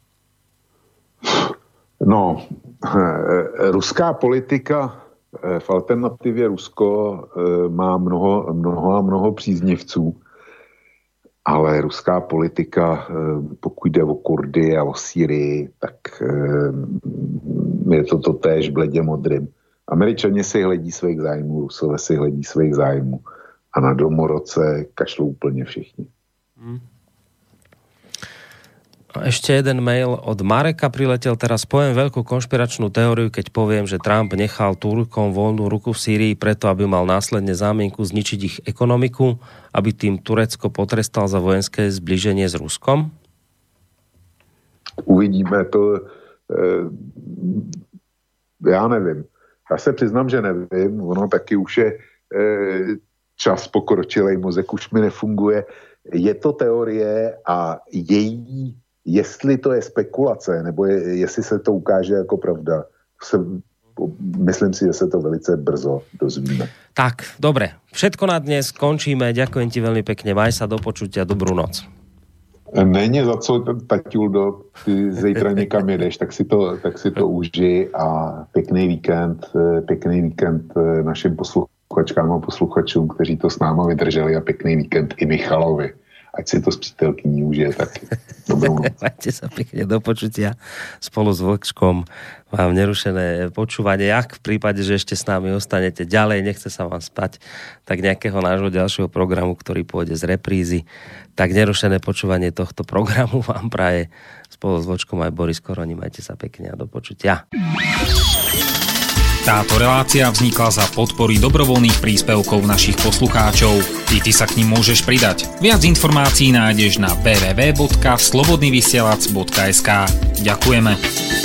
No, ruská politika v alternativě Rusko má mnoho, mnoho a mnoho příznivců, ale ruská politika, pokud jde o Kurdy a o Sýrii, tak je to totéž bledě modrým. Američani si hledí svých zájmů, Rusové si hledí svých zájmů a na domorodce kašlou úplně všichni. Hmm. Ešte jeden mail od Mareka priletel. Teraz poviem veľkú konšpiračnú teóriu, keď poviem, že Trump nechal Turkom voľnú ruku v Sýrii preto, aby mal následne zámienku zničiť ich ekonomiku, aby tým Turecko potrestal za vojenské zbliženie s Ruskom? Uvidíme to. E, já nevím. Já se přiznám, že nevím. Ono taky už je e, čas pokročilej, mozek už mi nefunguje. Je to teorie a její, jestli to je spekulace, nebo je, jestli se to ukáže jako pravda, se, myslím si, že se to velice brzo dozvíme. Tak, dobre. Všetko na dnes končíme. Ďakujem ti veľmi pekne. Maj sa, do počutia. Dobrú noc. Není za co, Taťuldo, ty zítra někam jedeš, tak si to, tak si to uži a pěkný víkend, pěkný víkend našim posluchačkám a posluchačům, kteří to s náma vydrželi, a pěkný víkend i Michalovi. Ať si to s přítelkyní užije taky. Dobrou noc. Majte sa pekne, do počutia. Spolu s Vlčkom vám nerušené počúvanie. Ak v prípade, že ešte s nami ostanete ďalej, nechce sa vám spať, tak nejakého nášho ďalšieho programu, ktorý pôjde z reprízy, tak nerušené počúvanie tohto programu vám praje spolu s Vlčkom aj Boris Koroni. Majte sa pekne a do počutia. Táto relácia vznikla za podpory dobrovoľných príspevkov našich poslucháčov. I ty sa k nim môžeš pridať. Viac informácií nájdeš na w w w bodka slobodnyvysielac bodka es ka. Ďakujeme.